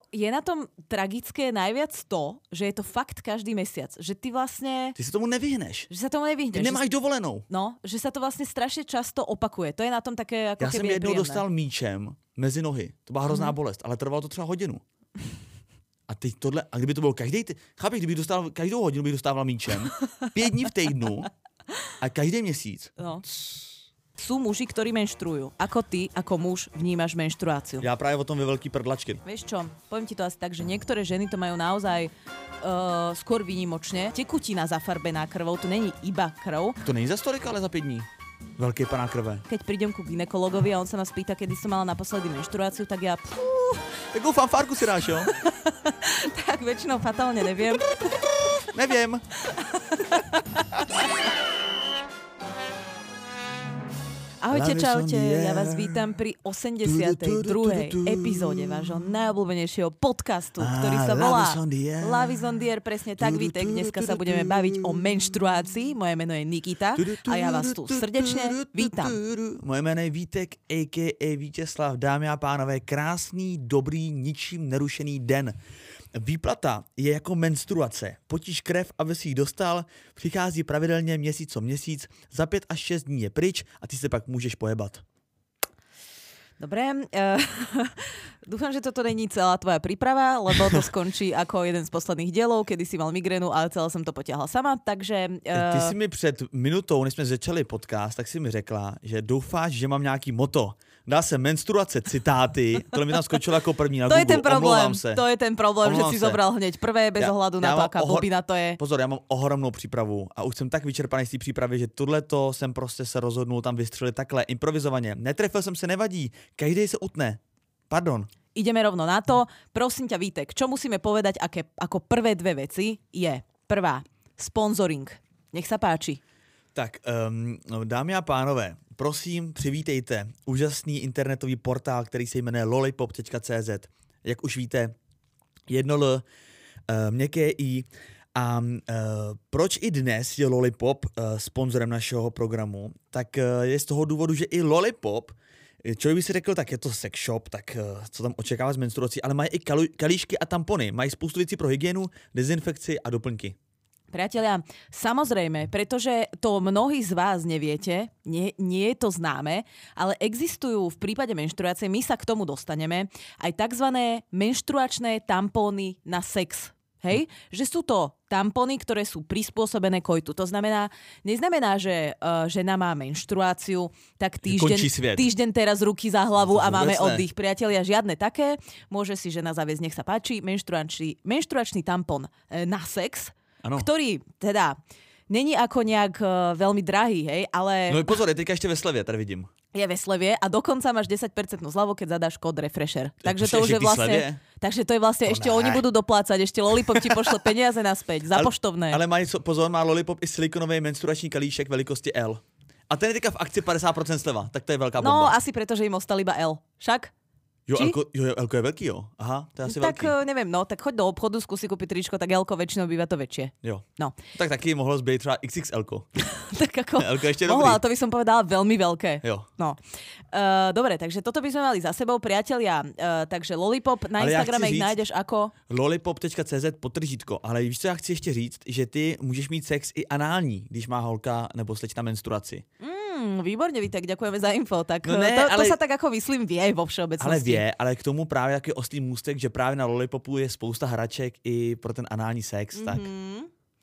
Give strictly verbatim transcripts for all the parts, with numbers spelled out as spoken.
je na tom tragické najviac to, že je to fakt každý mesiac. Že ty vlastne... Ty sa tomu nevyhneš. Že sa tomu nevyhneš. Ty nemáš že... dovolenou. No, že sa to vlastne strašne často opakuje. To je na tom také ako Já keby jsem jednou nepríjemné. dostal míčem mezi nohy. To byla hrozná Mhm. bolest, ale trvalo to třeba hodinu. A teď tohle, a kdyby to bylo každý, chápeš, kdybych dostal, každou hodinu bych dostával míčem, pět dní v týdnu a každý měsíc. No. Sú muži, ktorí menštruujú. Ako ty, ako muž, vnímaš menštruáciu? Já právě o tom ve velký prdlačky. Vieš čo, poviem ti to asi tak, že niektoré ženy to majú naozaj uh, skôr výnimočne. Tekutina zafarbená krvou, to není iba krv. To není za stolik, ale za pět dní. Velký paná krve. Keď prídem ku gynekologovi a on sa ma spýta, kedy som mala naposledy menštruáciu, tak ja... Pú, Takovou fanfárku si dáš, jo? tak väčšinou fatálne neviem. Nevím. Ahojte, Love is čaute, on the ja air. vás vítam pri osemdesiatej druhej epizóde vášho najobľúbenejšieho podcastu, ktorý sa Ah, volá Love is on the air. Love is on the air, presne tak, Vítek. Dneska sa budeme baviť o menštruácii. Moje meno je Nikita a ja vás tu srdečne vítam. Moje jméno je Vítek, a ká a. Vítězslav. Dámy a pánové, krásný, dobrý, ničím nerušený den. Výplata je jako menstruace. Potíž krev, aby si ji dostal, přichází pravidelně měsíc co měsíc, za pět až šest dní je pryč a ty se pak můžeš pojebat. Dobre, uh, dúfam, že toto není celá tvoja príprava, lebo to skončí ako jeden z posledných dielov, kedy si mal migrénu, ale celé som to potiahla sama, takže... Uh... Ty si mi před minutou, než jsme začali podcast, tak si mi řekla, že doufáš, že mám nějaký moto. Dá se menstruace, citáty, to mi tam skočilo jako první na to Google. je ten problém, se. to je ten problém, Omlouvám že si se. zobral hneď prvé bez Já- ohľadu já na to, mám aká ohor- blbina to je. Pozor, já mám ohromnou přípravu a už jsem tak vyčerpaný z té přípravy, že tohleto jsem prostě se rozhodnul tam vystřelit takhle improvizovaně. Netrefil jsem se, nevadí, každý se utne. Pardon. Ideme rovno na to. Prosím ťa, Vítek, čo musíme povedať aké, ako prvé dve veci je prvá, sponsoring. Nech sa páči. Tak, um, dámy a pánové, prosím, přivítejte úžasný internetový portál, který se jmenuje lollipop tečka cé zet. Jak už víte, jedno L, uh, měkké I. A uh, proč i dnes je Lollipop uh, sponzorem našeho programu? Tak uh, je z toho důvodu, že i Lollipop, člověk by si řekl, tak je to sex shop, tak uh, co tam očekává z menstruací, ale mají i kalu- kalíšky a tampony, mají spoustu věcí pro hygienu, dezinfekci a doplňky. Priatelia, samozrejme, pretože to mnohí z vás neviete, nie, nie je to známe, ale existujú v prípade menštruácie, my sa k tomu dostaneme, aj takzvané menštruačné tampóny na sex. Hej? Že sú to tampony, ktoré sú prispôsobené kojtu. To znamená, neznamená, že uh, žena má menštruáciu, tak týždeň, týždeň teraz ruky za hlavu a máme oddych. Priatelia, žiadne také. Môže si žena zaviesť, nech sa páči, menštruačný, menštruačný tampon e, na sex, ano. Ktorý teda není ako nejak uh, veľmi drahý, hej, ale... No pozor, je teďka ešte ve slevě, tady vidím. Je ve slevie a dokonca máš desať percent zľavu, keď zadáš kód Refresher. Takže to to už je vlastne... Slevie? Takže to je vlastne, To ešte ne. oni budú doplácať, ešte Lollipop ti pošle peniaze naspäť, za ale, poštovné. Ale mají, pozor, má Lollipop i silikonový menstruační kalíšek velikosti L. A ten je teďka v akci padesát procent sleva, tak to je velká bomba. No, asi preto, že im ostal iba L. Však? Jo, Či? Elko, jo, Elko je velký, jo. Aha, to je asi Tak velký. neviem, no, tak choď do obchodu, skúsi kúpiť tričko, tak L-ko väčšinou býva to väčšie. Jo. No. Tak taky mohlo zbýt třeba iks iks elko. Tak ako... Elko ještě Mohla, ale dobrý. to by som povedala veľmi veľké. Jo. No. Uh, dobre, takže toto by sme mali za sebou, priatelia. Uh, takže Lollipop, na Ale ja Instagrame chci ich říct- nájdeš ako... lollipop tečka cé zet potržítko, ale víš, co já chci ještě říct, že ty můžeš mít sex i anální, když má holka nebo slečna menstruaci. Mm, výborne, Vítek, ďakujeme za info. Tak No ne, to, to ale- sa tak ako myslím vie vo všeobecnosti. Ale vie, ale k tomu právě jaký oslý můstek, že právě na Lollipopu je spousta hraček i pro ten anální sex, tak... Mm-hmm.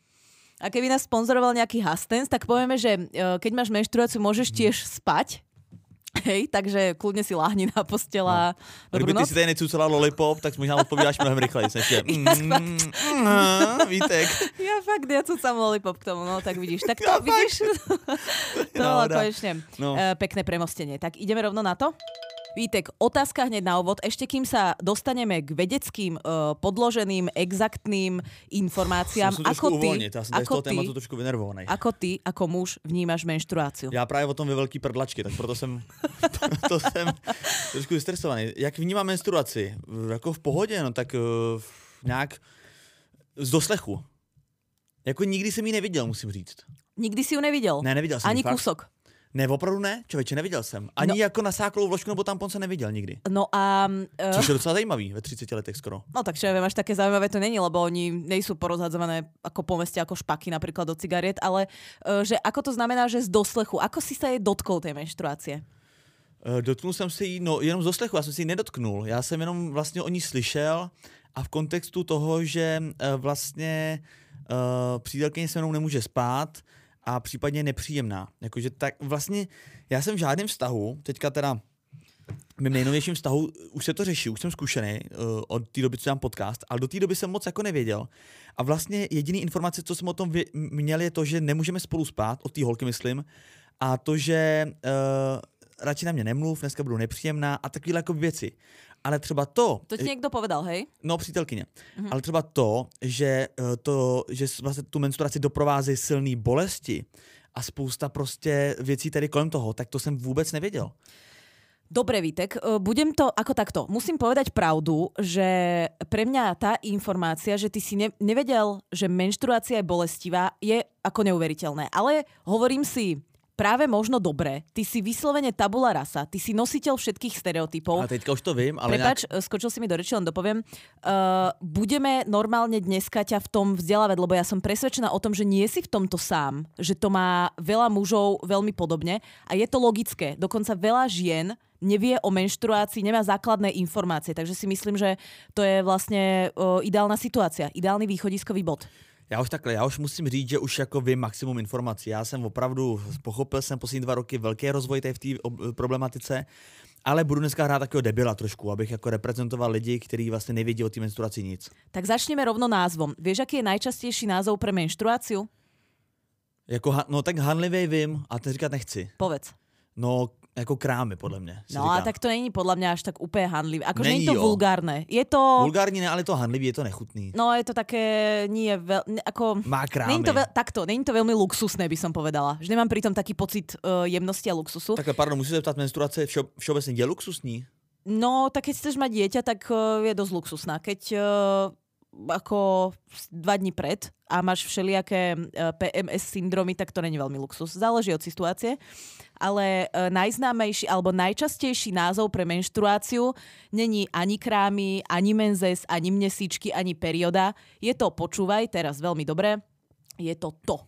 A keby nás sponzoroval nejaký Hastens, tak povieme, že uh, keď máš menštruáciu, môžeš tiež spať. Hej, takže kľudne si láhni na postela. No. Kdyby ty si tady necucala Lollipop, tak možná odpovídáš mnohem rychleji. Než je, mm, mm, Vítek. Ja fakt, ja cucam Lollipop k tomu, no tak vidíš. Tak to Ja vidíš, to bolo Náhoda. konečne No. uh, pekné premostenie. Tak ideme rovno na to? Vítek, otázka hneď na úvod. Ešte kým sa dostaneme k vedeckým, uh, podloženým, exaktným informáciám, Musím ako trošku ty, uvolnit, já jsem tady z ako toho ty, tématu trošku vynervovaný. ako ty, ako muž vnímaš menštruáciu? Já právě o tom ve velký prdlačky, tak proto jsem, to, to jsem trošku vystresovaný. Jak vnímám menstruaci? Jako v pohodě, no tak uh, nějak z doslechu. Jako nikdy jsem ji neviděl, musím říct. Nikdy si ju nevidel? Ne, neviděl jsem Ani ji, fakt. kúsok? Ne, opravdu ne, člověče, neviděl jsem. Ani no, jako nasáklou vložku nebo tampon jsem neviděl nikdy. No a... Uh, Což je docela zajímavý ve tridsiatich letech skoro. No tak čo ja viem, až také zaujímavé to není, lebo oni nejsú porozhadzované ako po meste, ako špaky napríklad do cigariet, ale uh, že ako to znamená, že z doslechu, ako si sa jej dotkol tej menštruácie? Uh, dotknul jsem se jí, no jenom z doslechu, já jsem si ji nedotknul. Já jsem jenom vlastně o ní slyšel a v kontextu toho, že uh, vlastně uh, přítelkyně se mnou nemůže spát, a případně nepříjemná. Jakože tak vlastně já jsem v žádném vztahu, teďka teda v mém nejnovějším vztahu už se to řeší, už jsem zkušený uh, od té doby, co mám podcast, ale do té doby jsem moc jako nevěděl. A vlastně jediný informace, co jsem o tom vě- měl, je to, že nemůžeme spolu spát, od té holky myslím, a to, že uh, radši na mě nemluv, dneska budu nepříjemná a takovéhle jako věci. Ale třeba to... To ti někdo povedal, hej? No, přítelkyně. Mhm. Ale třeba to, že, to, že vlastně tu menstruaci doprovázejí silné bolesti a spousta prostě věcí tady kolem toho, tak to jsem vůbec nevěděl. Dobre, Vítek, budem to ako takto. Musím povedať pravdu, že pre mňa tá informácia, že ty si ne- nevedel, že menštruácia je bolestivá, je ako neuveriteľné. Ale hovorím si... Práve možno dobre, ty si vyslovene tabula rasa, ty si nositeľ všetkých stereotypov. A teďka už to vím, ale Prepáč, nejak... skočil si mi do reči, len dopoviem. Uh, budeme normálne dneska ťa v tom vzdelávať, lebo ja som presvedčená o tom, že nie si v tomto sám, že to má veľa mužov veľmi podobne a je to logické. Dokonca veľa žien nevie o menštruácii, nemá základné informácie, takže si myslím, že to je vlastne uh, ideálna situácia, ideálny východiskový bod. Já už takhle, já už musím říct, že už jako vím maximum informací. Já jsem opravdu pochopil jsem poslední dva roky velký rozvoj v té problematice, ale budu dneska hrát takového debila trošku, abych jako reprezentoval lidi, kteří vlastně nevědí o té menstruaci nic. Tak začneme rovno názvom. Vieš, aký je najčastejší názov pre menštruáciu? Jako, no tak hanlivej vím, a to říkat nechci. Povedz. No, jako krámy, podle mě. No a tak to není podľa mňa až tak úplne hanlivé. Akože nie je to jo. vulgárne. Je to... Vulgární ne, ale to hanlivý, je to nechutný. No je to také, nie veľ... Ne, ako... Má krámy. Není to veľ... Takto, není to veľmi luxusné, by som povedala. Že nemám pritom taký pocit uh, jemnosti a luxusu. Takhle, pardon, musíte zeptat, menstruace je všo, všeobecně je luxusní? No, tak keď chceš mať dieťa, tak uh, je dosť luxusná. Keď uh, ako dva dní pred a máš všelijaké uh, pé em es syndromy, tak to není veľmi luxus. Záleží od situácie. Ale uh, najznámejší alebo najčastejší názov pre menštruáciu není ani krámy, ani menzes, ani mnesíčky, ani perioda. Je to, počúvaj, teraz veľmi dobre, je to to.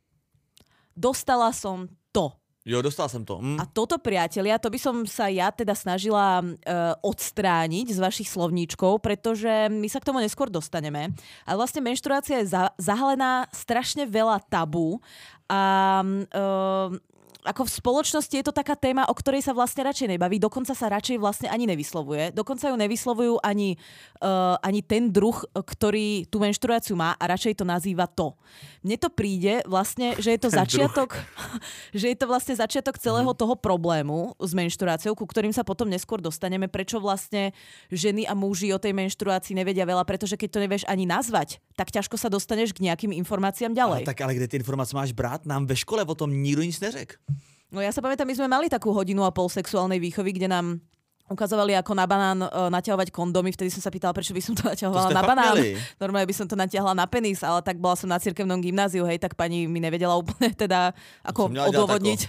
Dostala som to. Jo, dostal jsem to. Mm. A toto, priatelia, to by som sa ja teda snažila uh, odstrániť z vašich slovníčkov, pretože my sa k tomu neskôr dostaneme. A vlastne menštruácia je za- zahalená strašne veľa tabu a uh, ako v spoločnosti je to taká téma, o ktorej sa vlastne radšej nebaví, dokonca sa radšej vlastne ani nevyslovuje. Dokonca ju nevyslovujú ani, uh, ani ten druh, ktorý tú menštruáciu má a radšej to nazýva to. Mne to príde vlastne, že je to začiatok že je to vlastne začiatok celého toho problému s menštruáciou, ku ktorým sa potom neskôr dostaneme, prečo vlastne ženy a muži o tej menštruácii nevedia veľa, pretože keď to nevieš ani nazvať, tak ťažko sa dostaneš k nejakým informáciám ďalej. Ale tak ale kde ty informace máš brát? Nám ve škole o tom nikdo nic neřekl. No ja sa pamätám, my sme mali takú hodinu a pol sexuálnej výchovy, kde nám ukazovali, ako na banán uh, naťahovať kondomy. Vtedy som sa pýtala, prečo by som to naťahovala to na banán. Měli. Normálne by som to natiahla na penis, ale tak bola som na cirkevnom gymnáziu, hej, tak pani mi nevedela úplne teda ako odôvodniť.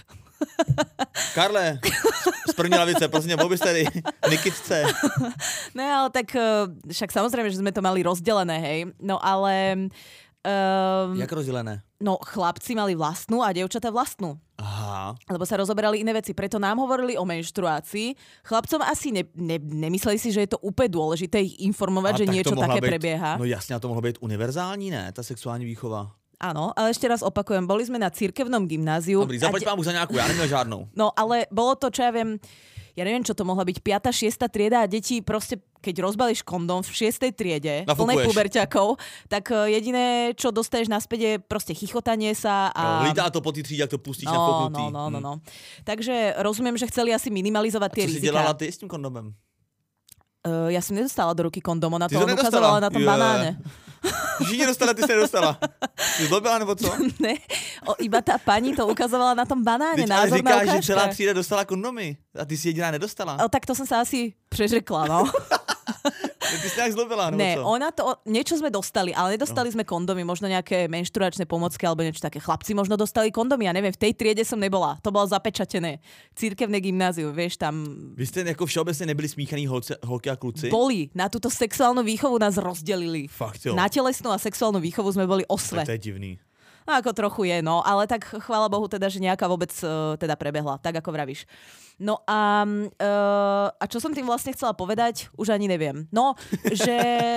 Karle, z první lavice, prosím, bol by ste tady Nikitce. No ale tak uh, však samozrejme, že sme to mali rozdelené, hej. No ale... Um, Jak rozdelené? No chlapci mali vlastnú a dievčatá vlastnú. Aha. Lebo sa rozoberali iné veci. Preto nám hovorili o menštruácii. Chlapcom asi ne, ne, nemysleli si, že je to úplne dôležité ich informovať, a že niečo také být, prebieha. No jasne, a to mohlo byť univerzální, ne? Ta sexuální výchova. Áno, ale ešte raz opakujem, boli sme na cirkevnom gymnáziu. Dobrý, zaplať vám už za nejakú, ja neměl žádnou. No ale bolo to, čo ja viem, ja neviem, čo to mohla byť, piata šiesta trieda a deti proste, keď rozbalíš kondóm v šiestej triede, plnej puberťakov, tak jediné, čo dostaneš naspäť je proste chichotanie sa a... No, lítá to po tej tríde, ak to pustíš no, na foknutý. No, no, no, no. Takže rozumiem, že chceli asi minimalizovať tie rizika. A co si dělala ty s tým kondomem? Uh, ja som nedostala do ruky kondom, ona to, to ukazovala na tom yeah. banáne. Všichni dostala, ty si nedostala. Ty zlobila, nebo co? Ne, o, iba tá pani to ukazovala na tom banáne. Teď ale názorná říkáš, ukážka. že celá třída dostala kondomy a ty si jediná nedostala. O, tak to som sa asi prežekla, no. Ty si nejak zlobila, nebo Ne, co? ona to, niečo sme dostali, ale nedostali no. sme kondomy, možno nejaké menštruačné pomocky alebo niečo také. Chlapci možno dostali kondomy, ja neviem, v tej triede som nebola. To bolo zapečatené. Cirkevné gymnázium, vieš, tam... Vy ste jako všeobecne nebyli smíchaní holce, holky a kluci? Boli. Na túto sexuálnu výchovu nás rozdelili. Fakt jo. Na telesnú a sexuálnu výchovu sme boli osve. To je divný. No ako trochu je, no, ale tak chvála Bohu teda, že nejaká vôbec uh, teda prebehla, tak ako vravíš. No a, uh, a čo som tým vlastne chcela povedať, už ani neviem. No, že,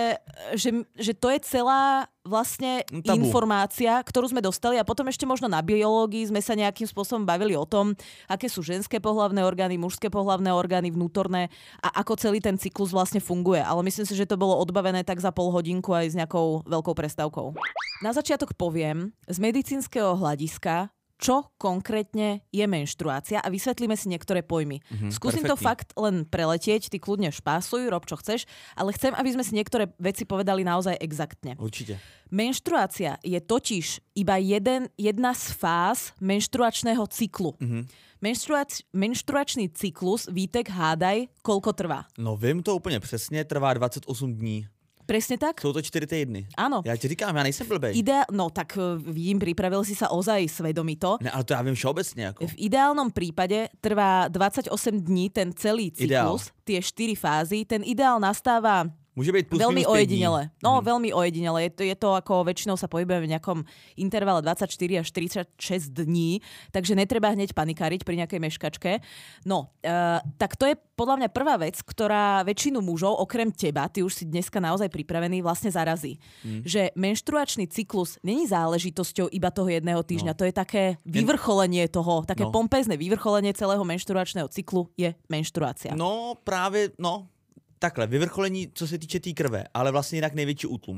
že, že to je celá vlastne Tabu. informácia, ktorú sme dostali a potom ešte možno na biológii sme sa nejakým spôsobom bavili o tom, aké sú ženské pohlavné orgány, mužské pohlavné orgány, vnútorné a ako celý ten cyklus vlastne funguje. Ale myslím si, že to bolo odbavené tak za pol hodinku aj s nejakou veľkou prestávkou. Na začiatok poviem z medicínskeho hľadiska, čo konkrétne je menštruácia a vysvetlíme si niektoré pojmy. Mm-hmm, Skúsim perfektne. To fakt len preletieť, ty kľudne špásuj, rob čo chceš, ale chcem, aby sme si niektoré veci povedali naozaj exaktne. Určite. Menštruácia je totiž iba jeden, jedna z fáz menštruačného cyklu. Mm-hmm. Menštruač, menštruačný cyklus, Vítek, hádaj, koľko trvá? No vím to úplně přesně, trvá dvacet osm dní. Presne tak? Jsou to čtyři týdny. Áno. Já ti říkám, já nejsem blbej. Ide- no tak vidím, pripravil si sa ozaj svedomito. Ne, ale to já vím všeobecně. Jako. V ideálnom prípade trvá dvadsaťosem dní ten celý cyklus, ideál. Tie štyri fázy. Ten ideál nastáva Môže byť plus veľmi minus ojedinele. No, hmm. veľmi ojedinele. Je to, je to ako väčšinou sa pohybujeme v nejakom intervale dvadsaťštyri až tridsaťšesť dní, takže netreba hneď panikáriť pri nejakej meškačke. No, uh, tak to je podľa mňa prvá vec, ktorá väčšinu mužov, okrem teba, ty už si dneska naozaj pripravený, vlastne zarazí. Hmm. Že menštruačný cyklus není záležitosťou iba toho jedného týždňa. No. To je také vyvrcholenie toho, také no. pompezné vyvrcholenie celého menštruačného cyklu je menštruácia. No, právě, no... Takhle, vyvrcholení, co se týče té tý krve, ale vlastně jinak největší útlum.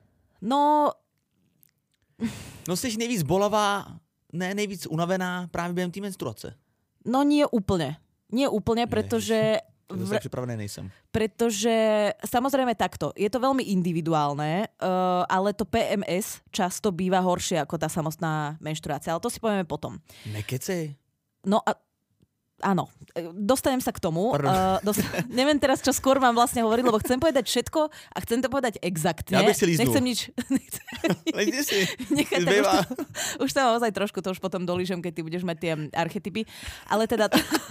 No... No jsi nejvíc bolavá, ne nejvíc unavená právě během té menstruace. No nie úplne. Nie úplne, pretože... V... Ja pripravený nejsem. Pretože, samozrejme takto, je to veľmi individuálne, uh, ale to pé em es často býva horšie ako tá samotná menštruácia, ale to si povieme potom. Nekecej. No a áno, dostanem sa k tomu. Uh, dost... Neviem teraz, čo skôr vám vlastne hovoriť, lebo chcem povedať všetko a chcem to povedať exaktne. Ja bych si líznul. Nechcem nič... Lejte si. Nechať, už, to, už to naozaj trošku, to už potom dolížem, keď ty budeš mať tie archetypy. Ale teda...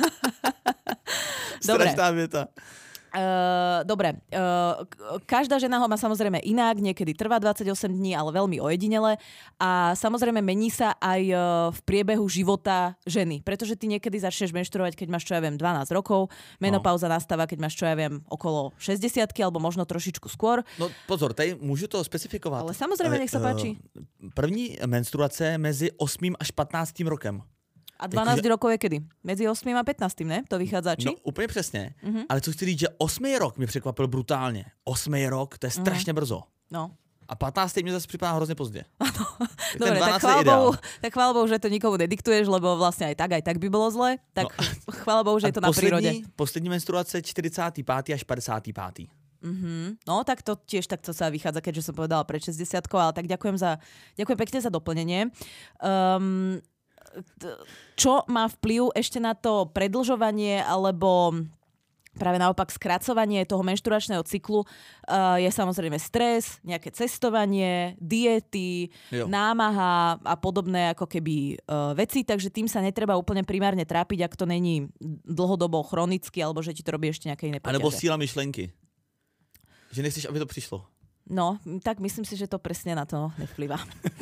Dobre. Strašná vieta. Uh, dobre, uh, každá žena ho má samozrejme inak, niekedy trvá dvadsaťosem dní, ale veľmi ojedinele a samozrejme mení sa aj uh, v priebehu života ženy, pretože ty niekedy začneš menštruovať, keď máš, čo ja viem, dvanásť rokov, menopauza no. nastáva, keď máš, čo ja viem, okolo šesťdesiatky alebo možno trošičku skôr. No pozor, tady môžu to specifikovat. Ale samozrejme, nech sa páči. Uh, první menstruace mezi osmým až patnáctým rokem. A dvanásť jako, rokov je kedy? Mezi osmým a pätnástim, ne? To vychádza, či? No úplně přesně. Uh-huh. Ale co chci říct, že osmý rok mě překvapil brutálně. Osmý rok, to je strašně uh-huh. brzo. No. A patnáctý mě zase připadá hrozně pozdě. Ano. Dobre, tak chvála, Bohu, tak chvála Bohu, že to nikomu nediktuješ, lebo vlastne aj tak, aj tak by bolo zle. Tak no. Chvála Bohu, že je to na prírode. Poslední menstruace čtyřicátý pátý až padesátý pátý Mm-hmm. No tak to tiež takto sa vychádza, keďže som povedala pred šesťdesiatkou, ale tak ďakujem, za, ďakujem pekne za doplnenie. Um, čo má vplyv ešte na to predlžovanie alebo práve naopak skracovanie toho menštruačného cyklu uh, je samozrejme stres, nejaké cestovanie, diety, jo. námaha a podobné ako keby uh, veci, takže tým sa netreba úplne primárne trápiť, ak to není dlhodobo chronicky alebo že ti to robí ešte nejaké iné poťaže. A nebo síla myšlenky. Že nechceš, aby to prišlo. No, tak myslím si, že to presne na to nevplyvá.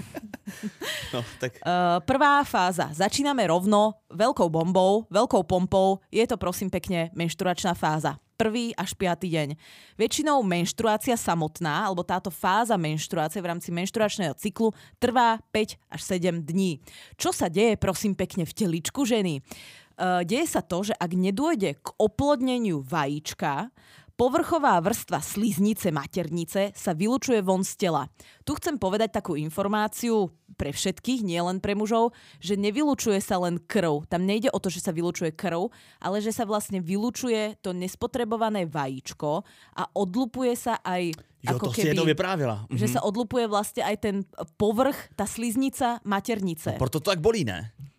No, tak. Uh, prvá fáza. Začíname rovno veľkou bombou, veľkou pompou. Je to prosím pekne menštruačná fáza. Prvý až piatý deň. Väčšinou menštruácia samotná, alebo táto fáza menštruácie v rámci menštruačného cyklu trvá päť až sedem dní. Čo sa deje prosím pekne v teličku ženy? Uh, deje sa to, že ak nedôjde k oplodneniu vajíčka, povrchová vrstva sliznice maternice sa vylučuje von z tela. Tu chcem povedať takú informáciu pre všetkých, nie len pre mužov, že nevylučuje sa len krv. Tam nejde o to, že sa vylučuje krv, ale že sa vlastne vylučuje to nespotrebované vajíčko a odlupuje sa aj... Jo, ako to keby, si jednou vyprávila. Že mhm. sa odlupuje vlastne aj ten povrch, tá sliznica maternice. No, proto to tak bolí, ne?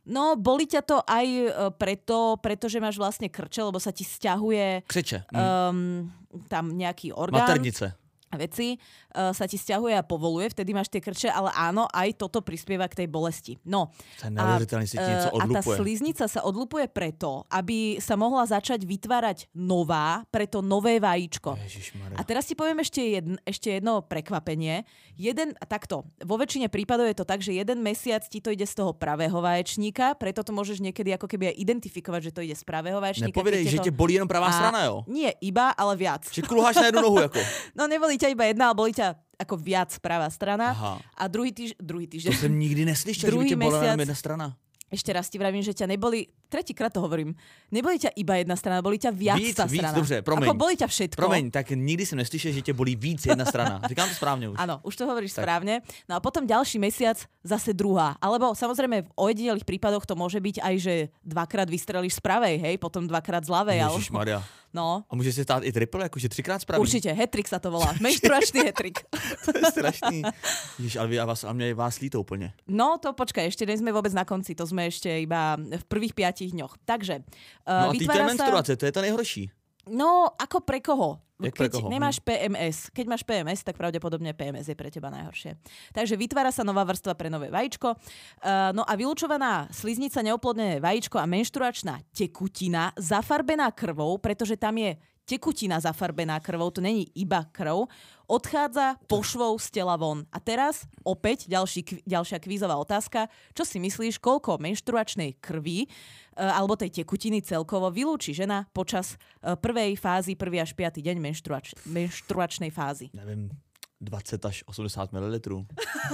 No, boli ťa to aj preto, pretože máš vlastne krče, lebo sa ti sťahuje Křeče. Mm. Um, tam nejaký orgán. Maternice. Veci uh, sa ti sťahuje a povoluje, vtedy máš tie krče, ale áno, aj toto prispieva k tej bolesti. No, a, si uh, a tá sliznica sa odlupuje preto, aby sa mohla začať vytvárať nová, preto nové vajíčko. Ježišmarja. A teraz ti poviem ešte, jedn, ešte jedno prekvapenie. Jeden, takto, vo väčšine prípadov je to tak, že jeden mesiac ti to ide z toho pravého vaječníka, preto to môžeš niekedy ako keby aj identifikovať, že to ide z pravého vaječníka. Nepovedej, že to... te bolí jenom pravá a... strana, jo? Nie, iba, ale viac. Že kulháš na jednu nohu, ako? No, neboli ťa iba jedna, ale boli ťa ako viac pravá strana. Aha. A druhý, týž, druhý týždeň... To som nikdy neslyšel, že by ťa bola mesiac... jedna strana. Ešte raz ti vravím, že ťa neboli... Tretíkrát to hovorím. Neboli ťa iba jedna strana, boli ťa viac víc, tá víc, strana. Dobře, promiň. Ako boli ťa všetko. Promiň, tak nikdy som neslyšel, že ťa bolí víc jedna strana. Říkám to správne už. Áno, už to hovoríš tak. Správne. No a potom ďalší mesiac zase druhá. Alebo samozrejme v ojedinelých prípadoch to môže byť aj, že dvakrát vystrelíš z pravej, hej, potom dvakrát z ľavej. Ježišmaria. No. A môže sa stát i triple, akože trikrát z pravej? Určite, hetrik sa to volá. Menštruačný hetrik. To je strašný. Ježiš, ale, vás, ale mňa je vás líto úplne. No to počkaj, ešte nie sme vôbec na konci, to sme ešte iba v prvých piatich dňoch. Takže uh, no a vytvára ty menštruácie, sa... to je to nejhorší. No, ako pre koho? Jak Keď pre koho? nemáš pé em es. Keď máš pé em es, tak pravdepodobne pé em es je pre teba najhoršie. Takže vytvára sa nová vrstva pre nové vajíčko. Uh, no a vylučovaná sliznica, neoplodnené vajíčko a menštruačná tekutina zafarbená krvou, pretože tam je tekutina zafarbená krvou, to není iba krv, odchádza pošvou z tela von. A teraz opäť ďalší, ďalšia kvízová otázka. Čo si myslíš, koľko menštruačnej krvi alebo tej tekutiny celkovo vylúči žena počas prvej fázy, prvý až piaty deň menštruač, menštruačnej fázy? Neviem, dvacet až osemdesiat mililitrů.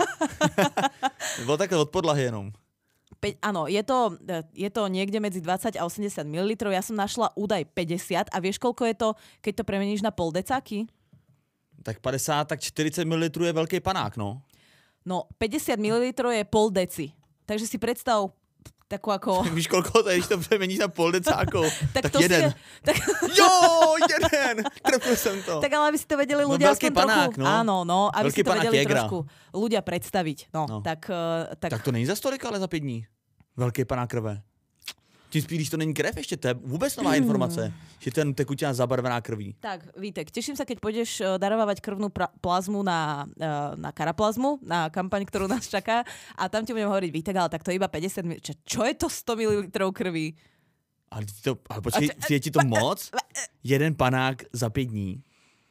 Bylo takhle od podlahy jenom. Pe- áno, je to, je to niekde medzi dvadsať a osemdesiat mililitrov. Ja som našla údaj päťdesiat a vieš, koľko je to, keď to premeníš na pol decáky? Tak padesát, tak čtyřicet mililitrů je veľký panák, no. No, päťdesiat mililitrov je pol deci. Takže si predstav takú ako... Tak víš, koľko to je, když to premeníš na pol decákov? tak, tak to jeden. Si... Tak... Jo, jeden! Trefil som to. Tak ale aby si to vedeli ľudia no, aspoň panák, trochu... No. Áno, no, aby veľký si to vedeli jegra. trošku ľudia predstaviť. No, no. Tak, uh, tak... tak to není za stolik, ale za pět dní. Velký panák krve. Tím spíš, když to není krev ještě, to je vůbec nová informace, že ten tekutina zabarvená krví. Tak, Vítek, teším sa, keď pôjdeš darovávať krvnú pra- plazmu na, na karaplazmu, na kampaň, ktorú nás čaká a tam ti budem hovoriť, Vítek, ale tak to je iba päťdesiat mililitrov. Čo je to sto mililitrov krví? Ale, to, ale počkej, je ti to moc? Jeden panák za pět dní.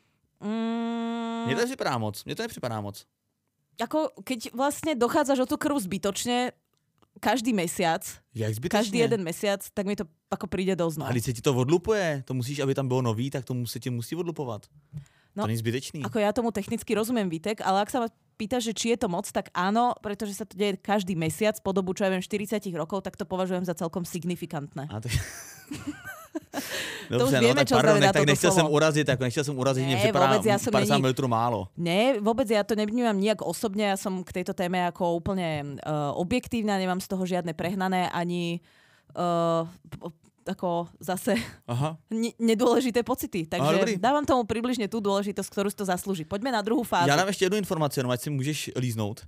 Mm... Mně to nepřipadá moc. Mně to nepřipadá moc. Ako, keď vlastne dochádzaš o tú krv zbytočne, každý mesiac, každý jeden mesiac, tak mi to ako príde dosť. A když se ti to odlupuje, to musíš, aby tam bylo nový, tak to se ti musí odlupovat. No, to není zbytečný. Ako ja tomu technicky rozumiem, Vítek, ale ak sa ma pýtaš, že či je to moc, tak áno, pretože sa to deje každý mesiac po dobu, čo ja viem, štyridsať rokov, tak to považujem za celkom signifikantné. A to... Dobře, to už vieme, no, tak čo pardon, znamená tak toto nechtěl slovo. jsem urazit, tak nechtěl jsem urazit, že připadá ja padesát mililitrů málo. Ne, vôbec ja to nevnímam nijak osobne, ja som k tejto téme ako úplne uh, objektívna, nemám z toho žiadne prehnané ani uh, ako zase n- nedôležité pocity. Takže dávam tomu približne tú dôležitosť, ktorú si to zaslúži. Poďme na druhú fázu. Já dám ještě jednu informaci, no ať si můžeš líznout.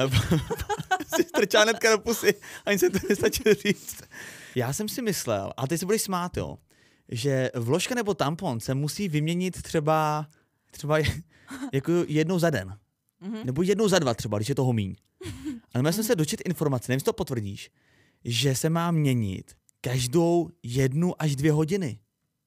Si strčá hnedka do pusy, ani se to nestačil říct. Já jsem si myslel, a teď se budeš smát, jo, že vložka nebo tampon se musí vyměnit třeba, třeba jako jednou za den. Mm-hmm. Nebo jednou za dva třeba, když je toho míň. Ale já jsem se dočet informaci, nevím, jestli to potvrdíš, že se má měnit každou jednu až dvě hodiny.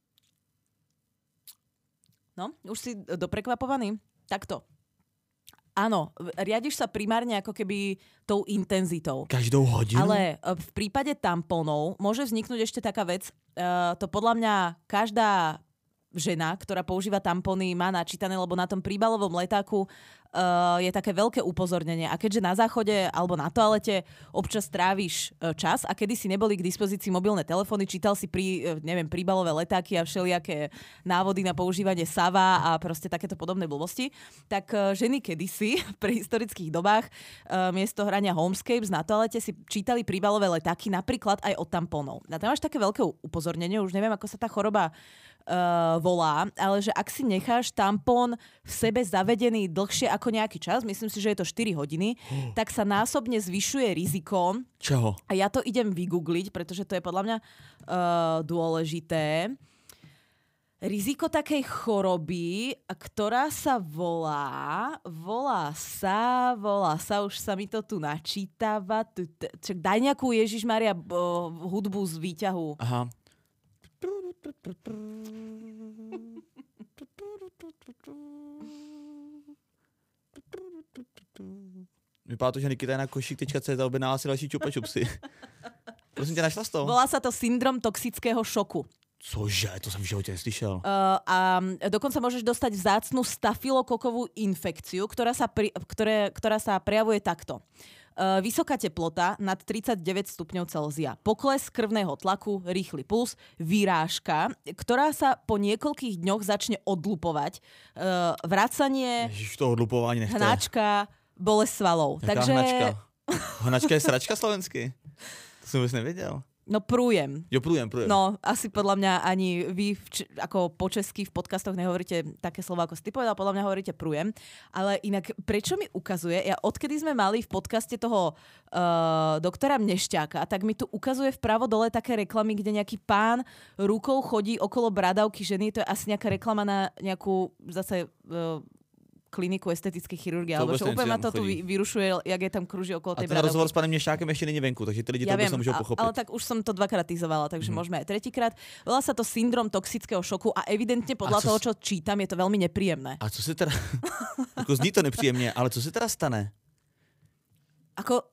No, už si doprekvapovaný? Takto. Áno, riadiš sa primárne ako keby tou intenzitou. Každou hodinu? Ale v prípade tampónov môže vzniknúť ešte taká vec. Uh, to podľa mňa každá žena, ktorá používa tampóny, má načítané, lebo na tom príbalovom letáku uh, je také veľké upozornenie. A keďže na záchode alebo na toalete občas tráviš uh, čas a kedy si neboli k dispozícii mobilné telefóny, čítal si pri, uh, neviem, príbalové letáky a všelijaké návody na používanie sava a proste takéto podobné blbosti, tak uh, ženy kedysi v prehistorických dobách uh, miesto hrania Homescapes na toalete si čítali príbalové letáky napríklad aj od tampónov. A tam máš také veľké upozornenie, už neviem, ako sa tá choroba Uh, volá, ale že ak si necháš tampón v sebe zavedený dlhšie ako ako nejaký čas, myslím si, že je to štyri hodiny, oh. tak sa násobne zvyšuje riziko. Čoho? A ja to idem vygoogliť, pretože to je podľa mňa uh, dôležité. Riziko takej choroby, ktorá sa volá, volá sa, volá sa, už sa mi to tu načítava. Čak daj nejakú Ježišmaria hudbu z výťahu. Aha. Vypadá to, že Nikita je na košík tečka cé zet objednala si další čupa čupsy. Prosím tě, našla jsi to? Volá sa to syndrom toxického šoku. Cože? To som v živote neslyšel. Uh, a dokonca môžeš dostať vzácnu stafilokokovú infekciu, ktorá sa, pri, ktoré, ktorá sa prejavuje takto. Uh, vysoká teplota nad tridsaťdeväť stupňov Celzia, pokles krvného tlaku, rýchly puls, výrážka, ktorá sa po niekoľkých dňoch začne odlupovať, uh, vracanie, Ježiš, to odlupovanie nechte. hnačka, bolesť svalov. Jaká Takže... hnačka? Hnačka je sračka slovensky? To som vôbec nevedel. No prújem. Jo, prújem, prújem. No, asi podľa mňa ani vy, č- ako po česky v podcastoch nehovoríte také slova, ako si ty povedal, podľa mňa hovoríte prújem. Ale inak, prečo mi ukazuje, ja odkedy sme mali v podcaste toho uh, doktora Mnešťáka, tak mi tu ukazuje vpravo dole také reklamy, kde nejaký pán rukou chodí okolo bradavky ženy, to je asi nejaká reklama na nejakú zase... Uh, kliniku estetické chirurgie, alebo čo úplne ma to tu vyrušuje, jak je tam kruží okolo tej bradavky. A ten rozhovor s pánem Mnešťákem ešte není venku, takže tí lidi ja to vôbec nemôžu pochopiť. Ale tak už som to dvakrát tizovala, takže mm. môžeme aj tretíkrát. Volá sa to syndrom toxického šoku a evidentne podľa a toho, čo čítam, je to veľmi nepríjemné. A co se teda... Ako zní to nepříjemně, ale co se teda stane? Ako...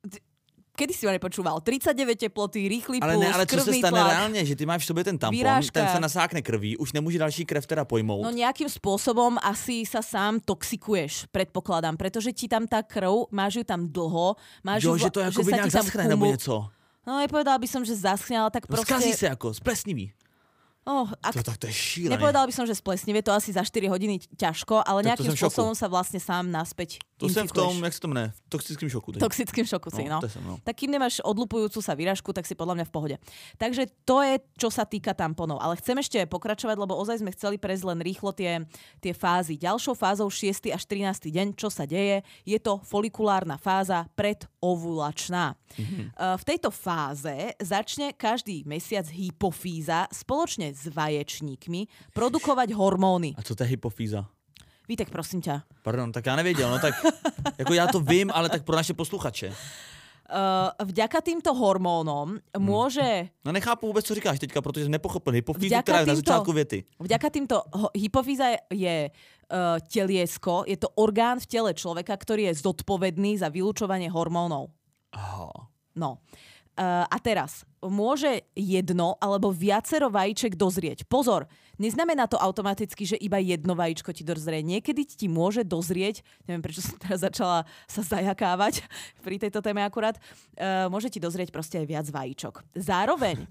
Kedy si ma nepočúval? tridsaťdeväť teploty, rýchly puls, ale ne, ale co se stane tlak, reálně, že ty máš v sobě ten tampon, výrážka. Ten se nasákne krví, už nemůže další krev teda pojmout. No nejakým spôsobom asi sa sám toxikuješ, predpokladám, pretože ti tam tá krv, máš ju tam dlho, máš jo, ju, že to jako by nějak zaschne nebo něco. No nepovedala by som, že zaschne, ale tak no, proste... Skazí se jako, splesnivý. Oh, ak... to, tak to je šílené. Nepovedala by som, že splesnivé, to asi za štyri hodiny ťažko, ale tak nejakým spôsobom sa vlastne sám naspäť to infikuješ. To som v tom, jak sa to mne, v toxickým šoku. Teď. Toxickým šoku si, no. no. Som, no. Tak kým nemáš odlupujúcu sa výražku, tak si podľa mňa v pohode. Takže to je, čo sa týka tamponov. Ale chcem ešte pokračovať, lebo ozaj sme chceli prejsť len rýchlo tie, tie fázy. Ďalšou fázou šiesty až trinásty deň, čo sa deje, je to folikulárna fáza predovulačná. Mm-hmm. V tejto fáze začne každý mesiac hypofýza spoločne s vaječníkmi produkovať hormóny. A co to je hypofýza? Vítek, prosím ťa. Pardon, tak já nevěděl, no tak jako já to vím, ale tak pro naše posluchače. Uh, vďaka týmto hormónom hmm. môže... No nechápu vůbec, co říkáš teďka, protože jsem nepochopil hypofýzu, která je na začátku věty. Vďaka týmto... Hypofýza je, je uh, teliesko, je to orgán v tele človeka, ktorý je zodpovedný za vylúčovanie hormónov. Aha. No. Uh, a teraz, môže jedno alebo viacero vajíček dozrieť. Pozor, neznamená to automaticky, že iba jedno vajíčko ti dozrie. Niekedy ti môže dozrieť, neviem prečo som teraz začala sa zajakávať pri tejto téme akurát, uh, môže ti dozrieť proste aj viac vajíčok. Zároveň,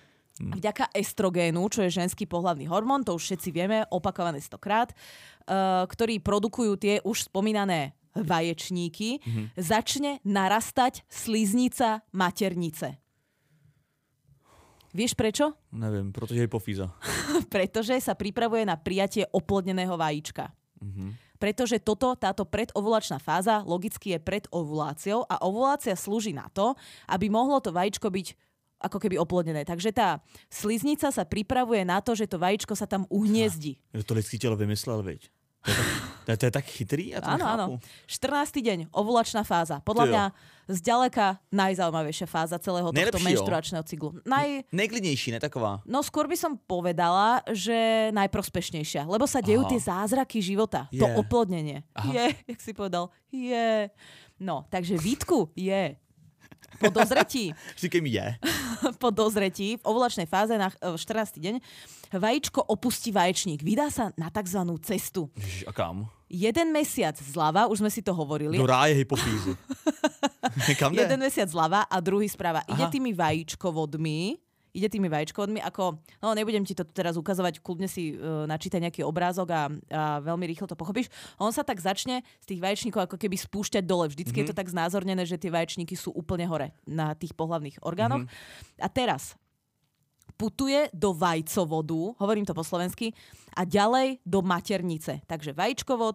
vďaka estrogénu, čo je ženský pohlavný hormón, to už všetci vieme, opakované stokrát, uh, ktorý produkujú tie už spomínané vaječníky, mm-hmm. začne narastať sliznica maternice. Vieš prečo? Neviem, protože je hypofýza. Pretože sa pripravuje na prijatie oplodneného vajíčka. Mm-hmm. Pretože toto, táto predovulačná fáza logicky je pred ovuláciou a ovulácia slúži na to, aby mohlo to vajíčko byť ako keby oplodnené. Takže tá sliznica sa pripravuje na to, že to vajíčko sa tam uhniezdí. Ja, to lidský telo vymyslel, veď. To je, tak, to, je, to je tak chytrý? Ja to áno, áno. štrnásty deň, ovulačná fáza. Podľa mňa zďaleka najzaujímavejšia fáza celého tohto Nejlepší, menštruačného cyklu. Naj... Nejklidnejší, ne taková? No skôr by som povedala, že najprospešnejšia. Lebo sa dejú Aha. tie zázraky života. Je. To oplodnenie. Aha. Je, jak si povedal. Je. No, takže Vítku, je. Po dozretí. Říkej mi je. Po dozretí v ovulačnej fáze na štrnásty deň vajíčko opustí vaječník. Vydá sa na takzvanú cestu. Ježiš, a kam? Jeden mesiac zľava, už sme si to hovorili. Do ráje hypofýzy. Kam jde? Jeden mesiac zľava a druhý správa. Aha. Ide tými vajíčkovodmi. Ide tými vajíčkovodmi, ako, no nebudem ti to teraz ukazovať, kľudne si uh, načítaj nejaký obrázok a, a veľmi rýchlo to pochopíš. On sa tak začne z tých vaječníkov ako keby spúšťať dole. Vždycky mm-hmm. je to tak znázornené, že tie vaječníky sú úplne hore na tých pohlavných orgánoch. Mm-hmm. A teraz putuje do vajcovodu, hovorím to po slovensky, a ďalej do maternice. Takže vajíčkovod,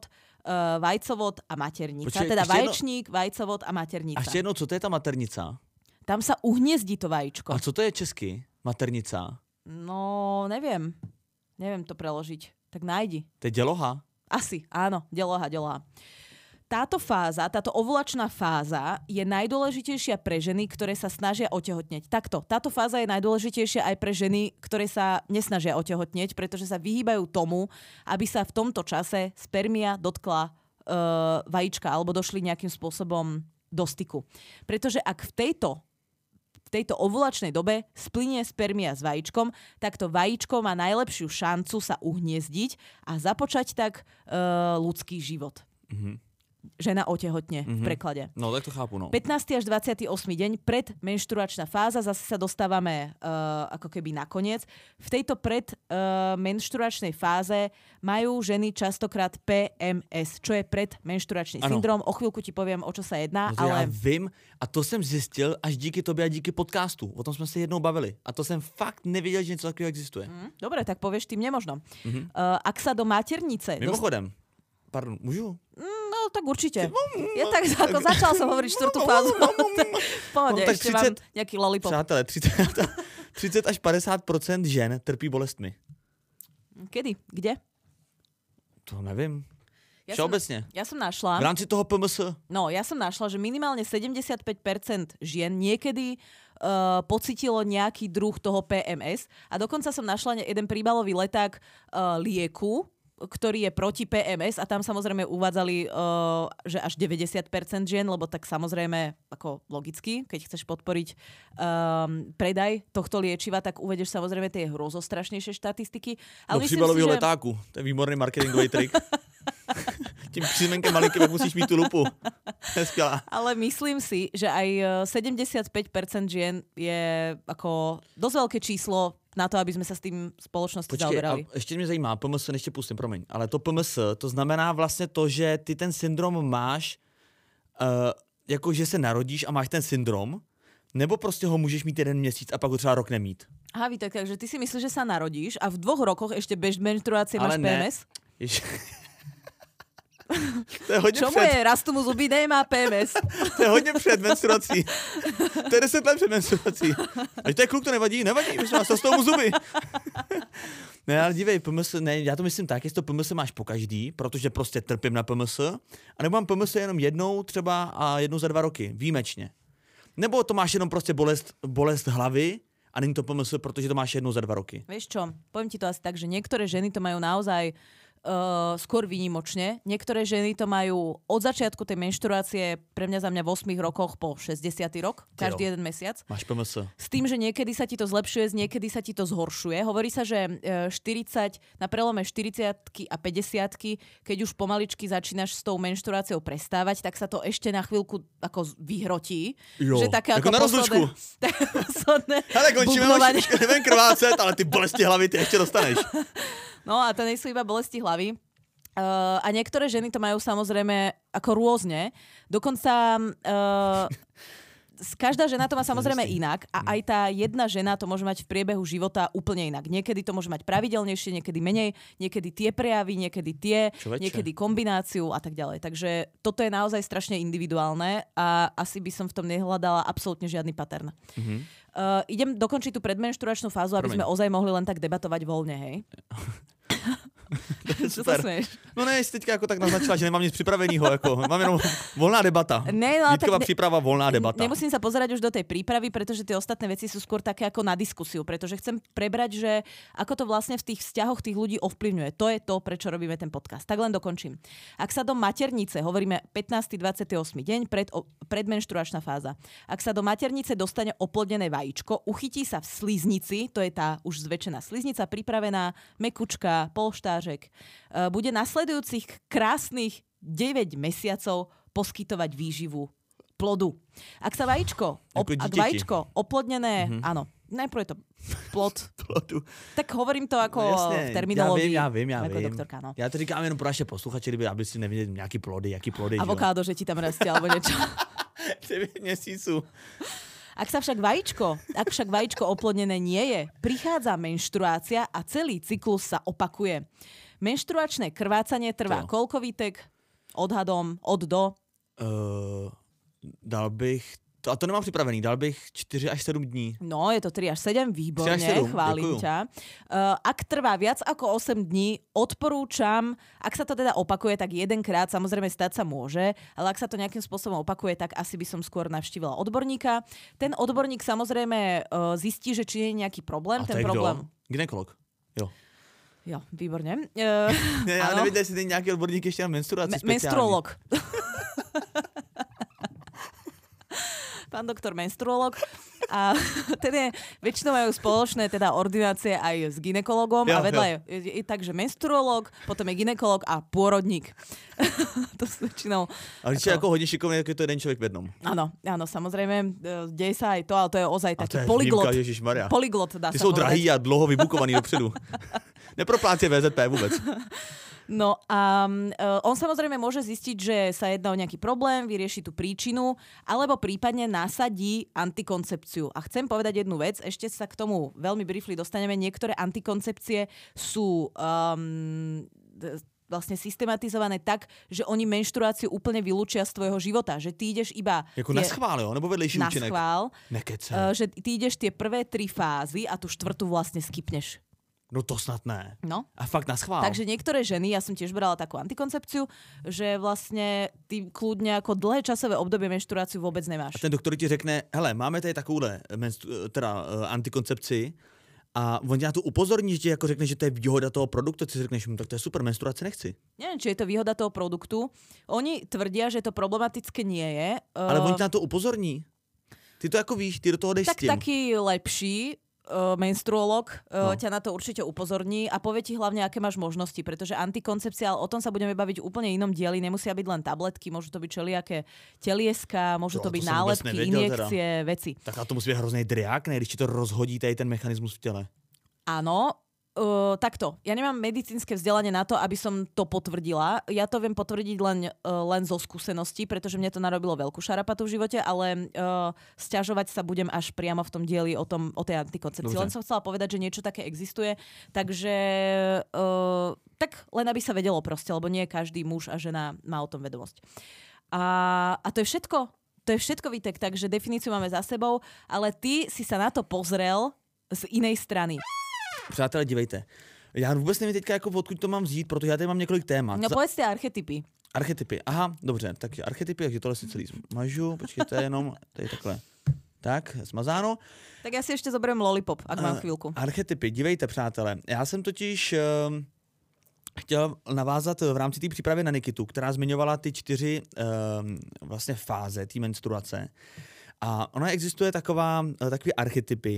uh, vajcovod a maternica. Počkej, teda ještě vaječník, jedno... vajcovod a maternica. A ještě jednou, co to je ta maternica? Tam sa uhniezdí to vajíčko. A co to je česky? Maternica? No, neviem. Neviem to preložiť. Tak nájdi. To je děloha? Asi, áno. Deloha, deloha. Táto fáza, táto ovulačná fáza je najdôležitejšia pre ženy, ktoré sa snažia otehotneť. Takto, táto fáza je najdôležitejšia aj pre ženy, ktoré sa nesnažia otehotneť, pretože sa vyhýbajú tomu, aby sa v tomto čase spermia dotkla uh, vajíčka alebo došli nejakým spôsobom do styku. Pretože ak v tejto v tejto ovulačnej dobe splynie spermia s vajíčkom, tak to vajíčko má najlepšiu šancu sa uhniezdiť a započať tak uh, ľudský život. Mm-hmm. Žena otehotne mm-hmm. v preklade. No, tak to chápu, no. pätnásty až dvadsiaty ôsmy deň pred menštruačná fáza, zase sa dostávame uh, ako keby nakoniec. V tejto pred uh, menštruačnej fáze majú ženy častokrát P M S, čo je predmenštruačný syndrom. O chvíľku ti poviem, o čo sa jedná. No to ale... já vím a to jsem zjistil až díky tobě a díky podcastu. O tom jsme se jednou bavili. A to jsem fakt nevěděl, že něco takového existuje. Mm, dobre, tak povieš tým nemožno. Mm-hmm. Uh, ak sa do maternice... Mimochodem, dost... pardon, můžu? No, tak určite. Ja tak ako začal som hovoriť štvrtú fázu. Pohode, no, tak ešte třicet, mám nejaký lollipop. Přátelé, třicet až padesát procent žen trpí bolestmi. Kedy? Kde? To nevím. Ja Všeobecne. Som, ja som našla... V rámci toho P M S. No, ja som našla, že minimálne sedemdesiatpäť percent žien niekedy uh, pocitilo nejaký druh toho P M S a dokonca som našla jeden príbalový leták uh, lieku, ktorý je proti P M S a tam samozrejme uvádzali, uh, že až deväťdesiat percent žien, lebo tak samozrejme, ako logicky, keď chceš podporiť um, predaj tohto liečiva, tak uvedeš samozrejme tie hrozostrašnejšie štatistiky. Ale do příbalového že... letáku. To je výborný marketingový trik. Tím přízmenkem malinkým, jak musíš mít tu lupu. To je skvělá. Ale myslím si, že aj sedemdesiatpäť percent žien je ako dosť veľké číslo na to, aby sme sa s tým spoločnosti Počkej, zaoberali. A ještě mě zajímá, P M S ještě pustím, promiň, ale to P M S, to znamená vlastně to, že ty ten syndrom máš, uh, jako že se narodíš a máš ten syndrom, nebo prostě ho můžeš mít jeden měsíc a pak ho třeba rok nemít? Aha, Vítek, takže ty si myslíš, že sa narodíš a v dvoch rokoch ešte bez menštruácie máš P M S? Jež... To je hodně Čo před... mu je? Rastú mu zuby, nemá P M S. To je hodně před menstruací. To je deset let před menstruací. A to je kluk, to nevadí, nevadí, my jsme vás rostou mu zuby. Ne, ale dívej, P M S, ne, já to myslím tak, jestli to P M S máš po každý, protože prostě trpím na P M S, anebo mám P M S jenom jednou třeba a jednou za dva roky, výjimečně. Nebo to máš jenom prostě bolest, bolest hlavy a není to P M S, protože to máš jednou za dva roky. Vieš čo, poviem ti to asi tak, že niektoré ženy to majú naozaj Uh, skôr výnimočne. Niektoré ženy to majú od začiatku tej menštruácie, pre mňa za mňa v ôsmich rokoch po šesťdesiaty rok, každý jeden mesiac. Máš P M S. S tým, že niekedy sa ti to zlepšuje, niekedy sa ti to zhoršuje. Hovorí sa, že štyridsať, na prelome štyridsiatky a päťdesiatky, keď už pomaličky začínaš s tou menštruáciou prestávať, tak sa to ešte na chvíľku ako vyhrotí. Jo, že také ako ako na rozlučku. Posledné hele, končíme, už neviem krvácet, ale ty bolesti hlavy ty ešte dostaneš. No a to nie sú iba bolesti hlavy. Uh, a niektoré ženy to majú samozrejme ako rôzne. Dokonca uh, každá žena to má samozrejme inak a aj tá jedna žena to môže mať v priebehu života úplne inak. Niekedy to môže mať pravidelnejšie, niekedy menej, niekedy tie prejavy, niekedy tie, niekedy kombináciu a tak ďalej. Takže toto je naozaj strašne individuálne a asi by som v tom nehľadala absolútne žiadny pattern. Mm-hmm. Uh, idem dokončiť tú predmenštruačnú fázu, aby Promiň. sme ozaj mohli len tak debatovať voľne, hej? Čo sa smieš? No ne, jsi teďka jako tak naznačila, že nemám nic připravenýho, jako mám jenom voľná debata. Ne, no, Vítková ne, príprava, voľná debata. Nemusím sa pozerať už do tej prípravy, pretože tie ostatné veci sú skôr také ako na diskusiu, pretože chcem prebrať, že ako to vlastne v tých vzťahoch tých ľudí ovplyvňuje. To je to, prečo robíme ten podcast. Tak len dokončím. Ak sa do maternice, hovoríme pätnásty dvadsiaty ôsmy deň, pred, predmenštruačná fáza. Ak sa do maternice dostane oplodnené vajíčko, uchytí sa v sliznici, to je tá už zväčšená sliznica, pripravená, mekučka, polštářek, bude nasledujúcich krásnych deväť mesiacov poskytovať výživu plodu. Ak sa vajíčko, op, ak vajíčko oplodnené, mm-hmm. áno, najprv je to plod. Plodu. Tak hovorím to ako no, v terminológii. Já vím, já vím, já vím. Doktorka, no. Já to říkám jenom pro naše posluchače, aby si neviděli nějaký plody, jaký plody. Avokádo, že, že ti tam rastie, alebo niečo. deväť měsíců. Ak sa však vajíčko, ak však vajíčko oplodnené nie je, prichádza menštruácia a celý cyklus sa opakuje. Menštruačné krvácanie trvá koľko, Vítek? Odhadom od do? Uh, dal bych, to, a to nemám připravený, dal bych čtyři až sedm dní. No, je to tri až sedem, výborne, chválim děkuju. ťa. Uh, ak trvá viac ako osem dní, odporúčam, ak sa to teda opakuje, tak jedenkrát, samozrejme stať sa môže, ale ak sa to nejakým spôsobom opakuje, tak asi by som skôr navštívila odborníka. Ten odborník samozrejme uh, zistí, že či je nejaký problém. A ten problém. Kdo? Gynekolog. Jo. Jo, výborne. Uh, ne, já nevím, jestli je nějaký odborník ještě na menstruaci Me- speciální. Menstruolog. Pán doktor menstruolog. A teda väčšinou majú spoločné teda ordinácie aj s gynekologom jo, a vedľa je, je, je takže menstruolog, potom je gynekolog a pôrodník. To sú väčšinou... Ale když je jako hodně šikovný, tak je to jeden člověk v jednom. Áno, áno, samozrejme, deje sa aj to, ale to je ozaj taký je polyglot. Výjimka, ježišmarja. Polyglot, dá Ty sa jsou povedať. drahý a dlouho vybukovaný dopředu. Neproplácie vé zet pé vůbec. No a uh, on samozrejme môže zistiť, že sa jedná o nejaký problém, vyrieši tú príčinu, alebo prípadne nasadí antikoncepciu. A chcem povedať jednu vec, ešte sa k tomu veľmi briefly dostaneme. Niektoré antikoncepcie sú um, vlastne systematizované tak, že oni menštruáciu úplne vylúčia z tvojho života. Že ty ideš iba... Jako na schvál, jo? Nebo vedlejší na účinek? Na schvál. Nekece. Uh, že ty ideš tie prvé tri fázy a tú štvrtú vlastne skipneš. No to snad ne. No. A fakt na schvál. Takže niektoré ženy, ja som tiež brala takú antikoncepciu, že vlastne ty kľudne ako dlhé časové obdobie menštruáciu vôbec nemáš. A ten doktor ti řekne, hele, máme tady takovouhle menstru, teda uh, antikoncepci a on tě na to upozorní, že ti jako řekne, že to je výhoda toho produktu, ty si řekneš, tak to je super, menstruace nechci. Neviem, či je to výhoda toho produktu. Oni tvrdia, že to problematické nie je. Ale uh, on tě na to upozorní. Ty to jako víš, ty do toho jdeš tak s tím. taký lepší Uh, menstruolog uh, no. ťa na to určite upozorní a povie ti hlavne, aké máš možnosti, pretože antikoncepcia, ale o tom sa budeme baviť úplne inom dieli, nemusia byť len tabletky, môžu to byť všelijaké telieska, môžu jo, to byť to nálepky, injekcie, teda. Veci. Tak a to musí být hrozný driák, ne, když ti to rozhodí tady ten mechanismus v těle. Áno, Uh, takto. Ja nemám medicínske vzdelanie na to, aby som to potvrdila. Ja to viem potvrdiť len, uh, len zo skúseností, pretože mne to narobilo veľkú šarapatu v živote, ale uh, sťažovať sa budem až priamo v tom dieli o, tom, o tej antikoncepcii. Len som chcela povedať, že niečo také existuje, takže uh, tak len aby sa vedelo proste, lebo nie každý muž a žena má o tom vedomosť. A, a to je všetko. To je všetko, Vítek, takže definíciu máme za sebou, ale ty si sa na to pozrel z inej strany. Přátelé, dívejte. Já vůbec nevím teďka, jako odkud to mám vzít, protože já tady mám několik témat. No povedzte archetypy. Archetypy, aha, dobře, tak archetypy, takže tohle si celý zmažu, počkejte jenom, tady takhle. Tak, smazáno. Tak já si ještě zoberiem lollipop, ak mám chvíľku. Archetypy, dívejte, přátelé. Já jsem totiž uh, chtěl navázat v rámci té přípravy na Nikitu, která zmiňovala ty čtyři uh, vlastně fáze té menstruace. A ono existuje taková, takový archetypy,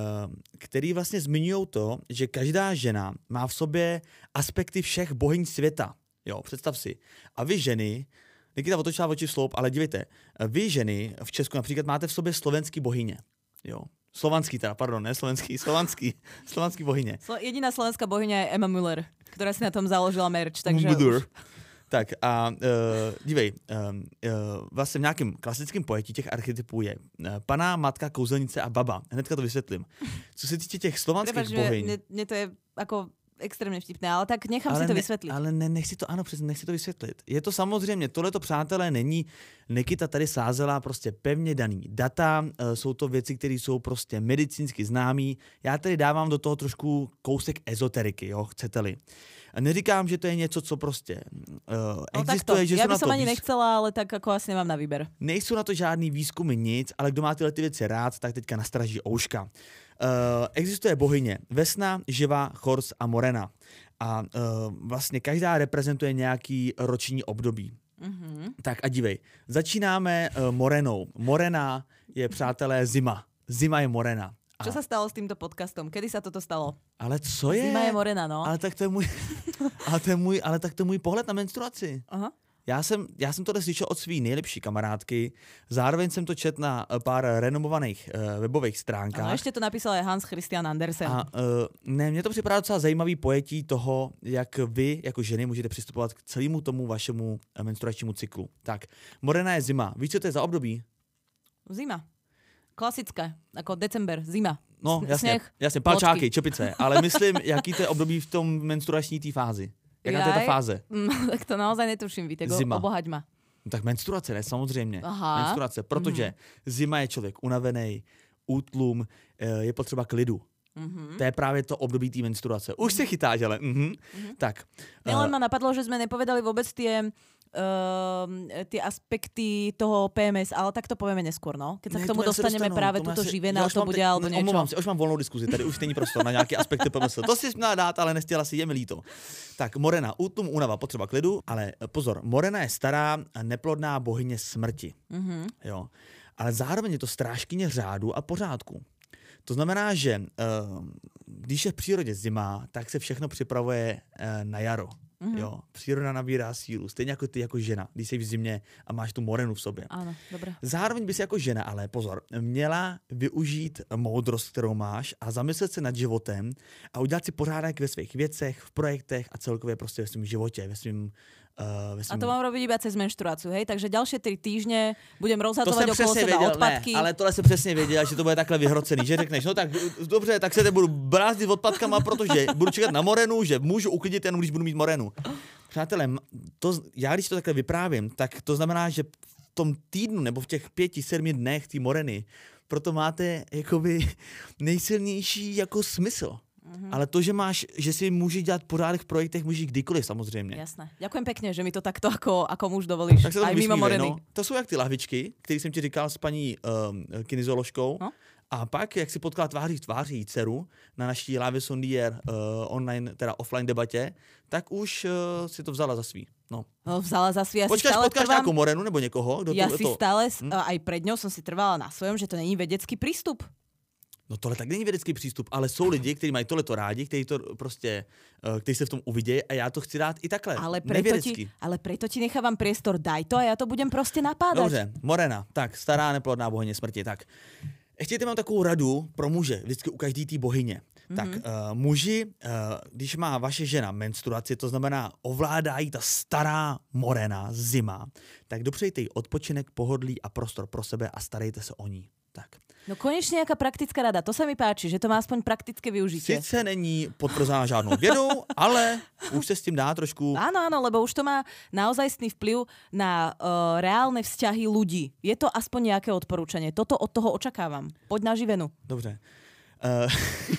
který vlastně zmiňují to, že každá žena má v sobě aspekty všech bohyň světa. Jo, představ si. A vy ženy, Nikita otočila oči v sloup, ale dívejte, vy ženy v Česku například máte v sobě slovenský bohyně. Jo. Slovanský teda, pardon, ne slovenský, slovanský, slovanský bohyně. Slo- jediná slovenská bohyňa je Emma Müller, která si na tom založila merch, takže... Tak a uh, dívej, uh, uh, vlastně v nějakém klasickém pojetí těch archetypů je uh, pana, matka, kouzelnice a baba. Hnedka to vysvětlím. Co se týče těch slovanských bohyň... Mne, mne to je jako extrémně vtipné, ale tak nechám ale si to ne, vysvětlit. Ale ne, nech si to, ano, přesně, nech si to vysvětlit. Je to samozřejmě, tohleto, přátelé, není, Nikita tady sázela prostě pevně daný data, uh, jsou to věci, které jsou prostě medicínsky známý. Já tady dávám do toho trošku kousek ezoteriky, jo, chcete-li. Neříkám, že to je něco, co prostě uh, no existuje. Že ja by som to ani výz... nechcela, ale tak ako asi nemám na výber. Nejsou na to žádný výzkumy, nic, ale kdo má tyhle ty věci rád, tak teďka nastraží ouška. Uh, existuje bohyně Vesna, Živa, Chors a Morena. A uh, vlastně každá reprezentuje nějaký roční období. Mm-hmm. Tak a dívej, začínáme uh, Morenou. Morena je, přátelé, zima. Zima je Morena. Čo sa stalo s týmto podcastom? Kedy sa toto stalo? Ale co je? Zima je Morena, no. Ale tak to je můj, ale to je můj, ale tak to je můj pohled na menstruaci. Aha. Já jsem, já jsem tohle slyšel od svý nejlepší kamarádky, zároveň jsem to četl na pár renomovaných uh, webových stránkách. Ano, ještě to napísal je Hans Christian Andersen. A uh, ne, mně to připadá docela zajímavý pojetí toho, jak vy jako ženy můžete přistupovat k celému tomu vašemu menstruačnímu cyklu. Tak, Morena je zima. Víš, co to je za období? Zima. Klasické, jako december, zima. No, jasně, Sněh, jasně, palčáky, čepice, ale myslím, jaký to je období v tom menstruační té fázi. Jaká to je ta fáze? Mm, tak to naozaj netuším, Vítek, obohaď ma. No, tak menstruace, ne, samozřejmě. Aha. Menstruace, protože mm-hmm. zima je člověk unavený, útlum, je potřeba klidu. Mm-hmm. To je právě to období té menstruace. Už mm-hmm. se chytáš, ale... Mm-hmm. Mm-hmm. Tak. Len uh, ma napadlo, že sme nepovedali vôbec tie, uh, tie aspekty toho pé em es, ale tak to povieme neskôr, no? Keď sa ne, k tomu to dostaneme dostanu, práve túto si, živina, to bude alebo niečo. Omlouvám si, už mám volnou diskuzi, tady už není prostor na nějaké aspekty pé em es. To si měla dát, ale nestihla si, je mi líto. Tak, Morena, útlum, únava, potřeba klidu, ale pozor, Morena je stará a neplodná bohyně smrti. Mm-hmm. Jo. Ale zároveň je to strážkyně řádu a pořádku. To znamená, že uh, když je v přírodě zima, tak se všechno připravuje uh, na jaro. Mm-hmm. Jo, příroda nabírá sílu, stejně jako ty jako žena, když jsi v zimě a máš tu morenu v sobě. Ano, dobré. Zároveň bys jako žena, ale pozor, měla využít moudrost, kterou máš a zamyslet se nad životem a udělat si pořádek ve svých věcech, v projektech a celkově prostě ve svém životě, ve svém Uh, a to mám robiť iba cez menštruáciu, hej? Takže ďalšie tri týždne budem rozhadzovať okolo seba věděl, odpadky. Ne, ale tohle jsem přesně věděl, že to bude takhle vyhrocený, že řekneš, no tak dobře, tak se te budu brázdit odpadkama, protože budu čekat na morenu, že můžu uklidit jenom, když budu mít morenu. Přátelé, to, já když to takhle vyprávím, tak to znamená, že v tom týdnu nebo v těch pěti, sedmi dnech té moreny, proto máte jakoby nejsilnější jako smysl. Mm-hmm. Ale to, že máš, že si můžeš dělat pořádek v projektech, můžeš kdykoliv samozřejmě. Jasné. Ďakujem pekne, že mi to takto ako, ako muž dovolíš. Tak aj mimo moreny. No. To jsou jak ty lahvičky, které jsem ti říkal s paní um, kinesioložkou. No? A pak, jak si potkala tváří v tváří dceru na naší Live Sondier uh, online, teda offline debatě, tak už uh, si to vzala za svý. No. No, vzala za svý. Ja Počkáš, si potkáš trvám... nějakou morenu nebo někoho? Kdo ja to, si to... stále, hm? aj pred ňou som si trvala na svojom, že to není vedecký prístup. No tohle tak není vědecký přístup, ale jsou lidi, kteří mají tohleto rádi, kteří to prostě, uh, kteří se v tom uvidějí a já to chci dát i takhle, ale preto ti, ale preto ti nechávam priestor, daj to a já to budem prostě napádať. Dobře, Morena, tak, stará neplodná bohyně smrti, tak. Ještě mám takovou radu pro muže, vždycky u každý té bohyně. Mm-hmm. Tak uh, muži, uh, když má vaše žena menstruaci, to znamená ovládají ta stará morena, zima, tak dopřejte jí odpočinek, pohodlí a prostor pro sebe a starejte se o ní. Tak. No konečne nejaká praktická rada, to sa mi páči, že to má aspoň praktické využitie. Sice není potvrzená žádnou vědou, ale už se s tím dá trošku... Áno, áno, lebo už to má naozajstný vplyv na uh, reálne vzťahy ľudí. Je to aspoň nejaké odporúčanie. Toto od toho očakávam. Poď na živenu. Dobře. Uh...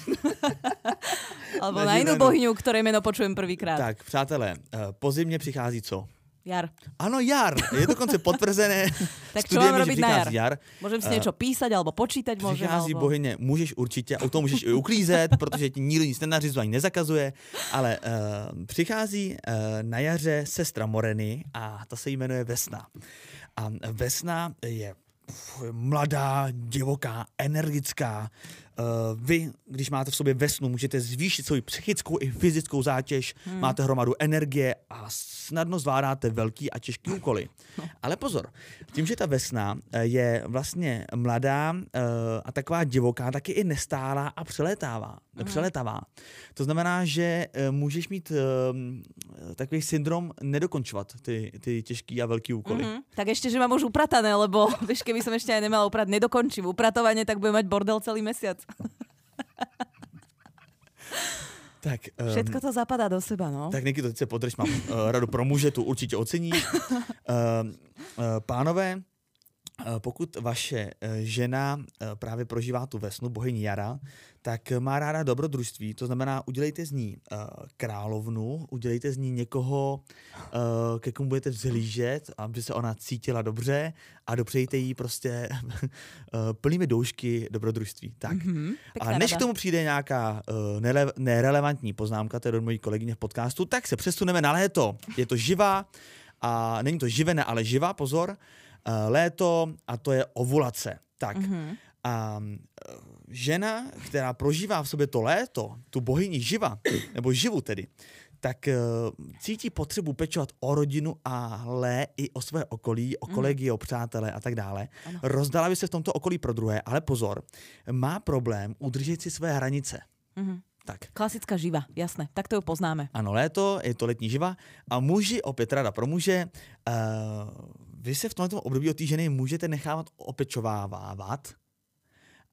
Alebo na, na inú bohyňu, ktorej meno počujem prvýkrát. Tak, přátelé, uh, po zimě přichází co? Jar. Ano, jar. Je dokonce potvrzené. Tak čo mám robiť na jar? jar? Môžem si niečo písať alebo počítať? Môžem, přichází alebo... bohyně, můžeš určitě, a u toho můžeš i uklízet, protože ti nikdo nic nenařizuje ani nezakazuje, ale uh, přichází uh, na jaře sestra Moreny a ta se jmenuje Vesna. A Vesna je mladá, divoká, energická. Uh, vy, když máte v sobě Vesnu, můžete zvýšit svou psychickou i fyzickou zátěž, hmm. máte hromadu energie a snadno zvládáte velký a těžký úkoly. No. Ale pozor, tím, že ta Vesna je vlastně mladá uh, a taková divoká, taky i nestálá a přelétává. Hmm. přelétavá. To znamená, že uh, můžeš mít uh, takový syndrom nedokončovat ty, ty těžký a velký úkoly. Hmm. Tak ještě, že mám už upratané, lebo víš, keby som ešte aj nemala uprat, nedokončím upratovanie, tak budem mať bordel celý mesiac. Tak, um, všetko to zapadá do seba, no. Tak Niky, to teď se podrž, mám uh, radu pro muže, tu určitě ocení. Uh, uh, pánové, uh, pokud vaše uh, žena uh, právě prožívá tu Vesnu, bohyni jara, tak má ráda dobrodružství, to znamená, udělejte z ní uh, královnu, udělejte z ní někoho, uh, ke komu budete vzhlížet, aby se ona cítila dobře a dopřejte jí prostě uh, plnými doušky dobrodružství. Tak. Mm-hmm, a než rada. K tomu přijde nějaká uh, nele- nerelevantní poznámka, to je do mojí kolegyně v podcastu, tak se přesuneme na léto. Je to živá a není to živené, ale živá, pozor, uh, léto a to je ovulace. Tak. Mm-hmm. A žena, která prožívá v sobě to léto, tu bohyni živa, nebo živu tedy, tak cítí potřebu pečovat o rodinu, ale i o své okolí, o kolegy, mm. o přátelé a tak dále. Ano. Rozdala by se v tomto okolí pro druhé, ale pozor, má problém udržet si své hranice. Mm. Tak. Klasická živa, jasné, tak to ju poznáme. Ano, léto, je to letní živa a muži, opět rada pro muže, uh, vy se v tomto období od té ženy můžete nechávat opečovávat,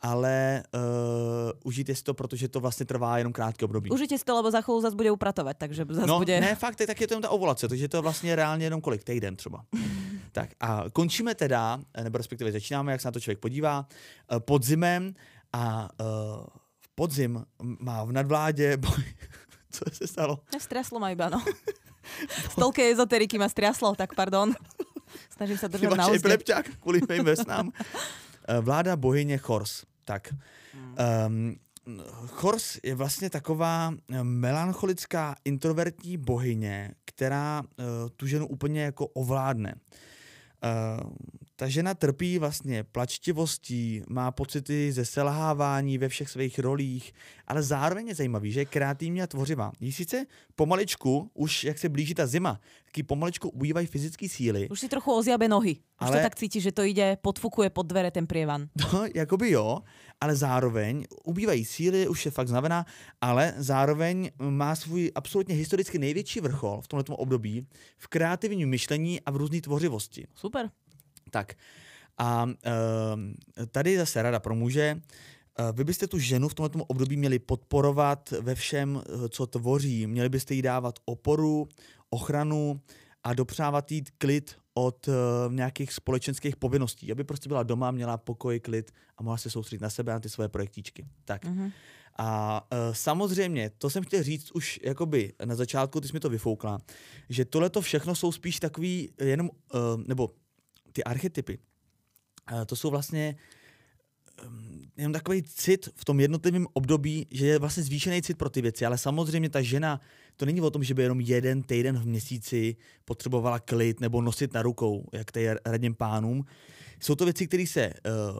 ale uh, užijte si to, protože to vlastně trvá jenom krátké období. Užijte si to, lebo za chvíľu zase bude upratovat, takže zase no, bude... ne, fakt, tak je to jenom ta ovulace, takže to je vlastně reálně jenom kolik, týden třeba. Tak a končíme teda, nebo respektive začínáme, jak se na to člověk podívá, podzimem a uh, podzim má v nadvládě boj... Co se stalo? Striaslo ma iba, no. Stolke ezoteriky ma striaslo, tak pardon. Snažím se držet na úzdě. Máš epilepťák kvůli mým vesnám. Vláda bohyně Chors. Tak. Um, Chors je vlastně taková melancholická, introvertní bohyně, která uh, tu ženu úplně jako ovládne. Uh, ta žena trpí vlastně plačtivostí, má pocity ze selhávání ve všech svých rolích, ale zároveň je zajímavý, že je kreativní a tvořivá. Jí sice pomaličku, už jak se blíží ta zima, taky pomaličku ubývají fyzické síly. Už si trochu ozjabe nohy. Už ale... to tak cítíš, že to jde, podfukuje pod dvere ten prievan. No, jakoby jo, ale zároveň ubývají síly, už je fakt znamená, ale zároveň má svůj absolutně historicky největší vrchol v tomto období v kreativním myšlení a v různé tvořivosti. Super. Tak a e, tady zase rada pro muže. E, vy byste tu ženu v tomto období měli podporovat ve všem, co tvoří. Měli byste jí dávat oporu, ochranu a dopřávat jí klid od e, nějakých společenských povinností. Aby prostě byla doma, měla pokoj, klid a mohla se soustředit na sebe a ty svoje projektíčky. Tak. Mm-hmm. A e, samozřejmě, to jsem chtěl říct už jakoby na začátku, ty jsi mi to vyfoukla, že tohleto všechno jsou spíš takový jenom, e, nebo ty archetypy, to jsou vlastně um, jenom takový cit v tom jednotlivém období, že je vlastně zvýšený cit pro ty věci, ale samozřejmě ta žena, to není o tom, že by jenom jeden týden v měsíci potřebovala klid nebo nosit na rukou, jak tady radím pánům. Jsou to věci, které se uh,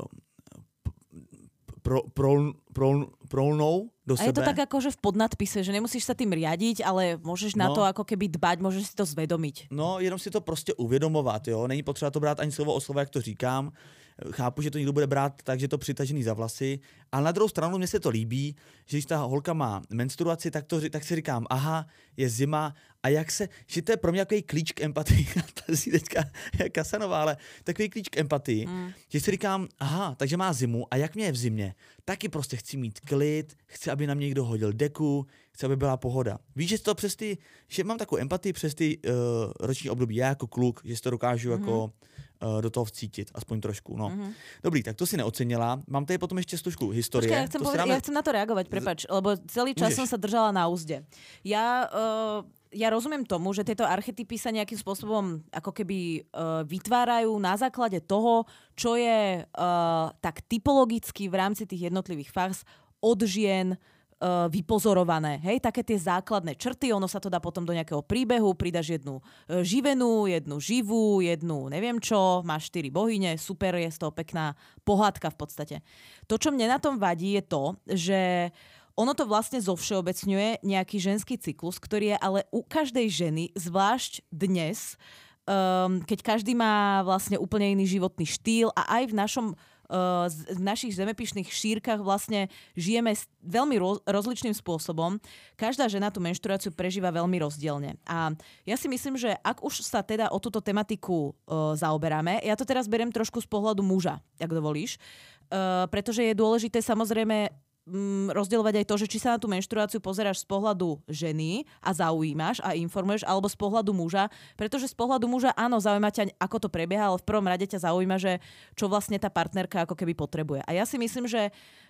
pro, pro, pro, prolnou do sebe. A je to tak akože v podnadpise, že nemusíš sa tým riadiť, ale môžeš na no, to ako keby dbať, môžeš si to zvedomiť. No, jenom si to prostě uvědomovat, jo. Není potřeba to brát ani slovo o slovo, jak to říkám. Chápu, že to někdo bude brát tak, že to přitažený za vlasy, ale na druhou stranu mně se to líbí, že když ta holka má menstruaci, tak, to, tak si říkám, aha, je zima a jak se, že to je pro mě takový klíč k empatii, ta si teďka je Kasanová, ale takový klíč k empatii, mm. že si říkám, aha, takže má zimu a jak mě je v zimě, taky prostě chci mít klid, chci, aby na mě někdo hodil deku, chci, aby byla pohoda. Víš, že to přes ty, že mám takovou empatii přes ty uh, roční období, já jako kluk, že si to dokážu mm. jako uh, do toho vcítit, aspoň trošku, no. Mm. Dobrý, tak to si neocenila. Mám tady potom ještě stužku historie. Počkej, ja chcem, poved- dáme... ja chcem na to reagovať, prepač, lebo celý čas Můžeš. som sa držala na úzde. Ja... Uh... Ja rozumiem tomu, že tieto archetypy sa nejakým spôsobom ako keby uh, vytvárajú na základe toho, čo je uh, tak typologicky v rámci tých jednotlivých fáz od žien uh, vypozorované. Hej, také tie základné črty, ono sa to dá potom do nejakého príbehu, pridaš jednu uh, živenú, jednu živú, jednu neviem čo, máš štyri bohyne, super, je z toho pekná pohádka v podstate. To, čo mne na tom vadí, je to, že ono to vlastne zovšeobecňuje nejaký ženský cyklus, ktorý je ale u každej ženy, zvlášť dnes, um, keď každý má vlastne úplne iný životný štýl a aj v našom uh, v našich zemepišných šírkach vlastne žijeme veľmi roz, rozličným spôsobom. Každá žena tú menštruáciu prežíva veľmi rozdielne. A ja si myslím, že ak už sa teda o túto tematiku uh, zaoberáme, ja to teraz beriem trošku z pohľadu muža, ak dovolíš, uh, pretože je dôležité samozrejme rozdielovať aj to, že či sa na tú menštruáciu pozeráš z pohľadu ženy a zaujímaš a informuješ, alebo z pohľadu muža, pretože z pohľadu muža áno, zaujíma ťa, ako to prebieha, ale v prvom rade ťa zaujíma, že čo vlastne tá partnerka ako keby potrebuje. A ja si myslím, že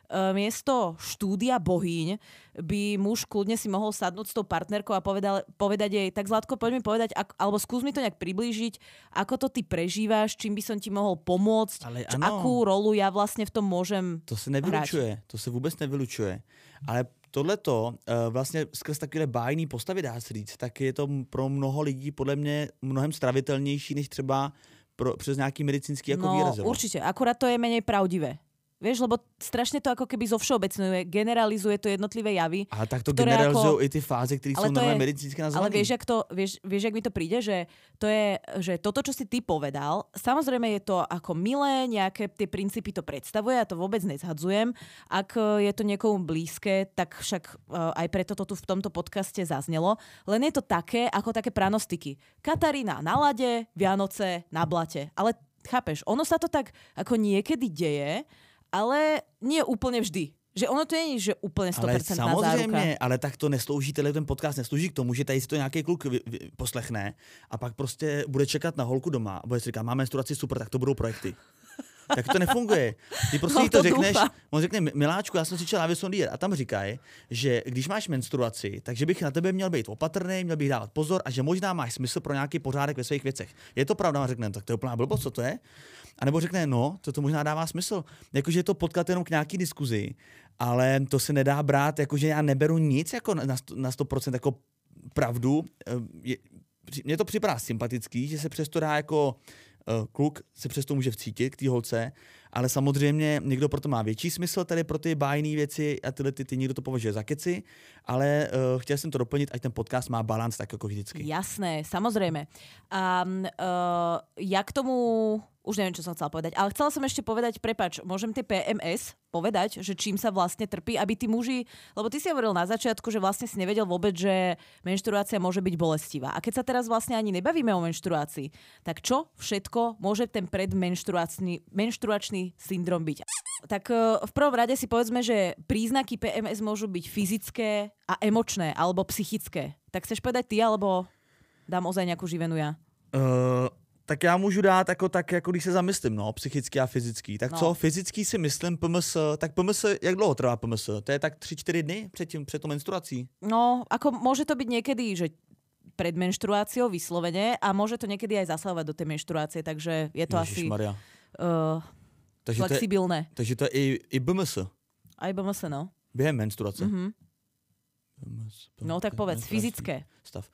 miesto štúdia bohyň by muž kľudne si mohol sadnúť s tou partnerkou a povedal, povedať jej, tak Zlatko, poď mi povedať, ak, alebo skús mi to nejak priblížiť, ako to ty prežívaš, čím by som ti mohol pomôcť, ale čo, akú rolu ja vlastne v tom môžem To se nevylučuje, hrať. To se vůbec nevylučuje. Ale tohleto uh, vlastně skrz takové bájný postavy, dá se říct, tak je to pro mnoho lidí podle mě mnohem stravitelnější, než třeba pro, přes nějaký medicínský jako no, výraz. No určite, akurát to je menej pravdivé. Vieš, lebo strašne to ako keby zovšeobecňuje, generalizuje to jednotlivé javy. Ale tak to generalizujú ako... i ty fázy, ktoré sú normálne medicínsky nazvané. Ale vieš, jak to, vieš, vieš, jak mi to príde, že to je, že toto, čo si ty povedal, samozrejme je to ako milé, nejaké tie princípy to predstavuje, ja to vôbec nezhadzujem. Ak je to niekomu blízke, tak však aj preto to tu v tomto podcaste zaznelo. Len je to také, ako také pranostiky. Katarína na lade, Vianoce na blate. Ale chápeš, ono sa to tak ako niekedy deje. ale nie úplne vždy. Že ono to není, že úplně sto procent záruka. Ale samozřejmě, ale tak to neslouží, tenhle ten podcast neslouží k tomu, že tady si to nějaký kluk vy, vy, poslechne a pak prostě bude čekat na holku doma a bude si říkat, mám menstruaci, super, tak to budou projekty. Tak to nefunguje. Ty prostě no, to, to řekneš, on řekne, miláčku, já jsem si čel na Vysondýr a tam říkají, že když máš menstruaci, takže bych na tebe měl být opatrný, měl bych dávat pozor a že možná máš smysl pro nějaký pořádek ve svých věcech. Je to pravda, a řekne, tak to je úplná blbost, co to je? A nebo řekne, no, to, to možná dává smysl. Jakože je to podklad jenom k nějaký diskuzi, ale to se nedá brát, jakože já neberu nic jako na sto procent jako pravdu. Mně to připadá sympatický, že se přesto dá jako uh, kluk se přesto může vcítit k té holce, ale samozřejmě někdo proto má větší smysl tady pro ty bájné věci a tyhle ty, ty někdo to považuje za keci, ale uh, chtěl jsem to doplnit, ať ten podcast má balans tak jako vždycky. Jasné, samozrejme. A uh, ja k tomu už neviem, čo som chcela povedať, ale chcela som ešte povedať, prepáč, môžem tie P M S povedať, že čím sa vlastne trpí, aby tí muži, lebo ty si hovoril na začiatku, že vlastne si nevedel vôbec, že menštruácia môže byť bolestivá. A keď sa teraz vlastne ani nebavíme o menštruácii, tak čo všetko môže ten predmenštruačný menštruačný syndrom byť? Tak v prvom rade si povedzme, že príznaky P M S môžu byť fyzické a emočné, alebo psychické. Tak chceš povedať ty, alebo dám ozaj nejakú živenú ja? Uh... Tak já můžu dát jako tak, jako když se zamyslím, no, psychický a fyzický. Tak no. Co, fyzický si myslím P M S, tak P M S, jak dlouho trvá P M S? To je tak tři čtyři dny před, tím, před tou menstruací? No, ako môže to byť niekedy, že pred menštruáciou vyslovene a môže to niekedy aj zasahovať do tej menštruácie, takže je to Ježišmaria. asi uh, takže flexibilné. To je, takže to je i, i B M S? Aj B M S, no. Během menstruace? Mm-hmm. B M S, B M S, no tak povedz, fyzické. Stav.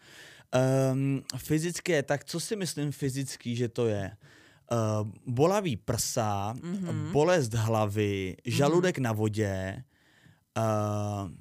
Um, fyzické, tak co si myslím fyzický, že to je? Uh, bolavý prsa, mm-hmm. bolest hlavy, žaludek mm-hmm. na vodě, uh,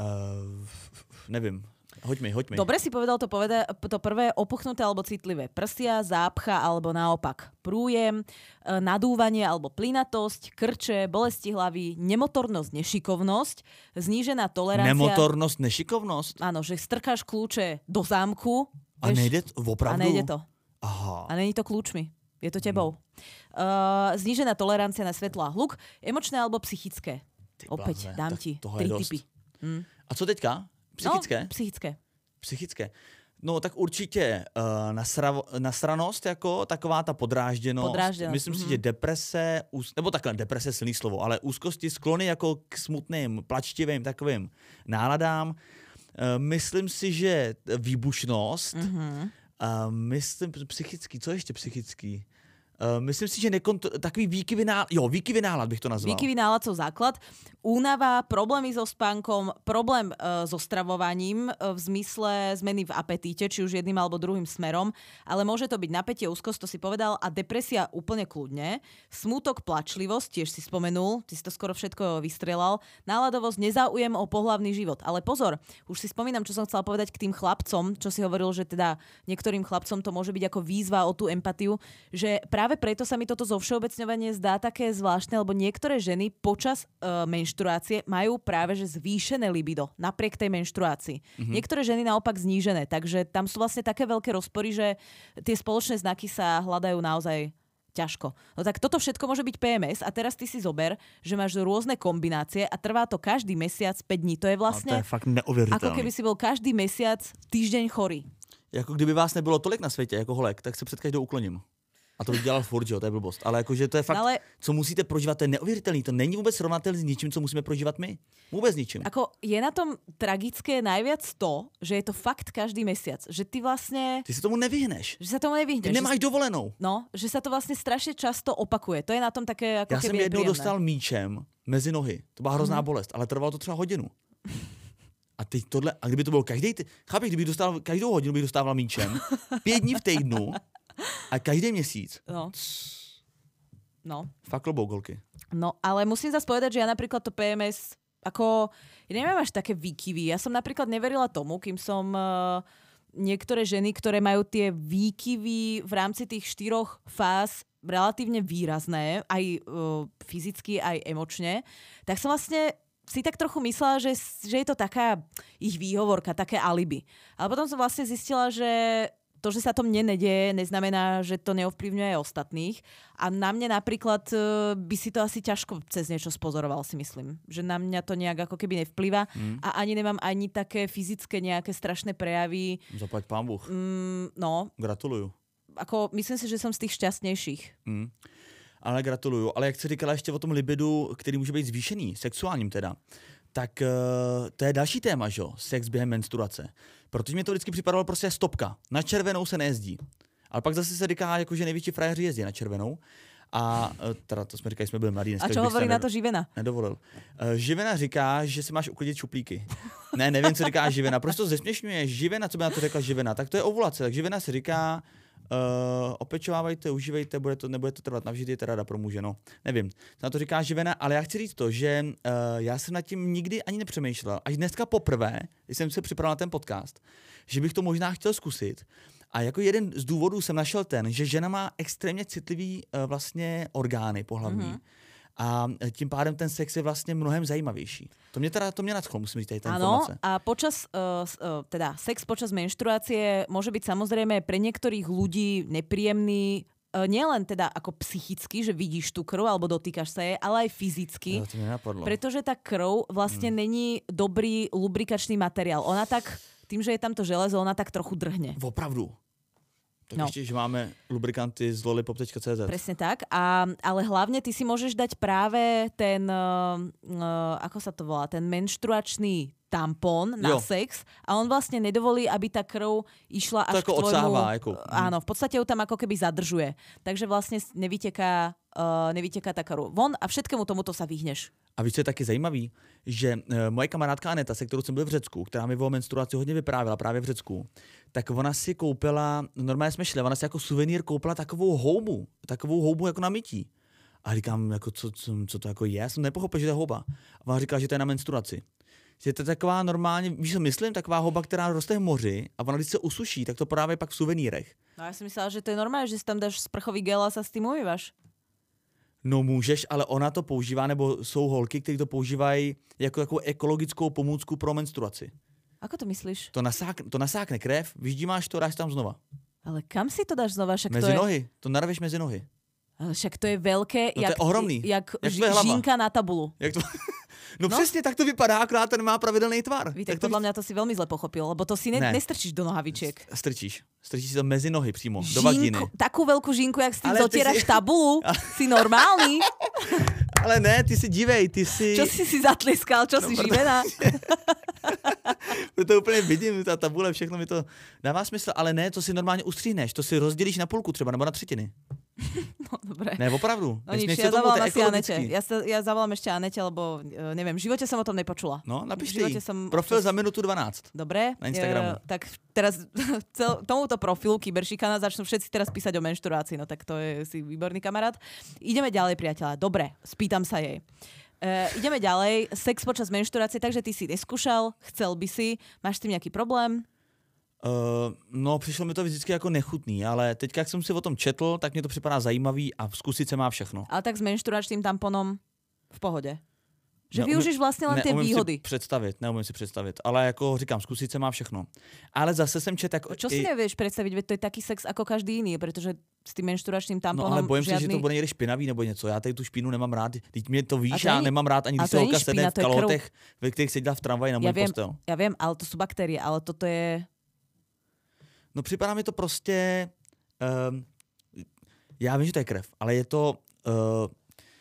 uh, nevím. Hoď mi, hoď mi. Dobre si povedal to, poveda- to prvé opuchnuté alebo citlivé prsia, zápcha alebo naopak prújem, nadúvanie alebo plynatosť, krče, bolesti hlavy, nemotornosť, nešikovnosť, znížená tolerancia. Nemotornosť, nešikovnosť? Áno, že strkáš kľúče do zámku. A vieš, nejde to opravdu? A nejde to. Aha. A není to kľúčmi. Je to tebou. Hmm. Uh, znížená tolerancia na svetlo a hluk, emočné alebo psychické. Ty Opäť blázne, dám ti tri tipy. Hmm. A co teďka? Psychické? No, psychické. Psychické. No tak určitě uh, nasra- nasranost, jako taková ta podrážděnost. podrážděnost. Myslím mm-hmm. si, že deprese, úz- nebo takhle, deprese silný slovo, ale úzkosti, sklony jako k smutným, plačtivým takovým náladám. Uh, myslím si, že výbušnost, mm-hmm. uh, myslím psychický, co ještě psychický? Uh, myslím si, že nekont- takový výkyvý nálad, jo, výkyvý nálad bych to nazval. Výkyvý nálad sú základ. Únava, problémy so spánkom, problém uh, so stravovaním uh, v zmysle zmeny v apetíte, či už jedným alebo druhým smerom, ale môže to byť napätie, úzkosť, to si povedal, a depresia úplne kľudne. Smútok, plačlivosť, tiež si spomenul, ty si to skoro všetko vystrelal. Náladovosť, nezáujem o pohlavný život. Ale pozor, už si spomínam, čo som chcela povedať k tým chlapcom, čo si hovoril, že teda niektorým chlapcom to môže byť ako výzva o tú empatiu, že práve Práve preto sa mi toto zovšeobecňovanie zdá také zvláštne, lebo niektoré ženy počas uh, menštruácie majú práve že zvýšené libido napriek tej menštruácii. Mm-hmm. Niektoré ženy naopak znížené, takže tam sú vlastne také veľké rozpory, že tie spoločné znaky sa hľadajú naozaj ťažko. No tak toto všetko môže byť P M S a teraz ty si zober, že máš rôzne kombinácie a trvá to každý mesiac päť dní. To je vlastne to je fakt neuvěřitelné. Ako keby si bol každý mesiac týždeň chorý. Jako kdyby vás nebylo tolik na světě jako holek, tak se před každou ukloním. A to bych dělal furt, že jo, to je blbost. Ale jakože to je fakt, no ale co musíte prožívat, to je neuvěřitelný. To není vůbec srovnatelné s ničím, co musíme prožívat my. Vůbec ničím. Ako je na tom tragické najviac to, že je to fakt každý mesiac. Že ty vlastne... Ty si tomu nevyhneš. Že sa tomu nevyhneš. Ty nemáš že... dovolenou. No, že sa to vlastne strašne často opakuje. To je na tom také ako Já keby jsem jednou príjemné. dostal míčem mezi nohy. To byla hrozná mm. bolest, ale trvalo to třeba hodinu. A teď tohle, a kdyby to bylo každý, chápeš, kdybych dostal, každou hodinu bych dostával míčem, pět dní v týdnu, a každý měsíc. No. No. Fakt klobouk, holky. No, ale musím zase povedať, že ja napríklad to P M S, ako, ja neviem až také výkyvy. Ja som napríklad neverila tomu, kým som uh, niektoré ženy, ktoré majú tie výkyvy v rámci tých štyroch fáz relatívne výrazné, aj uh, fyzicky, aj emočne, tak som vlastne si tak trochu myslela, že, že je to taká ich výhovorka, také alibi. Ale potom som vlastne zistila, že to, že sa to mne nedieje, neznamená, že to neovplyvňuje aj ostatných. A na mne napríklad by si to asi ťažko cez niečo spozoroval, si myslím. Že na mňa to nejak ako keby nevplyva mm. a ani nemám ani také fyzické nejaké strašné prejavy. Zaplať pán Bůh. Mm, no. Gratuluju. Ako, myslím si, že som z tých šťastnejších. Mm. Ale gratuluju. Ale jak jsi říkala ještě o tom libidu, který může být zvýšený, sexuálním teda, tak uh, to je další téma, že jo? Sex během menstruace. Protože mi to vždycky připadalo prostě stopka. Na červenou se nejezdí. Ale pak zase se říká, jako, že největší frajeři jezdí na červenou. A uh, teda to jsme říkali, jsme byli mladí. A čo hovorí na to Živena? Nedovolil. Uh, Živena říká, že si máš uklidit šuplíky. Ne, nevím, co říká Živena. Proč to zesměšňuje? Živena, co by na to řekla Živena? Tak to je ovulace. Tak Živena si říká, Uh, opečovávajte, užívejte, bude to, nebude to trvat navždy, je to rada pro muže, no. Nevím, na to říká Živena, ale já chci říct to, že uh, já jsem nad tím nikdy ani nepřemýšlel. Až dneska poprvé, když jsem se připravil na ten podcast, že bych to možná chtěl zkusit. A jako jeden z důvodů jsem našel ten, že žena má extrémně citlivý uh, vlastně orgány pohlavní. Mm-hmm. A tím pádem ten sex je vlastně mnohem zajímavější. To mě teda to mě nadchlo, musím říct tady tá informace. Áno, a počas, uh, uh, teda sex počas menštruácie môže byť samozrejme pre niektorých ľudí nepríjemný, uh, nielen teda ako psychicky, že vidíš tú krv alebo dotýkaš sa jej, ale aj fyzicky. No, to mi napadlo. Pretože tá krv vlastne hmm. není dobrý lubrikačný materiál. Ona tak, tým, že je tam to železo, ona tak trochu drhne. Opravdu. Tak no. Ešte, že máme lubrikanty z lollipop tečka cé zet. Presne tak, a, ale hlavne ty si môžeš dať práve ten, uh, uh, ako sa to volá, ten menštruačný tampón na jo. sex a on vlastne nedovolí, aby tá krv išla až to k tvojmu... Odsáva, ako... Áno, v podstate ju tam ako keby zadržuje. Takže vlastne nevyteká, uh, nevyteká tá krv von a všetkému tomuto sa vyhneš. A víš, co je taky zajímavý, že uh, moje kamarádka Aneta, se kterou jsem byl v Řecku, která mi o menstruaci hodně vyprávěla právě v Řecku, tak ona si koupila, normálně jsme šli, ona si jako suvenýr koupila takovou houbu, takovou houbu jako na mytí. A říkám, jako, co, co, co to jako je? Já jsem nepochopil, že to je houba. A ona říkala, že to je na menstruaci. Že to je taková normálně, víš co myslím, taková houba, která roste v moři a ona když se usuší, tak to podávají pak v suvenírech. No já jsem myslela, že to je normálně, že si tam dáš sprchový gel a sa s tím umývaš. No můžeš, ale ona to používá, nebo jsou holky, které to používají jako takovou ekologickou pomůcku pro menstruaci. Ako to myslíš? To, nasák, to nasákne krev, vyždímáš to, dáš tam znova. Ale kam si to dáš znova? Však mezi to je... nohy, to narveš mezi nohy. Ale však to je veľké, no jak, to je ohromný. jak, jak ž, žínka na tabulu. Jak to... No, no přesně, tak to vypadá, akorát ten má pravidelný tvar. Víte, podľa mňa to si veľmi zle pochopil, lebo to si ne, ne. nestrčíš do nohavičiek. Strčíš. Strčíš si to mezi nohy přímo, žinku, do vagíny. Takú veľkú žinku, jak s tým zotieraš si... tabulu, si normálny. Ale ne, ty si dívej, ty si... Čo si si zatliskal, čo no, si živená? To úplně vidím, ta tabule, všechno mi to dává smysl, ale ne, to si normálně ustříhneš, to si rozdělíš na půlku třeba, nebo na třetiny. No dobre. Ne, opravdu. No nič, ja zavolám asi Anete. Ja, sa, ja zavolám ešte Anete, lebo uh, neviem, v živote som o tom nepočula. No, napíšte jej. Profil za minutu dvanásť. Dobre. Na Instagramu. Uh, tak teraz cel, tomuto profilu Kyberšikana začnú všetci teraz písať o menštruácii, no tak to je si výborný kamarát. Ideme ďalej, priateľa. Dobre, spýtam sa jej. Uh, ideme ďalej. Sex počas menštruácie, takže ty si neskúšal, chcel by si, máš s tým nejaký problém? Uh, no, přišlo mi to vždycky jako nechutný, ale teď, jak jsem si o tom četl, tak mě to připadá zajímavý a zkusit se má všechno. Ale tak s menštruačným tamponom v pohodě. Že neumím, využiješ vlastně len ty výhody. Si představit, neumím si představit, ale jako říkám, zkusit se má všechno. Ale zase jsem čet jako... Čo si i... nevieš predstaviť, veď to je taký sex ako každý jiný, protože s tím menštruačným tamponom no, ale bojím žádný... se, že to bude někdy špinavý nebo něco. Já tady tu špínu nemám rád. Teď mě to víš, já ani... nemám rád, ani když se holka sedne v kalhotech, ve kterých seděla v tramvaji na můj ja postel. Já vím, ale to jsou bakterie, ale toto je... No připadá mi to prostě... Um, já vím, že to je krev, ale je to... Uh,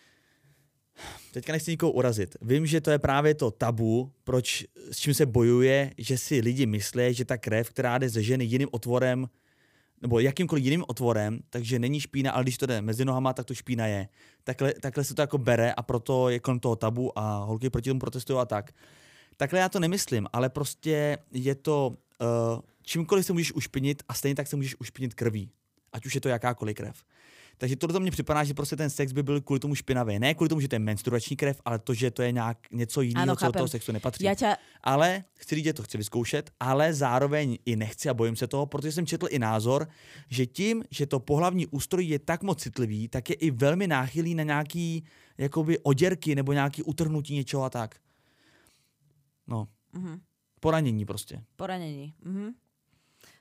teďka nechci nikoho urazit. Vím, že to je právě to tabu, proč, s čím se bojuje, že si lidi myslí, že ta krev, která jde ze ženy jiným otvorem, nebo jakýmkoliv jiným otvorem, takže není špína, ale když to jde mezi nohama, tak to špína je. Takhle, takhle se to jako bere a proto je kolem toho tabu a holky proti tomu protestují a tak. Takhle já to nemyslím, ale prostě je to... Uh, čímkoliv se můžeš ušpinit a stejně tak se můžeš ušpinit krví. Ať už je to jakákoliv krev. Takže tohle mně připadá, že prostě ten sex by byl kvůli tomu špinavý. Ne kvůli tomu, že to je menstruační krev, ale to, že to je nějak něco jiného, co do toho sexu nepatří. Já tě... Ale chci říct, že to chci vyzkoušet, ale zároveň i nechci a bojím se toho, protože jsem četl i názor, že tím, že to pohlavní ústrojí je tak moc citlivý, tak je i velmi náchylný na nějaký jakoby oděrky nebo nějaký utrhnutí něčeho a tak. No. Mhm. Poranění prostě. Poranění. Mhm.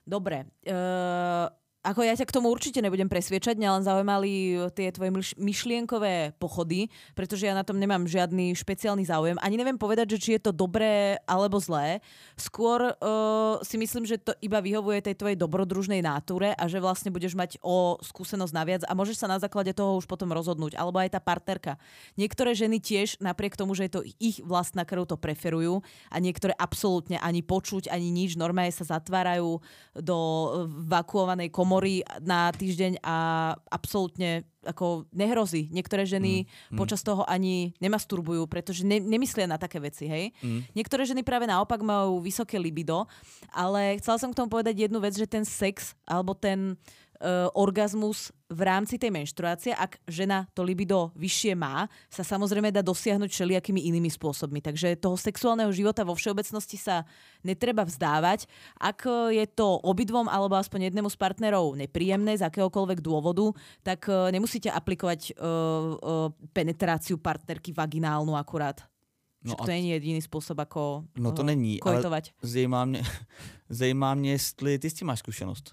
Dobre. Uh... Ako ja ťa k tomu určite nebudem presviečať, mňa len zaujímali tie tvoje myšlienkové pochody, pretože ja na tom nemám žiadny špeciálny záujem. Ani neviem povedať, že či je to dobré alebo zlé. Skôr uh, si myslím, že to iba vyhovuje tej tvojej dobrodružnej náture a že vlastne budeš mať o skúsenosť naviac a môžeš sa na základe toho už potom rozhodnúť. Alebo aj tá partnerka. Niektoré ženy tiež, napriek tomu, že je to ich vlastná krv, to preferujú a niektoré absolútne ani počuť, ani nič. Normálne sa zatvárajú do vakuovanej komory na týždeň a absolútne ako nehrozí. Niektoré ženy mm, mm. počas toho ani nemasturbujú, pretože ne, nemyslia na také veci, hej. Mm. Niektoré ženy práve naopak majú vysoké libido, ale chcela som k tomu povedať jednu vec, že ten sex alebo ten Uh, orgazmus v rámci tej menštruácie, ak žena to libido vyššie má, sa samozrejme dá dosiahnuť všelijakými inými spôsobmi. Takže toho sexuálneho života vo všeobecnosti sa netreba vzdávať. Ak je to obidvom alebo aspoň jednému z partnerov nepríjemné z akéhokoľvek dôvodu, tak uh, nemusíte aplikovať uh, uh, penetráciu partnerky vaginálnu akurát. No to není jediný spôsob, ako no to uh, není, kojtovať. Ale zajímá mě, zajímá mě, jestli ty s tím máš skúsenosť.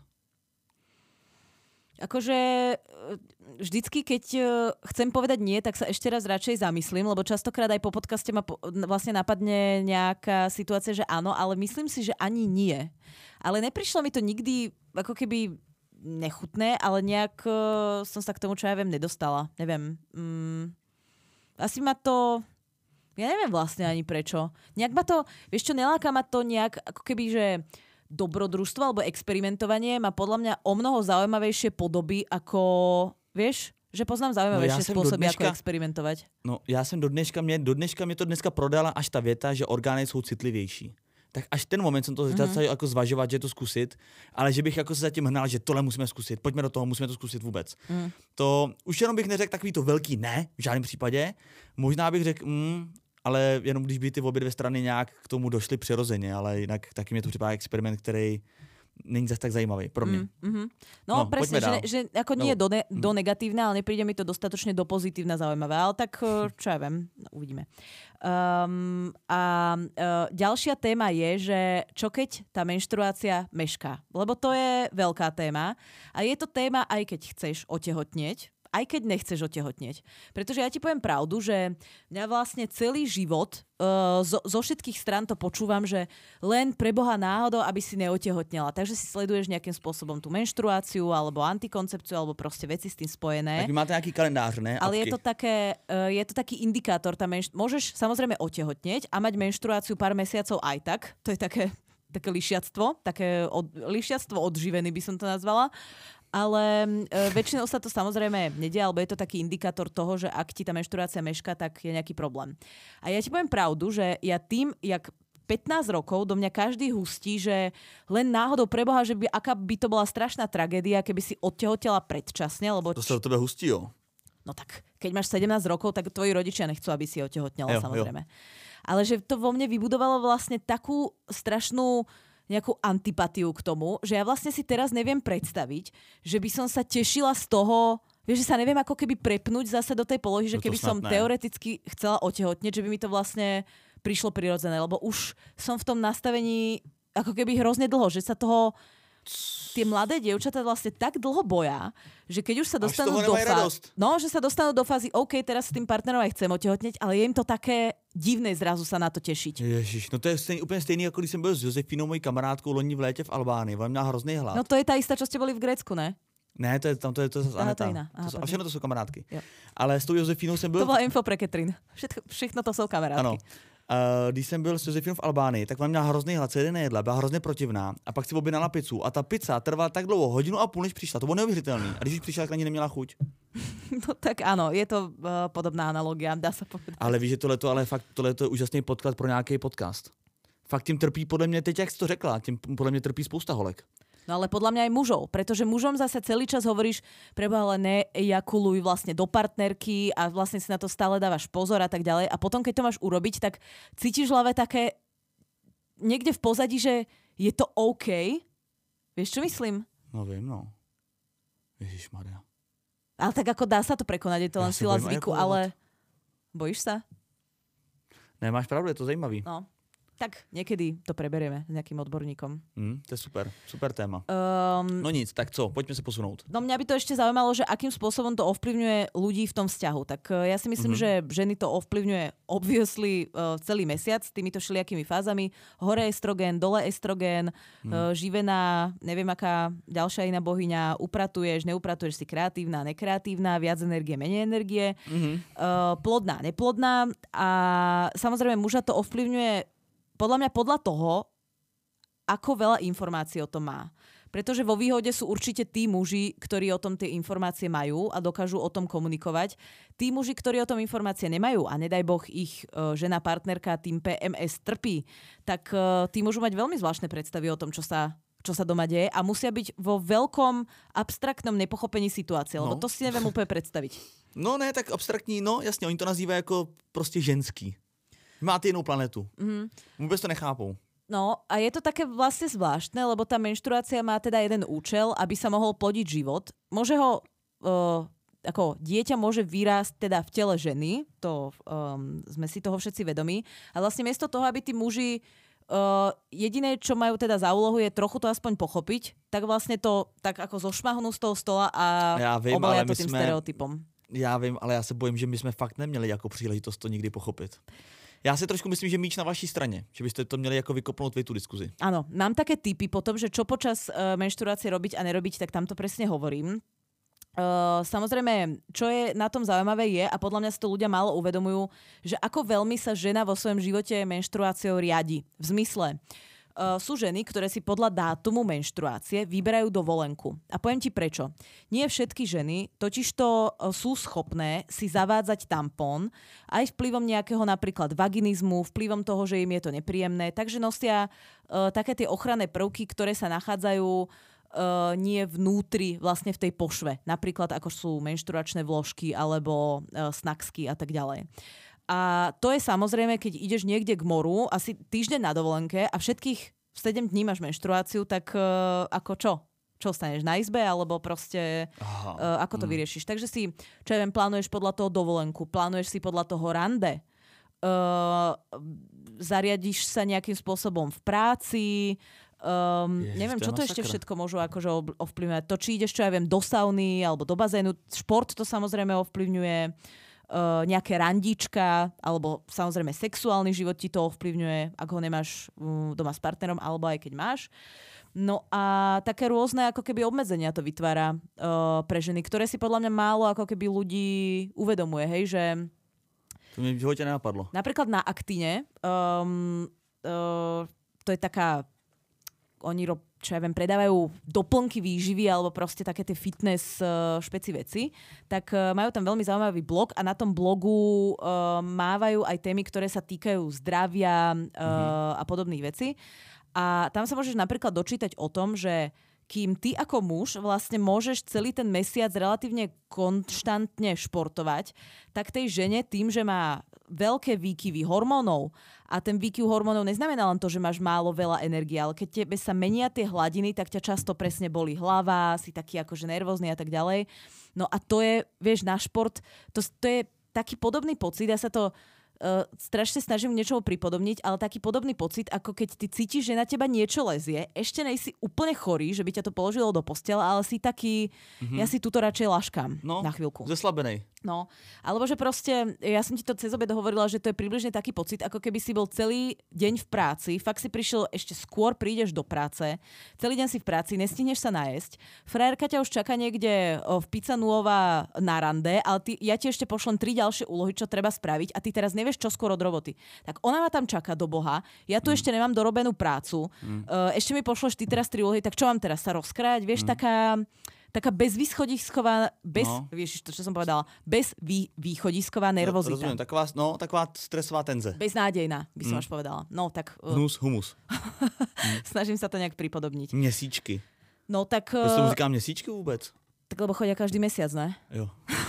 Akože vždycky, keď chcem povedať nie, tak sa ešte raz radšej zamyslím, lebo častokrát aj po podcaste ma po, vlastne napadne nejaká situácia, že áno, ale myslím si, že ani nie. Ale neprišlo mi to nikdy ako keby nechutné, ale nejak som sa k tomu, čo ja viem, nedostala. Neviem. Mm, asi ma to... Ja neviem vlastne ani prečo. Nejak ma to... Vieš čo, neláka ma to nejak ako keby, že... dobrodružstvo alebo experimentovanie má podľa mňa o mnoho zaujímavejšie podoby ako, vieš, že poznám zaujímavejšie no spôsoby, dneška, ako experimentovať. No já jsem do dneška, mě, do dneška mě to dneska prodala až ta věta, že orgány jsou citlivější. Tak až ten moment jsem to začal mm-hmm. jako zvažovat, že to zkusit, ale že bych jako se zatím hnal, že tohle musíme zkusit, pojďme do toho, musíme to zkusit vůbec. Mm. To už jenom bych neřekl takový to velký ne, v žádném případě. Možná bych řekl, mm, ale jenom když by ty obě dvě strany nějak k tomu došly přirozeně, ale jinak taky mě to připadá experiment, který není zase tak zajímavý pro mě. Mm, mm-hmm. No, no presne, že, že ako nie je do, ne, do negatívne, ale nepríde mi to dostatočne do pozitívne zaujímavé. Ale tak, čo ja viem, no, uvidíme. Um, a uh, ďalšia téma je, že čo keď tá menštruácia mešká? Lebo to je veľká téma. A je to téma, aj keď chceš otehotnieť, aj keď nechceš otehotnieť. Pretože ja ti poviem pravdu, že mňa vlastne celý život uh, zo, zo všetkých strán to počúvam, že len pre Boha náhodou, aby si neotehotnela. Takže si sleduješ nejakým spôsobom tú menštruáciu alebo antikoncepciu alebo proste veci s tým spojené. Tak vy máte nejaký kalendář, ne? Ale je to, také, uh, je to taký indikátor. Tá menš- môžeš samozrejme otehotnieť a mať menštruáciu pár mesiacov aj tak. To je také, také lišiactvo. Také od, lišiactvo odživený by som to nazvala. Ale e, väčšinou sa to samozrejme nedie, alebo je to taký indikátor toho, že ak ti tá menštruácia meška, tak je nejaký problém. A ja ti poviem pravdu, že ja tým, jak pätnásť rokov do mňa každý hustí, že len náhodou preboha, že by, aká by to bola strašná tragédia, keby si odtehotela predčasne, lebo... To sa do tebe hustí, jo? No tak, keď máš sedemnásť rokov, tak tvoji rodičia nechcú, aby si otehotnela, jo, samozrejme. Jo. Ale že to vo mne vybudovalo vlastne takú strašnú nejakú antipatiu k tomu, že ja vlastne si teraz neviem predstaviť, že by som sa tešila z toho, vieš, že sa neviem ako keby prepnúť zase do tej polohy, že keby som teoreticky chcela otehotnieť, že by mi to vlastne prišlo prirodzené, lebo už som v tom nastavení ako keby hrozne dlho, že sa toho tie mladé dievčatá vlastne tak dlho boja, že keď už sa dostanú do fázy, no, že sa dostanú do fázy, OK, teraz s tým partnerom aj chcem otehotnieť, ale je im to také divné zrazu sa na to tešiť. Ježiš, no to je stejný, úplně stejný, jako když jsem byl s Josefinou, mojí kamarádkou, loni v létě v Albánii. Ona měla hrozný hlad. No to je tá istá, čo ste boli v Grécku, ne? Ne, to je tam, to je to zase Aneta. To Aha, to sú, a všechno to sú kamarádky. Jo. Ale s tou Josefinou jsem byl... To bola info pre Katrin. Všetko, všechno to sú kamarádky. Ano. Uh, když jsem byl s Josefinou v Albánii, tak ona měla hrozný hlad, celý nejedla, byla hrozně protivná a pak si objednala pizzu a ta pizza trvala tak dlouho, hodinu a půl, než přišla. To bylo neuvěřitelné. A když už přišla, tak ani neměla chuť. No tak áno, je to uh, podobná analogia, dá sa povedať. Ale víš, že tohleto, ale fakt tohleto je úžasný podklad pro nějaký podcast. Fakt tím trpí podle mě, teď jak jsi to řekla, tím podle mě trpí spousta holek. No ale podľa mňa aj mužov, pretože mužom zase celý čas hovoríš, preboha, ale nejakuluj vlastne do partnerky a vlastne si na to stále dávaš pozor a tak ďalej. A potom, keď to máš urobiť, tak cítiš v hlave také niekde v pozadí, že je to OK. Vieš, čo myslím? No viem, no. Ježišmaria. Ale tak ako dá sa to prekonať, je to len ja sila zvyku, ale bojíš sa? Ne, máš pravdu, je to zajímavý. No. tak niekedy to preberieme s nejakým odborníkom. Mm, to je super, super téma. Um, no nic, tak co, poďme sa posunúť. No mňa by to ešte zaujímalo, že akým spôsobom to ovplyvňuje ľudí v tom vzťahu. Tak uh, ja si myslím, mm-hmm. že ženy to ovplyvňuje obviously uh, celý mesiac týmito všelijakými fázami. Hore estrogén, dole estrogén, mm. uh, živená, neviem aká ďalšia iná bohyňa, upratuješ, neupratuješ, si kreatívna, nekreatívna, viac energie, menej energie, mm-hmm. uh, plodná, neplodná a samozrejme muža to ovplyvňuje podľa mňa podľa toho, ako veľa informácií o tom má. Pretože vo výhode sú určite tí muži, ktorí o tom tie informácie majú a dokážu o tom komunikovať. Tí muži, ktorí o tom informácie nemajú a nedaj Boh ich uh, žena, partnerka tým pé em es trpí, tak uh, tí môžu mať veľmi zvláštne predstavy o tom, čo sa, čo sa doma deje a musia byť vo veľkom abstraktnom nepochopení situácie, lebo no. to si neviem úplne predstaviť. No ne, tak abstraktní, no jasně, oni to nazývají jako prostě ženský. Máte jinou planetu. Mm-hmm. Vôbec to nechápou. No a je to také vlastne zvláštne, lebo tá menštruácia má teda jeden účel, aby sa mohol plodiť život. Môže ho, uh, ako dieťa môže vyrásť teda v tele ženy, to um, sme si toho všetci vedomí. A vlastne miesto toho, aby tí muži uh, jediné, čo majú teda za úlohu, je trochu to aspoň pochopiť, tak vlastne to tak ako zošmahnú z toho stola a ja vím, obalia to tým sme, stereotypom. Já vím, ale já se bojím, že my jsme fakt neměli jako příležitost to nikdy pochopit. Já si trošku myslím, že míč na vaší straně, že byste to měli jako vykopnout vy tú diskuzi. Áno, mám také tipy potom, že čo počas uh, menštruácie robiť a nerobiť, tak tam to presne hovorím. Uh, samozrejme, čo je na tom zaujímavé je, a podľa mňa si to ľudia málo uvedomujú, že ako veľmi sa žena vo svojom živote menštruáciou riadi. V zmysle, Uh, sú ženy, ktoré si podľa dátumu menštruácie vyberajú dovolenku. A poviem ti prečo. Nie všetky ženy totižto uh, sú schopné si zavádzať tampón aj vplyvom nejakého napríklad vaginizmu, vplyvom toho, že im je to nepríjemné. Takže nosia uh, také tie ochranné prvky, ktoré sa nachádzajú uh, nie vnútri, vlastne v tej pošve. Napríklad ako sú menštruačné vložky alebo uh, snacksky a tak ďalej. A to je samozrejme, keď ideš niekde k moru, asi týždeň na dovolenke a všetkých sedem dní máš menštruáciu, tak uh, ako čo? Čo staneš na izbe? Alebo proste uh, ako to mm. vyriešiš? Takže si, čo ja viem, plánuješ podľa toho dovolenku, plánuješ si podľa toho rande, uh, zariadiš sa nejakým spôsobom v práci, um, Ježiš, neviem, čo to ešte všetko môžu akože ovplyvňovať. To, či ideš, čo ja viem, do sauny alebo do bazénu. Šport to samozrejme ovplyvňuje. Uh, nejaké randíčka, alebo samozrejme sexuálny život ti to ovplyvňuje, ak ho nemáš um, doma s partnerom, alebo aj keď máš. No a také rôzne ako keby obmedzenia to vytvára uh, pre ženy, ktoré si podľa mňa málo ako keby ľudí uvedomuje, hej, že... To mi v živote nenapadlo. Napríklad na Aktine, um, uh, to je taká... Oni rob, čo ja viem, predávajú doplnky výživy alebo proste také tie fitness uh, špeci veci, tak uh, majú tam veľmi zaujímavý blog a na tom blogu uh, mávajú aj témy, ktoré sa týkajú zdravia uh, mm-hmm. a podobných vecí. A tam sa môžeš napríklad dočítať o tom, že kým ty ako muž vlastne môžeš celý ten mesiac relatívne konštantne športovať, tak tej žene tým, že má veľké výkyvy hormónov a ten výkyv hormónov neznamená len to, že máš málo veľa energie, ale keď tebe sa menia tie hladiny, tak ťa často presne bolí hlava, si taký akože nervózny a tak ďalej. No a to je, vieš, na šport, to, to je taký podobný pocit, ja sa to Uh, strašne snažím niečo pripodobniť, ale taký podobný pocit, ako keď ty cítiš, že na teba niečo lezie, ešte nejsi úplne chorý, že by ťa to položilo do postela, ale si taký, mm-hmm. ja si tuto radšej laškám no, na chvíľku. Zeslabenej. No, alebo že proste, ja som ti to cez obed hovorila, že to je približne taký pocit, ako keby si bol celý deň v práci, fakt si prišiel ešte skôr, prídeš do práce, celý deň si v práci, nestihneš sa najesť, frajerka ťa už čaká niekde v Pizza Nuova na rande, ale ty, ja ti ešte pošlem tri ďalšie úlohy, čo treba spraviť a ty teraz nevieš, čo skôr od roboty. Tak ona ma tam čaká do Boha, ja tu mm. ešte nemám dorobenú prácu, mm. uh, ešte mi pošleš ty teraz tri úlohy, tak čo mám teraz sa rozkrájať, vieš, mm. taká... taká bezvýchodisková, bez, no. vieš, to, čo som povedala, bez vý, východisková nervozita. Rozumiem, taková, no, taková stresová tenze. Beznádejná, by som mm. až povedala. No, tak... Uh, Hnus, humus. Snažím sa to nejak pripodobniť. Měsíčky. No, tak... Uh, Proč tomu říká měsíčky vůbec? Tak lebo chodia každý mesiac, ne? Jo.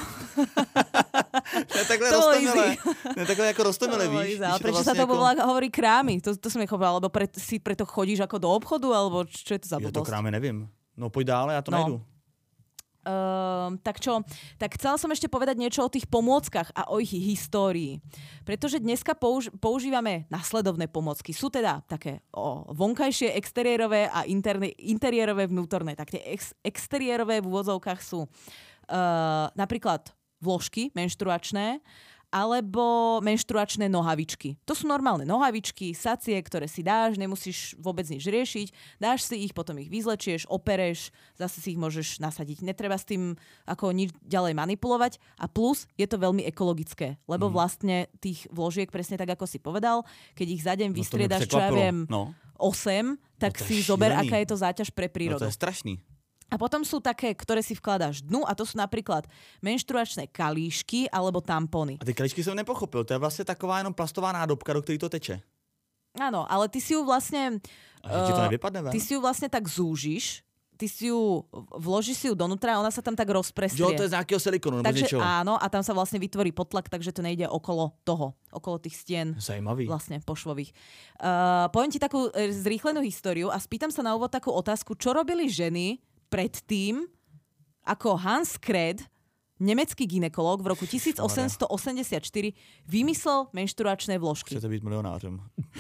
Ne, takhle roztomile. Ne, takhle jako roztomile, víš. Ale prečo vlastne sa to ako... hovorí krámy? To, to som nechopila, alebo pre, si preto chodíš ako do obchodu, alebo čo je to za blbosť? Ja to krámy nevím. No, pojď dále, já to no. najdu. Uh, tak čo? Tak chcela som ešte povedať niečo o tých pomôckach a o ich histórii. Pretože dneska použ- používame nasledovné pomôcky. Sú teda také o, vonkajšie, exteriérové a interne- interiérové vnútorné. Tak tie ex- exteriérové v úvodzovkách sú uh, napríklad vložky menštruačné, alebo menštruačné nohavičky. To sú normálne nohavičky, sacie, ktoré si dáš, nemusíš vôbec nič riešiť, dáš si ich, potom ich vyzlečieš, opereš, zase si ich môžeš nasadiť. Netreba s tým ako nič ďalej manipulovať a plus je to veľmi ekologické, lebo mm. vlastne tých vložiek, presne tak, ako si povedal, keď ich za deň no vystriedaš, čo ja viem, no. osem, tak no si šílený. zober, aká je to záťaž pre prírodu. No to je strašný. A potom sú také, ktoré si vkladáš dnu a to sú napríklad menštruačné kalíšky alebo tampony. A ty kalíšky jsem nepochopil, to je vlastně taková jenom plastová nádobka, do ktorej to teče. Áno, ale ty si ju vlastne... A ti to nevypadne, Ty si ju vlastne tak zúžiš, ty si ju, vložíš si ju donútra a ona sa tam tak rozprestrie. Jo, to je z nejakého silikonu nebo takže, niečoho. áno, a tam sa vlastne vytvorí potlak, takže to nejde okolo toho, okolo tých stien. Zajímavý. Vlastne pošvových. Uh, poviem ti takú zrýchlenú históriu a spýtam sa na úvod takú otázku, čo robili ženy predtým, ako Hans Kred, nemecký gynekolog, v roku tisíc osemsto osemdesiatštyri vymyslel menštruačné vložky. Chcete být milionářem.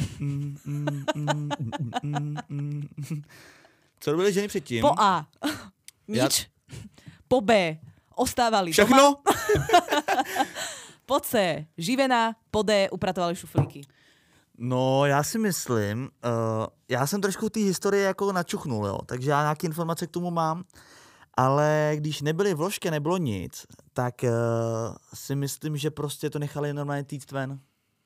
Co robili ženy předtím? Po A. Nič. Ja... Po B. Ostávali Všechno? doma. Po C. Živená. Po D. Upratovali šuflíky. No, já si myslím, uh, já jsem trošku té historie jako načuchnul, jo, takže já nějaké informace k tomu mám, ale když nebyly vložky, nebylo nic, tak uh, si myslím, že prostě to nechali normálně týct ven.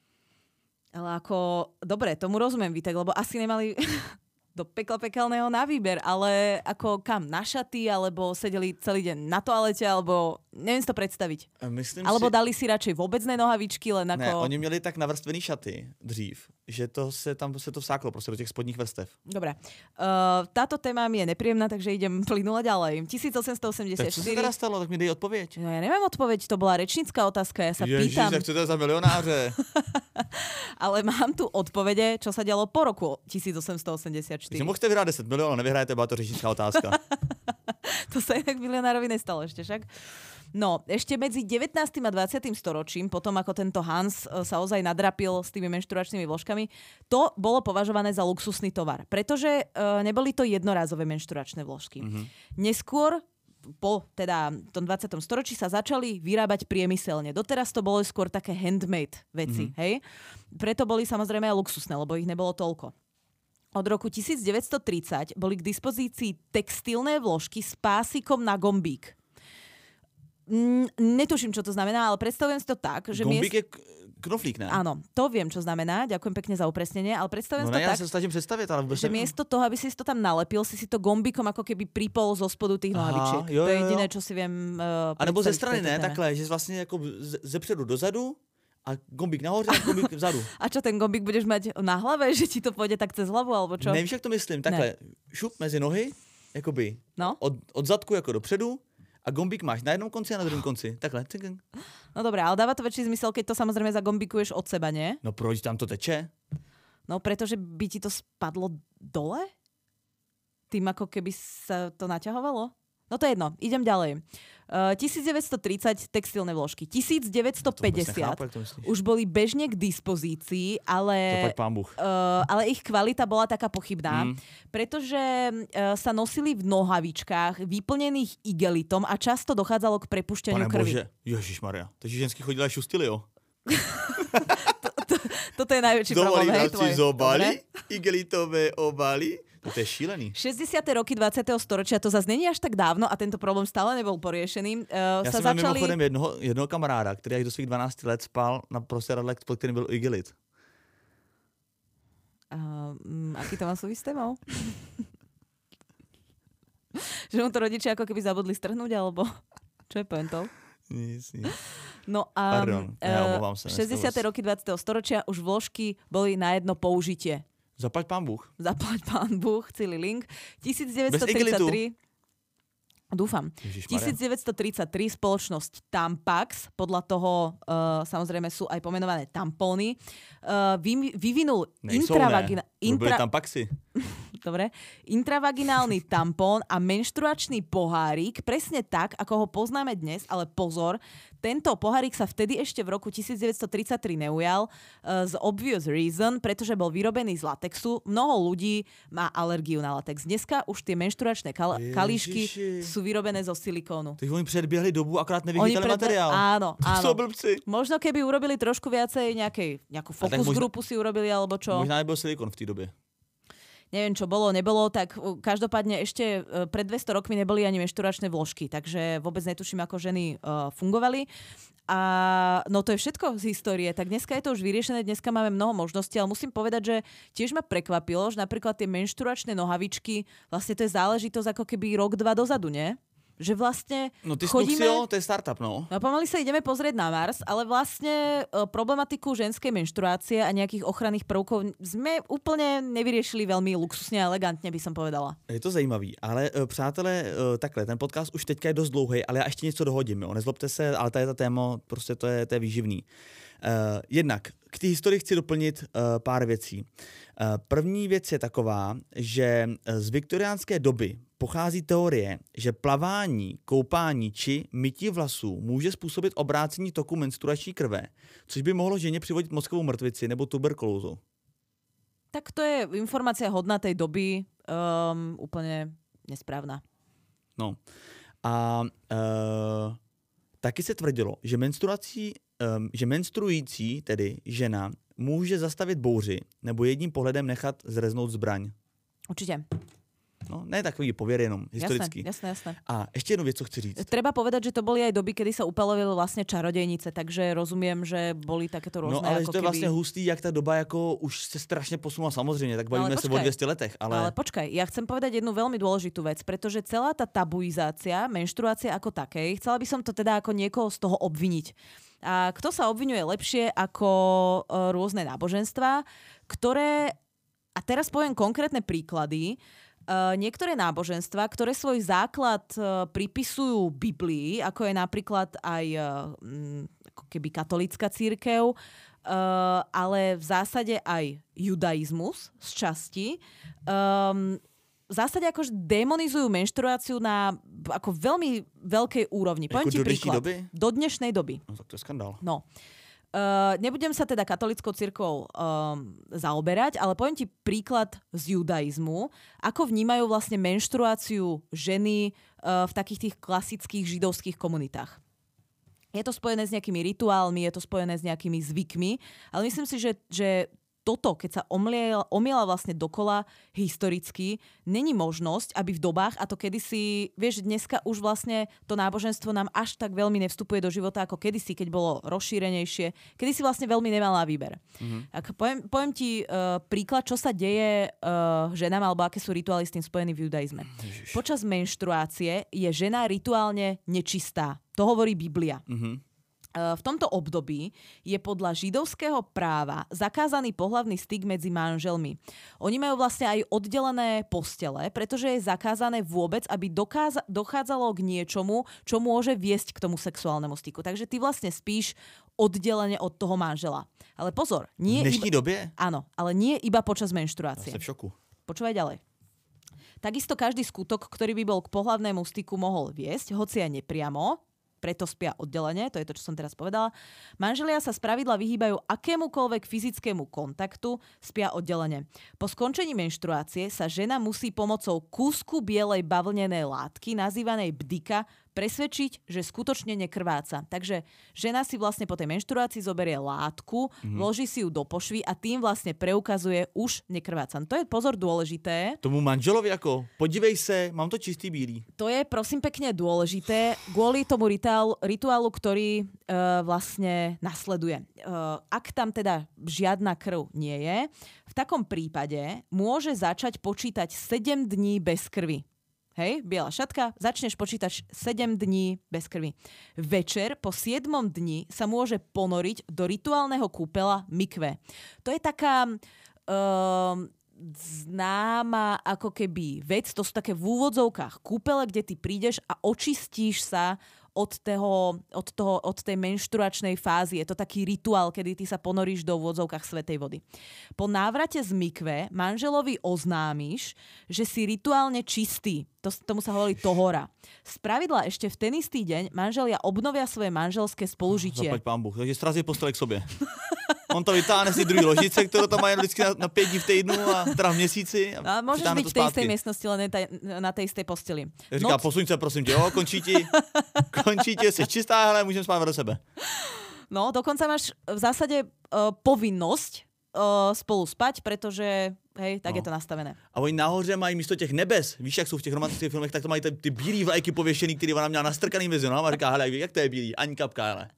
Ale ako, dobre, tomu rozumiem, Vítek, lebo asi nemali do pekla pekelného na výber, ale ako kam, na šaty, alebo sedeli celý deň na toalete, alebo neviem si to predstaviť. Myslím alebo si... dali si radšej vôbecné nohavičky, len ako... Ne, oni měli tak navrstvený šaty dřív, že to se tam se to vsáklo prostě do těch spodních vrstev. Dobre. Uh, táto téma mi je nepríjemná, takže idem plynule ďalej. tisíc osemsto osemdesiatštyri. Tak co se teda stalo? Tak mi dej odpověď. No ja neviem odpoveď, to bola rečnícka otázka, ja sa Ježiš, pýtam. tak co to je za milionáře? Ale mám tu odpovede, čo sa dialo po roku tisíc osemsto osemdesiatštyri. Takže mohli vyhrát deset milionů, nevyhrajete, byla to řečnická otázka. To sa inak milionárovi nestalo ešte však. No, ešte medzi devätnástym a dvadsiatym storočím, potom ako tento Hans sa ozaj nadrapil s tými menštruačnými vložkami, to bolo považované za luxusný tovar, pretože uh, neboli to jednorázové menštruačné vložky. Mm-hmm. Neskôr po teda tom dvadsiatom storočí sa začali vyrábať priemyselne. Doteraz to bolo skôr také handmade veci, mm-hmm. hej? Preto boli samozrejme aj luxusné, lebo ich nebolo toľko. Od roku devätnásťtridsať boli k dispozícii textilné vložky s pásikom na gombík. Mm, netuším, čo to znamená, ale predstavujem si to tak, že... Gombík miest... je knoflík, ne? Áno, to viem, čo znamená. Ďakujem pekne za upresnenie, ale predstavujem no si to ne, tak, ja sa snažím predstaviť, ale vôbec že miesto toho, aby si to tam nalepil, si si to gombíkom ako keby pripol zo spodu tých nohavičiek. jo, To je jo, jediné, jo. čo si viem uh, A nebo ze predstaviť v strany, tejto ne? téme. Takhle, že vlastne ako ze- zepředu dozadu a gombík nahoře a gombík vzadu. A čo, ten gombík budeš mať na hlave, že ti to pôjde tak cez hlavu, alebo čo? Nevíš, jak to myslím? Takhle, šup mezi nohy, jakoby No? od, od zadku jako dopředu a gombík máš na jednom konci a na druhém konci. Takhle. No dobré, ale dáva to väčší zmysel, keď to samozrejme zagombikuješ od seba, nie? No proč tam to teče? No pretože by ti to spadlo dole? Tým ako keby sa to naťahovalo? No to je jedno, idem ďalej. Uh, devätnásťtridsať textilné vložky. devätnásťpäťdesiat už boli bežne k dispozícii, ale, uh, ale ich kvalita bola taká pochybná, mm. pretože uh, sa nosili v nohavičkách vyplnených igelitom a často dochádzalo k prepušťaniu Pane krvi. Bože, Ježišmaria, takže ženský chodili a šustili, jo? to, to, toto je najväčší problém, hej, tvoj. Zobali, igelitové obaly. To je šílený. šesťdesiate roky dvadsiateho storočia, to zase není až tak dávno a tento problém stále nebol poriešený. Uh, Já sa jsem začali... začali... mimochodem jednoho, jednoho kamaráda, který až do svých dvanácti let spal na prostředadle, pod kterým byl igelit. Uh, um, aký to má súvisť s témou? Že mu to rodičia ako keby zabudli strhnúť, alebo čo je pointou? Nic, nic. No a Pardon, ja uh, šesťdesiate roky dvadsiateho storočia už vložky boli na jedno použitie. Zaplať pán Bůh. Zaplať pán Bůh, celý link. devätnásťtridsaťtri Dúfam. devätnásťtridsaťtri spoločnosť Tampax, podľa toho uh, samozrejme sú aj pomenované tampóny, uh, vy, vyvinul intravagina... Intra... Intra... Tampaxy. dobre, intravaginálny tampón a menštruačný pohárik, presne tak, ako ho poznáme dnes, ale pozor, tento pohárik sa vtedy ešte v roku devätnásťtridsaťtri neujal uh, z obvious reason, pretože bol vyrobený z latexu. Mnoho ľudí má alergiu na latex. Dneska už tie menštruačné kal- kalíšky sú vyrobené zo silikónu. Takže oni predbiehli dobu, akorát nevychytali predbe- materiál. Áno, to áno. sú blbci. Možno keby urobili trošku viacej nejakej, nejakú fokus možno, grupu si urobili, alebo čo. Možná nebol silikón v tej dobe. Neviem, čo bolo, nebolo, tak každopádne ešte pred dvesto rokmi neboli ani menštruačné vložky, takže vôbec netuším, ako ženy uh, fungovali. A no to je všetko z histórie, tak dneska je to už vyriešené, dneska máme mnoho možností, ale musím povedať, že tiež ma prekvapilo, že napríklad tie menštruačné nohavičky, vlastne to je záležitosť ako keby rok, dva dozadu, nie? Že vlastne no ty chodíme... Snuxio, to je startup, no. No pomaly sa ideme pozrieť na Mars, ale vlastne e, problematiku ženskej menštruácie a nejakých ochranných prvkov sme úplne nevyriešili veľmi luxusne a elegantne, by som povedala. Je to zajímavý, ale e, přátelé, e, takhle, ten podcast už teďka je dost dlouhý, ale já ještě něco dohodím, jo. Nezlobte se, ale tady ta téma, prostě to je, to je výživný. Uh, jednak k té historii chci doplnit uh, pár věcí. Uh, první věc je taková, že z viktoriánské doby pochází teorie, že plavání, koupání či mytí vlasů může způsobit obrácení toku menstruační krve, což by mohlo ženě přivodit mozkovou mrtvici nebo tuberkulózu. Tak to je informácia hodná tej doby, um, úplne nesprávna. No a uh, taky se tvrdilo, že menstruací Um, že menstruující, tedy žena, může zastavit bouři nebo jedním pohledem nechat zreznout zbraň. Určite. No, ne takový pověr jenom, historický. Jasné, jasné, jasné. A ještě jednu věc, co chci říct. Treba povedať, že to boli aj doby, kedy sa upalovali vlastne čarodejnice, takže rozumiem, že boli takéto rôzne. No ale ako to je keby... vlastne hustý, jak ta doba jako už se strašně posunula samozřejmě, tak bavíme se o dvesto letech. Ale... ale počkaj, ja chcem povedať jednu veľmi dôležitú vec, pretože celá tá tabuizácia, menštruácia ako takej, chcela by som to teda ako niekoho z toho obviniť. A kto sa obviňuje lepšie ako uh, rôzne náboženstvá, ktoré, a teraz poviem konkrétne príklady, Uh, niektoré náboženstva, ktoré svoj základ uh, pripisujú Biblii, ako je napríklad aj uh, m, ako keby katolícka cirkev, uh, ale v zásade aj judaizmus z časti, um, v zásade akože demonizujú menštruáciu na ako veľmi veľkej úrovni. Poviem ti príklad. Doby? Do dnešnej doby. No tak to je skandál. No. Uh, nebudem sa teda katolickou cirkvou um, zaoberať, ale poviem ti príklad z judaizmu, ako vnímajú vlastne menštruáciu ženy uh, v takých tých klasických židovských komunitách. Je to spojené s nejakými rituálmi, je to spojené s nejakými zvykmi, ale myslím si, že, že toto, keď sa omiela, omiela vlastne dokola historicky, není možnosť, aby v dobách, a to kedysi, vieš, dneska už vlastne to náboženstvo nám až tak veľmi nevstupuje do života, ako kedysi, keď bolo rozšírenejšie. Kedysi vlastne veľmi nemala výber. Mm-hmm. Ak poviem, poviem ti uh, príklad, čo sa deje uh, ženám, alebo aké sú rituály s tým spojené v judaizme. Ježiš. Počas menštruácie je žena rituálne nečistá. To hovorí Biblia. Mm-hmm. V tomto období je podľa židovského práva zakázaný pohlavný styk medzi manželmi. Oni majú vlastne aj oddelené postele, pretože je zakázané vôbec, aby dokáza- dochádzalo k niečomu, čo môže viesť k tomu sexuálnemu styku. Takže ty vlastne spíš oddelene od toho manžela. Ale pozor, nie... V dnešní iba... době? Áno, ale nie iba počas menštruácie. Ja som v šoku. Počúvaj ďalej. Takisto každý skutok, ktorý by bol k pohlavnému styku mohol viesť, hoci aj nepriamo, preto spia oddelenie, to je to, čo som teraz povedala. Manželia sa spravidla vyhýbajú akémukoľvek fyzickému kontaktu, spia oddelenie. Po skončení menštruácie sa žena musí pomocou kúsku bielej bavlnenej látky, nazývanej bdika, presvedčiť, že skutočne nekrváca. Takže žena si vlastne po tej menštruácii zoberie látku, mm-hmm. vloží si ju do pošvy a tým vlastne preukazuje už nekrváca. To je pozor dôležité. Tomu manželovi ako, podívej se, mám to čistý bílý. To je prosím pekne dôležité kvôli tomu rituálu, rituálu ktorý uh, vlastne nasleduje. Uh, ak tam teda žiadna krv nie je, v takom prípade môže začať počítať sedem dní bez krvi. Hej, biela šatka, začneš počítať sedem dní bez krvi. Večer po siedmom dni sa môže ponoriť do rituálneho kúpela mikve. To je taká uh, známa ako keby vec, to sú také v úvodzovkách kúpele, kde ty prídeš a očistíš sa od, toho, od, toho, od tej menštruačnej fázy. Je to taký rituál, kedy ty sa ponoríš do vôdzovkách svätej vody. Po návrate z mikve manželovi oznámiš, že si rituálne čistý. To, tomu sa hovorí tohora. Spravidla ešte v ten istý deň manželia obnovia svoje manželské spolužitie. Zaplať pán Bůh. Takže srazí postele k sobě. On to vytáhne z té druhé ložice, kterou tam mají vždycky na, na pět dní v týdnu a teda v měsíci. A, a môžeš byť v tej istej miestnosti, len na tej istej posteli. Říká, Noc... posuň se, prosím tě, jo, končí ti, končí ti, jsi čistá, hele, můžeme spát do sebe. No, dokonca máš v zásade uh, povinnosť uh, spolu spať, pretože, hej, tak no. je to nastavené. A oni nahoře mají místo těch nebes, víš, jak jsou v těch romantických filmech, tak to mají ty, ty bílý vlajky pověšený, který ona měla nastrkaný mezi nohama a říká, hele, jak to je bílý, ani kapka, hele.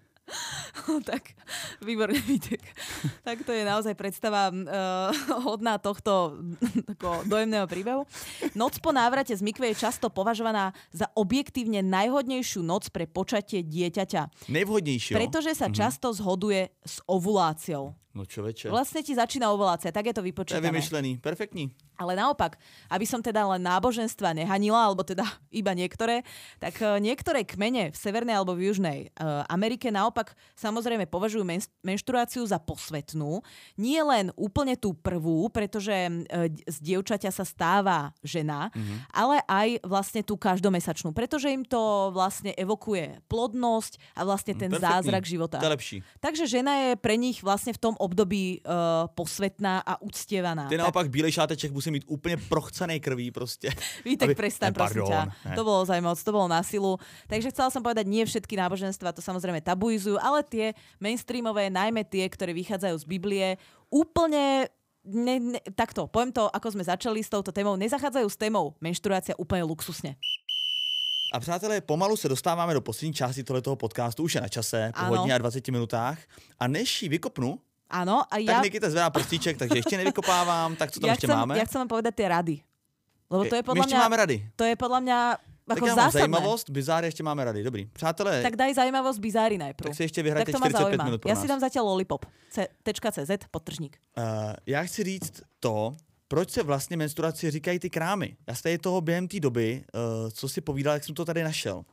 Tak, výborne, Vítek. Tak to je naozaj predstava uh, hodná tohto tako, dojemného príbehu. Noc po návrate z mikve je často považovaná za objektívne najhodnejšiu noc pre počatie dieťaťa. Nejvhodnejšie. Pretože sa mm-hmm. často zhoduje s ovuláciou. No človeče. Vlastne ti začína ovulácia, tak je to vypočítané. To je vymyšlený, perfektní. Ale naopak, aby som teda len náboženstva nehanila, alebo teda iba niektoré, tak niektoré kmene v Severnej alebo v Južnej uh, Amerike naopak samozrejme považujú men- menštruáciu za posvetnú. Nie len úplne tú prvú, pretože uh, z dievčaťa sa stáva žena, mm-hmm. ale aj vlastne tú každomesačnú, pretože im to vlastne evokuje plodnosť a vlastne ten perfektní. Zázrak života. To je lepší. Takže žena je pre nich vlastne v tom období uh, posvetná a uctievaná. Ty naopak bílej šáteček musí mít úplně prochcenej krví prostě. Vítek, prestaň, prosím ťa. Ne. To bolo zaujímavé, to bolo na silu. Takže chcela som povedať, nie všetky náboženstva to samozrejme tabuizujú, ale tie mainstreamové, najmä tie, ktoré vychádzajú z Biblie, úplne ne, ne, takto, poviem to, ako sme začali s touto témou, nezachádzajú s témou menštruácia úplne luxusne. A přátelé, pomalu se dostáváme do poslední části tohoto podcastu, už je na čase, po ano. hodně a dvaceti minutách. A než ji vykopnu, áno, a ja... tak Nikita zvedá prstíček, takže ešte nevykopávam. Tak co tam ja ešte chcem, máme? Ja chcem vám povedať tie rady. Lebo to je podľa My ešte mňa, máme rady. To je podľa mňa ako tak zásadné. Zajímavosť, bizáry ešte máme rady. Dobrý. Přátelé... Tak daj zajímavosť bizáry najprv. Tak si ešte vyhrajte čtyřicet pět minut pro ja nás. si dám zatiaľ lollipop. C.cz, podtržník. Uh, já chci říct to, proč se vlastně menstruaci říkají ty krámy. Já z toho během té doby, uh, co si povídal, jak jsem to tady našel.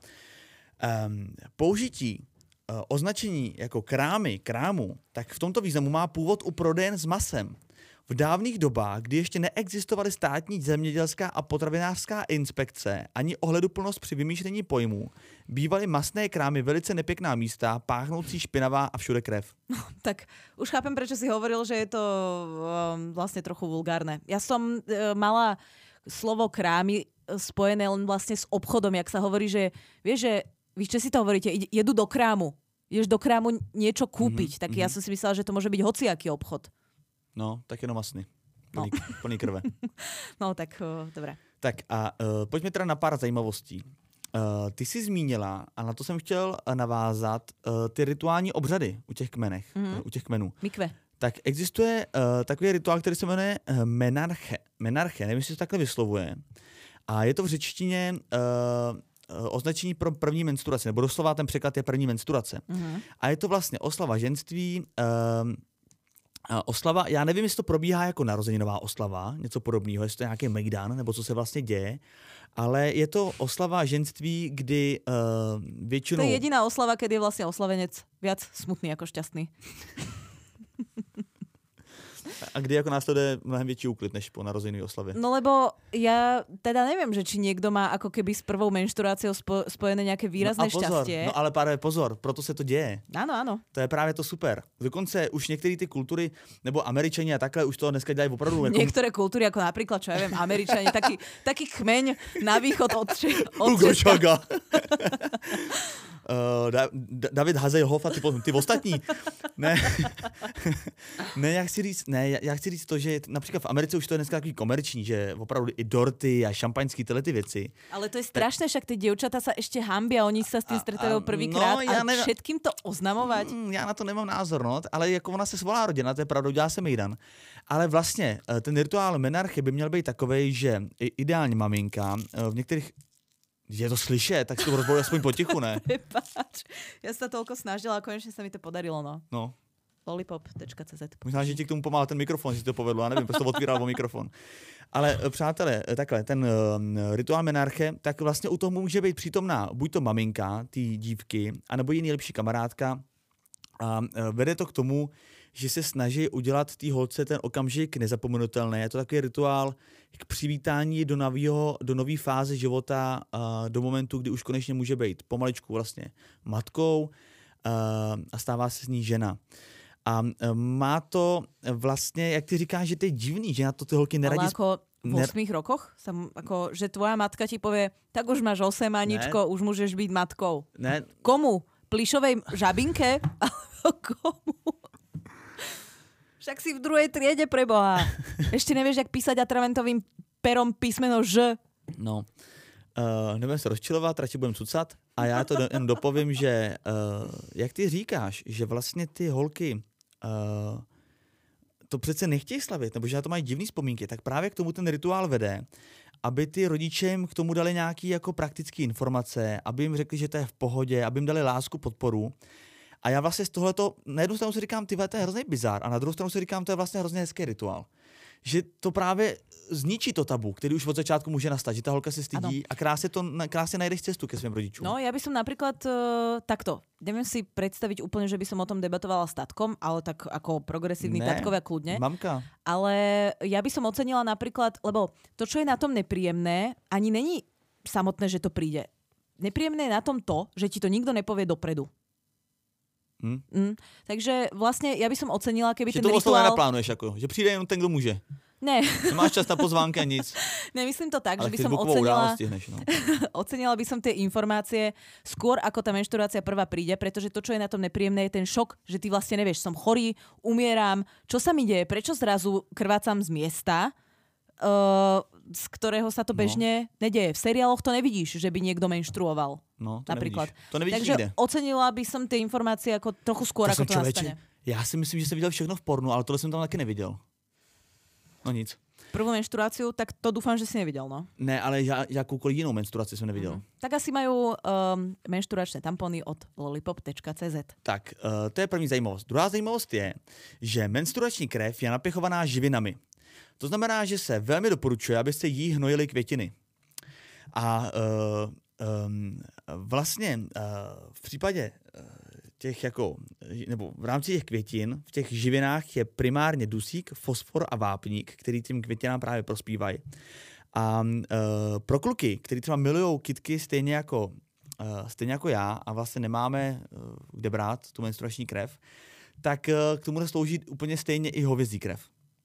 Um, použití označení jako krámy, krámu, tak v tomto významu má původ u prodejen s masem. V dávných dobách, kdy ještě neexistovaly státní zemědělská a potravinářská inspekce ani ohleduplnost při vymýšlení pojmů, bývaly masné krámy velice nepěkná místa, páchnoucí špinavá a všude krev. No, tak už chápem, prečo si hovoril, že je to um, vlastne trochu vulgárne. Ja som uh, mala slovo krámy spojené len vlastne s obchodom, jak sa hovorí, že vieš, že víš, čo si to hovoríte? Jedu do krámu. Ideš do krámu niečo kúpiť. Mm-hmm. Tak ja som si myslela, že to môže byť hociaký obchod. No, tak jenom masný. Plný, no. plný krve. No, tak uh, dobré. Tak a uh, pojďme teda na pár zajímavostí. Uh, ty jsi zmínila, a na to jsem chtěl navázat, uh, ty rituální obřady u těch kmenech, mm-hmm. uh, u těch kmenů. Mikve. Tak existuje uh, takový rituál, který se jmenuje uh, menarche. Menarche, nevím, jestli se takhle vyslovuje. A je to v řečtině... Uh, označení pro první menstruaci, nebo doslova ten překlad je první menstruace. Mm-hmm. A je to vlastně oslava ženství, um, oslava, já nevím, jestli to probíhá jako narozeninová oslava, něco podobného, jestli to je nějaký mejdan, nebo co se vlastně děje, ale je to oslava ženství, kdy uh, většinou... To je jediná oslava, kedy je vlastně oslavenec viac smutný jako šťastný. A kdy jako následuje mnohem větší úklid než po narozeniny oslavě? No lebo ja teda neviem, že či niekto má ako keby s prvou menštruáciou spo, spojené nejaké výrazné no pozor, šťastie. No ale párve pozor, proto se to děje. Áno, áno. To je právě to super. Dokonce už některé ty kultury, nebo Američani a takhle už to dneska dělají opravdu. Jako... Niektoré kultúry, ako napríklad, čo ja viem, Američani, taký, taký kmeň na východ od, od Hugo Chaga. Uh, da, da, David Hasselhoff a ty, ty ostatní. Ne, ne, já chci říct, ne, já chci říct to, že například v Americe už to je dneska takový komerční, že opravdu i dorty a šampaňský tyhle ty věci. Ale to je strašné, však ty dievčatá sa ešte hambia, oni sa s tým stretávajú prvýkrát no, a ne... všetkým to oznamovať. Mm, já na to nemám názor, no, ale jako ona se svolá rodina, to je pravda, dělá se mejdan. Ale vlastně ten rituál menarche by měl být takovej, že ideálně maminka v některých je to slyšet, tak si to rozbojuje aspoň potichu, ne? Prepáč, ja sa toľko snažila a konečne sa mi to podarilo, no. No. lollipop tečka cé zet. Možná, že ti k tomu pomáhá ten mikrofon, že to povedlo, já nevím, prostě to otvíral o mikrofon. Ale přátelé, takhle, ten uh, rituál menarche, tak vlastně u toho může být přítomná buď to maminka, ty dívky, anebo jiný lepší kamarádka. A uh, vede to k tomu, že se snaží udělat té holce ten okamžik nezapomenutelný. Je to takový rituál k přivítání do nového, do nové fáze života, uh, do momentu, kdy už konečně může být pomaličku vlastně matkou uh, a stává se z ní žena. A uh, má to vlastně, jak ty říkáš, že to je divný, že na to ty holky neradí... Ale ako v osmých rokoch? Sam, ako, že tvoja matka ti povie, tak už máš osem, Aničko, ne. Už môžeš byť matkou. Ne. Komu? Plišovej žabinke? Komu? Však si v druhej triede, preboha. Ešte nevieš, jak písať atraventovým perom písmeno Ž. No, uh, nebudem se rozčilovat, radši budem cucat. A já to jen dopovím, že uh, jak ty říkáš, že vlastně ty holky uh, to přece nechtějí slavit, nebo že na to mají divný vzpomínky, tak právě k tomu ten rituál vede, aby ty rodiče jim k tomu dali nějaké jako praktické informace, aby jim řekli, že to je v pohodě, aby jim dali lásku, podporu. A já vlastně z tohleto, na jednu stranu si říkám, ty to je hrozný bizár, a na druhou stranu si říkám, to je vlastně hrozně hezký rituál. Že to právě zničí to tabu, který už od začátku může nastat, že ta holka se stydí ano. A krásně, to, krásně najdeš cestu ke svým rodičům. No, ja by som napríklad uh, takto, neviem si predstaviť úplne, že by som o tom debatovala s tatkom, ale tak ako progresívny tatkovia kľudne. Mamka. Ale ja by som ocenila napríklad, lebo to, čo je na tom nepríjemné, ani není samotné, že to príde. Nepríjemné je na tom to, že ti to nikto nepovie dopredu. Hmm. Mm, takže vlastne ja by som ocenila, keby že ten rituál... Že to rituál... nenaplánuješ, ako, že přijde jenom ten, kdo může. Ne. Nemáš čas na pozvánky a nic. Nemyslím to tak, ale že by som ocenila... Stihneš, no. Ocenila by som tie informácie skôr, ako tá menštruácia prvá príde, pretože to, čo je na tom nepríjemné, je ten šok, že ty vlastne nevieš, som chorý, umieram, čo sa mi deje, prečo zrazu krvácam z miesta, Uh, z ktorého sa to bežne no. nedeje. V seriáloch to nevidíš, že by niekto menštruoval. No, to napríklad. Nevidíš. To nevidíš Takže nikde. Ocenila by som tie informácie ako trochu skôr, to ako to člověče, nastane. Já si myslím, že jsem viděl všechno v pornu, ale tohle jsem tam taky neviděl. No nic. Prvú menštruáciu, tak to dúfam, že si nevidel, no? Ne, ale ja, jakoukoliv jinou menstruaci jsem neviděl. Mm. Tak asi majú um, menštruačné tampony od lollipop tečka cé zet. Tak, uh, to je první zajímavost. Druhá zajímavost je, že menstruační krev je napěchovaná živinami. To znamená, že se velmi doporučuje, abyste jí hnojili květiny. A uh, um, vlastně uh, v případě uh, těch jako, nebo v rámci těch květin, v těch živinách je primárně dusík, fosfor a vápník, který tím květinám právě prospívají. A uh, pro kluky, kteří třeba milujou kytky stejně jako, uh, stejně jako já a vlastně nemáme uh, kde brát tu menstruační krev, tak uh, k tomu slouží úplně stejně i hovězí krev.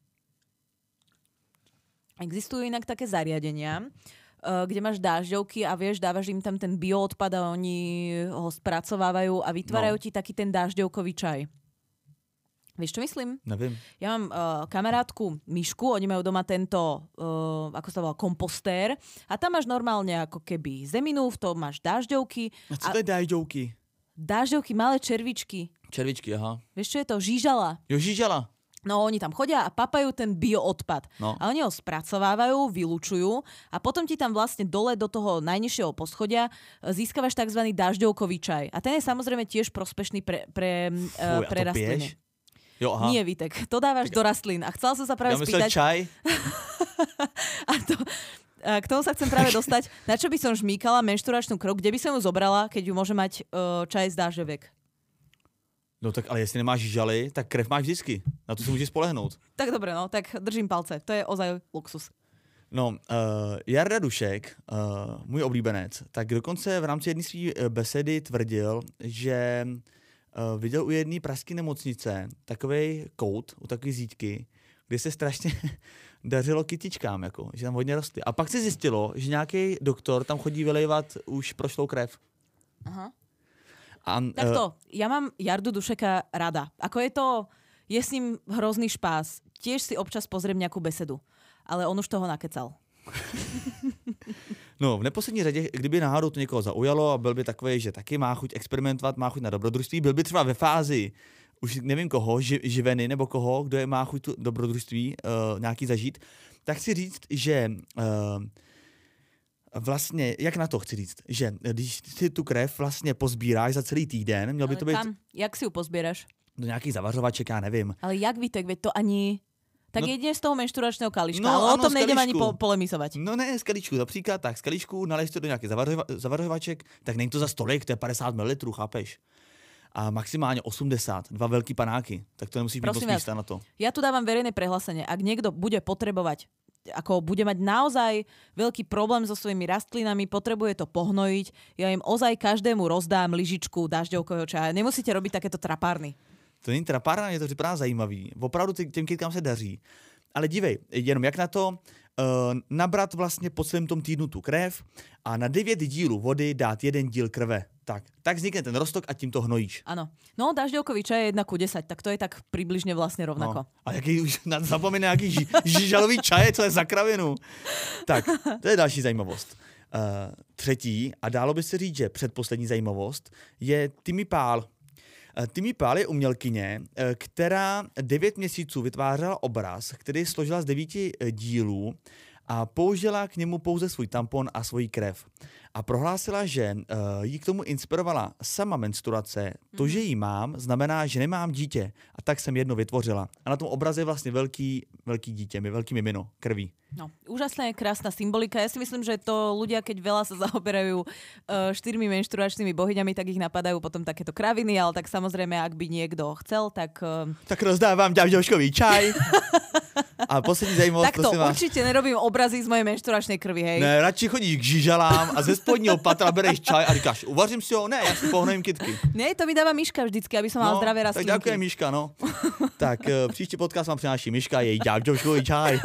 Existujú inak také zariadenia, kde máš dážďovky a vieš, dávaš im tam ten bioodpad a oni ho spracovávajú a vytvárajú no. ti taký ten dážďovkový čaj. Vieš, čo myslím? Nevím. Ja mám uh, kamarátku Mišku, oni majú doma tento, uh, ako sa volá, kompostér a tam máš normálne ako keby zeminu, v tom máš dážďovky. A co a... to je dážďovky? Dážďovky, malé červičky. Červičky, aha. Vieš, čo je to? Žížala. Jo, žížala. No, oni tam chodia a papajú ten bioodpad. No. A oni ho spracovávajú, vylučujú a potom ti tam vlastne dole do toho najnižšieho poschodia získavaš tzv. Dážďovkový čaj. A ten je samozrejme tiež prospešný pre, pre, Fuj, pre rastliny. Jo, aha. Nie, Vítek, to dávaš tak... do rastlín. A chcela som sa práve ja spýtať... čaj? a to... K tomu sa chcem práve dostať. Na čo by som žmýkala menštruačnú krv, kde by som ju zobrala, keď ju môže mať uh, čaj z dážďoviek? No tak ale jestli nemáš žaly, tak krev máš vždycky. Na to si můžeš spolehnout. Tak dobré, no, tak držím palce. To je ozaj luxus. No, uh, Jarda Dušek, uh, můj oblíbenec, tak dokonce v rámci jedné své besedy tvrdil, že uh, viděl u jedné pražské nemocnice takovej kout, u takové zítky, kde se strašně dařilo kytičkám, jako, že tam hodně rostly. A pak se zjistilo, že nějaký doktor tam chodí vylejvat už prošlou krev. Aha. A, Takto, ja mám Jardu Dušeka rada. Ako je to, je s ním hrozný špás. Tiež si občas pozriem nejakú besedu. Ale on už toho nakecal. No, v neposlední řadě, kdyby náhodou to někoho zaujalo a byl by takový, že taky má chuť experimentovat, má chuť na dobrodružství, byl by třeba ve fázi, už nevím koho, ži, živeny nebo koho, kdo je má chuť tu dobrodružství uh, nějaký zažít, tak chci říct, že... Uh, Vlastně, jak na to chci říct, že když si tu krev vlastně pozbíráš za celý týden, měl by to být... Kam? Jak si ju pozbieraš? do nějakých zavařovaček, já nevím. Ale jak Vítek, veď to ani... Tak no, jedine z toho menšturačného kalíčka, no, ale ano, o tom nejdem ani po, polemizovať. No ne, z kalíčku, například tak, z kalíčku naleješ to do nějakých zavařova, zavařovaček, tak není to za stolik, to je padesát mililitrů, chápeš? A maximálne osemdesiat, dva veľký panáky, tak to nemusíš mít moc místa na to. Ja tu dávam verejné prehlásenie, ak niekto bude potrebovať, ako bude mať naozaj veľký problém so svojimi rastlinami, potrebuje to pohnojiť, ja im ozaj každému rozdám lyžičku dažďovkového čaja. Nemusíte robiť takéto trapárny. To není trapárna, je to připadá zajímavý. Opravdu těm kytkám se daří. Ale dívej, jenom jak na to uh, nabrat vlastně po celém tom týdnu tu krev a na devět dílů vody dát jeden díl krve. Tak, tak vznikne ten roztok a tím to hnojíš. Áno. No, dažďovkový čaj je jedna ku desať, tak to je tak približne vlastne rovnako. No. A jaký už zapomíná nejaký ži, žižalový čaj, co je za kravinu. Tak, to je další zajímavost. Uh, třetí, a dálo by se říct, že předposlední zajímavost, je Timmy Pál. Timmy Pál je umělkyně, která devět měsíců vytvářela obraz, který složila z devíti dílů a použila k němu pouze svůj tampon a svoji krev. A prohlásila, že uh, jí k tomu inspirovala sama menstruace. To, že ji mám, znamená, že nemám dítě. A tak jsem jedno vytvořila. A na tom obraze je vlastně velký, velký dítě, velký mimino, krví. No, úžasná, krásna symbolika. Ja si myslím, že to ľudia, keď veľa sa zaoberajú uh, štyrmi menštruačnými bohyňami, tak ich napadajú potom takéto kraviny, ale tak samozrejme, ak by niekto chcel, tak... Uh... Tak rozdávam ďavďovškový čaj. A poslední zajímavost, tak to určite nerobím obrazy z mojej menštruačnej krvi, hej. Ne, radši chodíš k žižalám a ze spodního patra bereš čaj a říkáš, uvařím si ho? Ne, ja si pohnojím kytky. Ne, to mi dáva Miška vždycky, aby som no, mal zdravé rastlinky. Tak ďakujem, Miška, no. Tak uh, příští podcast vám přináší Miška, jej ďavďovškový čaj.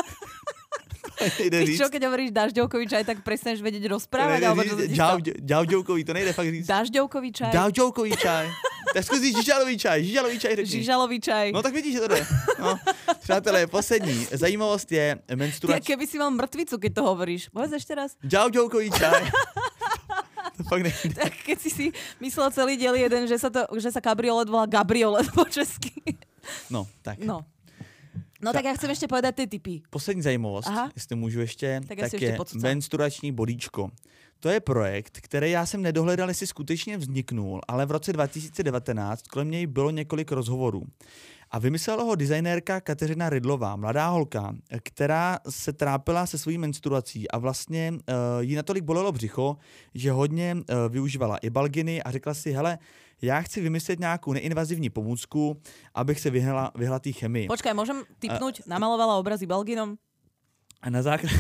Ty čo, keď hovoríš dažďovkový čaj, tak prestaneš vedieť rozprávať? Alebo čo Ďavďovkový, to nejde fakt říct. Dažďovkový čaj? Dažďovkový čaj. Tak zkusíš žižalový čaj, žižalový čaj řekni. Žižalový čaj. No tak vidíš, že to jde. No. Přátelé, poslední zajímavost je menstruační. Keby si mal mrtvicu, keď to hovoríš. Povedz ešte raz. Ďavďovkový čaj. To fakt nejde. Tak keď si si myslel celý diel jeden, že sa, to, že sa kabriolet volá Gabriolet po česky. No, tak. No. No tak já chcem ještě povedat ty tipy. Poslední zajímavost, Aha. jestli můžu ještě, tak, tak je ještě menstruační bodíčko. To je projekt, který já jsem nedohledal, jestli skutečně vzniknul, ale v roce dva tisíce devatenáct kolem něj bylo několik rozhovorů. A vymyslela ho designérka Kateřina Rydlová, mladá holka, která se trápila se svojí menstruací a vlastně uh, jí natolik bolelo břicho, že hodně uh, využívala ibalginy a řekla si, hele, já chci vymyslet nějakou neinvazivní pomůcku, abych se vyhla, vyhla té chemii. Počkaj, můžem tipnout? Uh, namalovala obraz ibalginom? A na základě...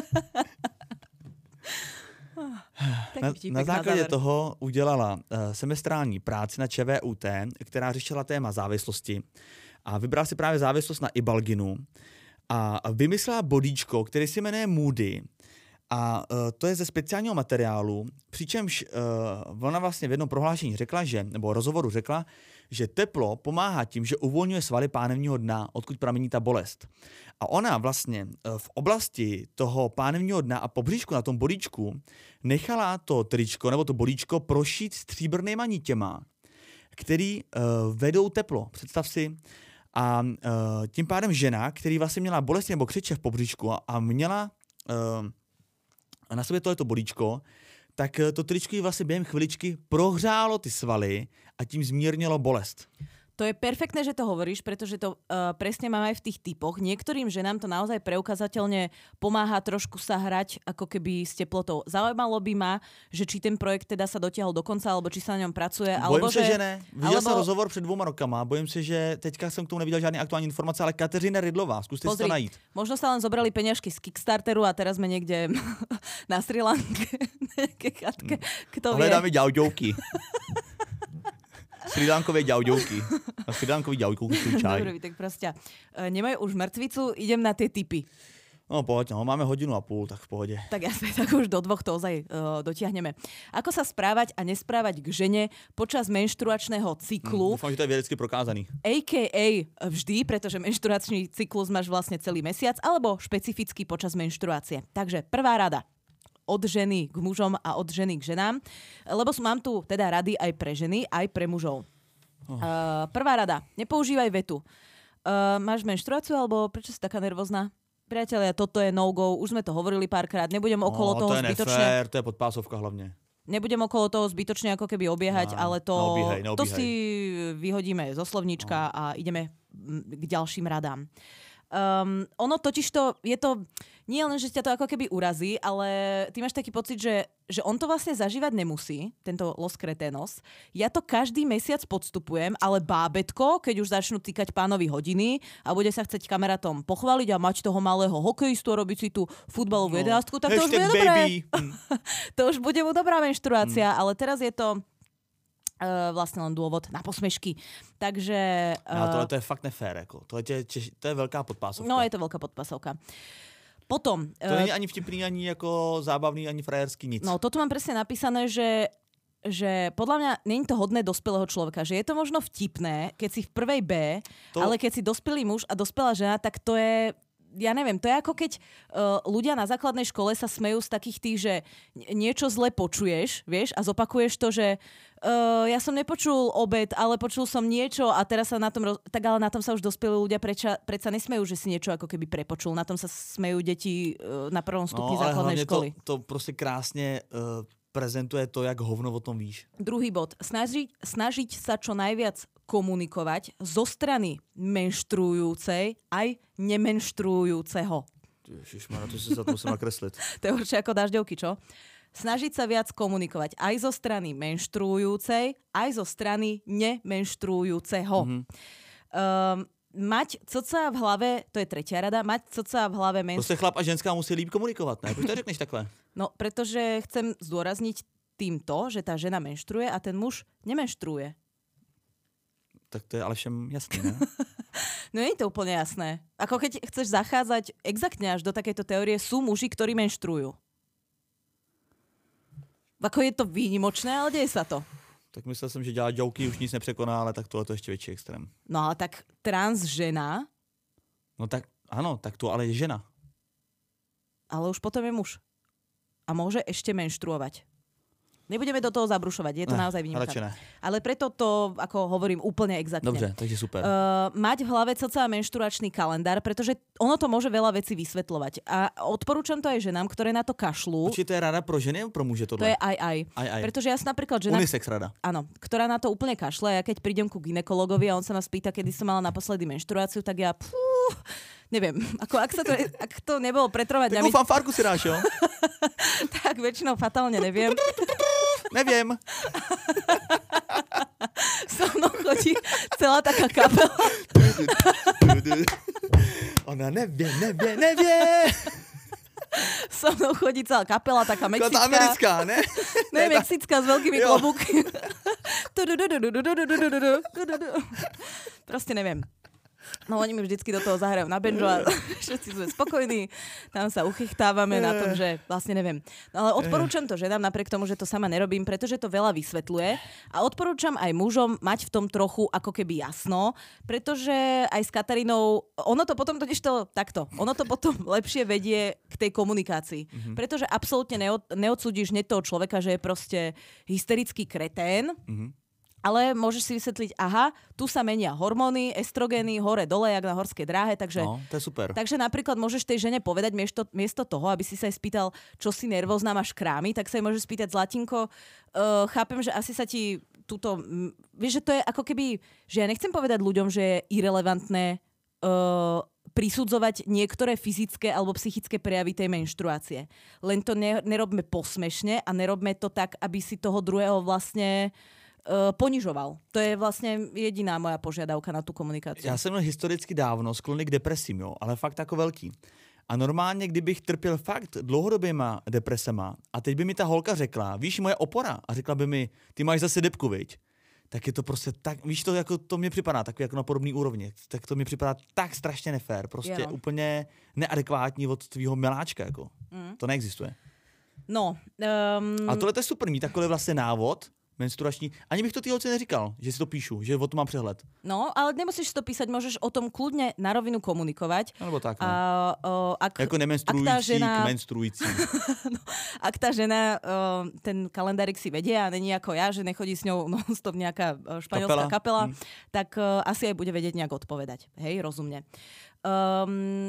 Na, na základě na toho udělala uh, semestrální práci na ČVUT, která řešila téma závislosti a vybrala si právě závislost na ibalginu a vymyslela bodíčko, který se jmenuje Moody a uh, to je ze speciálního materiálu, přičemž uh, ona vlastně v jednom prohlášení řekla, že, nebo rozhovoru řekla, že teplo pomáhá tím, že uvolňuje svaly pánevního dna, odkud pramení ta bolest. A ona vlastně v oblasti toho pánevního dna a pobříšku na tom bodíčku nechala to tričko nebo to bodíčko prošít stříbrnýma nitěma, který uh, vedou teplo. Představ si. A uh, tím pádem žena, který vlastně měla bolest nebo křeče v pobříšku a, a měla uh, na sobě tohleto bodíčko, tak to tričko jí vlastně během chviličky prohřálo ty svaly a tím zmírnilo bolest. To je perfektné, že to hovoríš, pretože to uh, presne mám aj v tých typoch. Niektorým ženám to naozaj preukazateľne pomáha trošku sa hrať ako keby s teplotou. Zaujímalo by ma, že či ten projekt teda sa dotiahol do konca, alebo či sa na ňom pracuje. Bojím alebo se, že, že ne. Viděl alebo... jsem rozhovor před dvouma rokama. Bojím se, že teďka jsem k tomu neviděl žádný aktuální informace, ale Kateřina Rydlová, zkuste si to najít. Možno sa len zobrali peňažky z Kickstarteru a teraz sme niekde na Sri Lanke. Kto vie? Hledáme ďauďovky. Srilankové ďauďovky. A srilankový ďauďovky čaj. Dobre, tak proste. E, nemajú už mŕtvicu, idem na tie tipy. No poď, no, máme hodinu a půl, tak v pohodě. Tak jasne, tak už do dvoch to ozaj uh, dotiahneme. Ako sa správať a nesprávať k žene počas menštruačného cyklu? Hmm, dúfam, že to je vedecky prokázaný. á ká á vždy, pretože menštruačný cyklus máš vlastne celý mesiac, alebo špecificky počas menštruácie. Takže prvá rada. Od ženy k mužom a od ženy k ženám. Lebo mám tu teda rady aj pre ženy, aj pre mužov. Oh. Uh, prvá rada. Nepoužívaj vetu. Uh, máš menštruáciu, alebo prečo si taká nervózna? Priatelia, toto je no-go. Už sme to hovorili párkrát. Nebudem okolo no, toho to je zbytočne. Nefér, to je podpásovka hlavne. Nebudem okolo toho zbytočne ako keby obiehať, no, ale to, neobíhaj, neobíhaj. to si vyhodíme zo slovníčka no. a ideme k ďalším radám. Um, ono totiž to, je to, nie len, že ťa to ako keby urazí, ale ty máš taký pocit, že, že on to vlastne zažívať nemusí, tento Los Cretinos. Ja to každý mesiac podstupujem, ale bábätko, keď už začnú týkať pánovi hodiny a bude sa chcieť kamarátom pochváliť a mať toho malého hokejistu a robiť si tú futbalovú no. jedenástku, tak to už bude dobré. To už bude mu dobrá menštruácia, mm. ale teraz je to Uh, vlastne len dôvod na posmešky. Takže... Uh, no, tohle to je fakt nefér. Jako. To, je, to je veľká podpásovka. No, je to veľká podpásovka. Potom... To uh, není ani vtipný, ani jako zábavný, ani frajerský, nic. No, toto mám presne napísané, že že podľa mňa nie je to hodné dospelého človeka. Že je to možno vtipné, keď si v prvej B, to... ale keď si dospelý muž a dospelá žena, tak to je... Ja neviem, to je ako keď uh, ľudia na základnej škole sa smejú z takých tých, že niečo zle počuješ, vieš, a zopakuješ to, že uh, ja som nepočul obed, ale počul som niečo a teraz sa na tom, roz... tak ale na tom sa už dospelí ľudia preča, predsa nesmejú, že si niečo ako keby prepočul. Na tom sa smejú deti uh, na prvom stupni no, základnej školy. To, to proste krásne uh, prezentuje to, jak hovno o tom víš. Druhý bod. Snažiť, snažiť sa čo najviac komunikovať zo strany menštruujúcej aj nemenštruujúceho. Ježišmarja, to si sa to musím nakresliť. To je určite ako dažďovky, čo? Snažiť sa viac komunikovať aj zo strany menštruujúcej, aj zo strany nemenštruujúceho. Mm-hmm. Um, mať coca v hlave, to je tretia rada, mať coca v hlave menštruujúceho. Proste chlap a ženská musí líp komunikovať, ne? Proč to řekneš takhle? No, pretože chcem zdôrazniť týmto, že tá žena menštruuje a ten muž nemenštruuje. Tak to je ale všem jasné, ne? No nie je to úplne jasné. Ako keď chceš zachádzať exaktne až do takejto teórie, sú muži, ktorí menštruujú. Ako je to výnimočné, ale deje sa to. Tak myslel som, že dělat joky už nic nepřekoná, ale tak tohle to ještě větší extrém. No ale tak trans žena... No tak, ano, tak to ale je žena. Ale už potom je muž. A môže ešte menštruovať. Nebudeme do toho zabrušovať, je to ne, naozaj výnimka. Ale preto to, ako hovorím, úplne exaktne. Dobre, takže super. Uh, mať v hlave cca menštruačný kalendár, pretože ono to môže veľa vecí vysvetľovať. A odporúčam to aj ženám, ktoré na to kašľú. Či to je rada pro ženy, pro muže tohle? To je aj aj. aj, aj. Pretože ja som napríklad žena... Unisex rada. Áno, ktorá na to úplne kašle. Ja keď prídem ku gynekologovi a on sa ma spýta, kedy som mala naposledy menštruáciu, tak ja... Pú, neviem, ako ak, sa to, ak to nebolo pretrovať... Takú fanfárku si dáš, jo? Tak väčšinou fatálne neviem. Neviem. So mnou chodí celá taká kapela. Ona nevie, nevie, nevie. So mnou chodí celá kapela, taká mexická. Taká americká, ne? Ne, mexická s veľkými klobúkmi. Proste neviem. No oni mi vždycky do toho zahrajú na banjo a všetci sme spokojní. Tam sa uchychtávame na tom, že vlastne neviem. No ale odporúčam to ženám napriek tomu, že to sama nerobím, pretože to veľa vysvetľuje. A odporúčam aj mužom mať v tom trochu ako keby jasno, pretože aj s Katarínou, ono to potom totiž to takto, ono to potom lepšie vedie k tej komunikácii. Mm-hmm. Pretože absolútne neod, neodsúdiš hneď toho človeka, že je proste hysterický kretén, mm-hmm. ale môžeš si vysvetliť, aha, tu sa menia hormóny, estrogény, hore, dole, jak na horskej dráhe, takže... No, to je super. Takže napríklad môžeš tej žene povedať miesto, miesto toho, aby si sa jej spýtal, čo si nervózna, máš krámy, tak sa jej môžeš spýtať, Zlatinko, uh, chápem, že asi sa ti túto... M, vieš, že to je ako keby... Že ja nechcem povedať ľuďom, že je irelevantné uh, prisudzovať niektoré fyzické alebo psychické prejavy tej menštruácie. Len to ne, nerobme posmešne a nerobme to tak, aby si toho druhého vlastne... ponižoval. To je vlastně jediná moja požiadavka na tu komunikaci. Já jsem měl historicky dávno sklony k depresím, jo, ale fakt jako velký. A normálně, kdybych trpěl fakt dlouhodobýma depresema a teď by mi ta holka řekla, víš, moje opora, a řekla by mi, ty máš zase depku, viď? Tak je to prostě tak, víš, to jako to mi připadá takový jako na podobný úrovni. Tak to mi připadá tak strašně nefér, prostě jo. Úplně neadekvátní od tvýho miláčka, jako. Mm. To neexistuje. No. Um... A tohle to je super, mít takový vlastně návod, menstruační. Ani bych to ty holce neříkal, že si to píšu, že o tom mám přehled. No, ale nemusíš to písať, môžeš o tom kľudne na rovinu komunikovať. Alebo tak, no. A, o, ak, jako nemenstruující žena... k menstruující. No, ak tá žena o, ten kalendárik si vedie a není ako ja, že nechodí s ňou non-stop nejaká španielská kapela, kapela hmm. tak o, asi aj bude vedieť nejak odpovedať. Hej, rozumne. Um,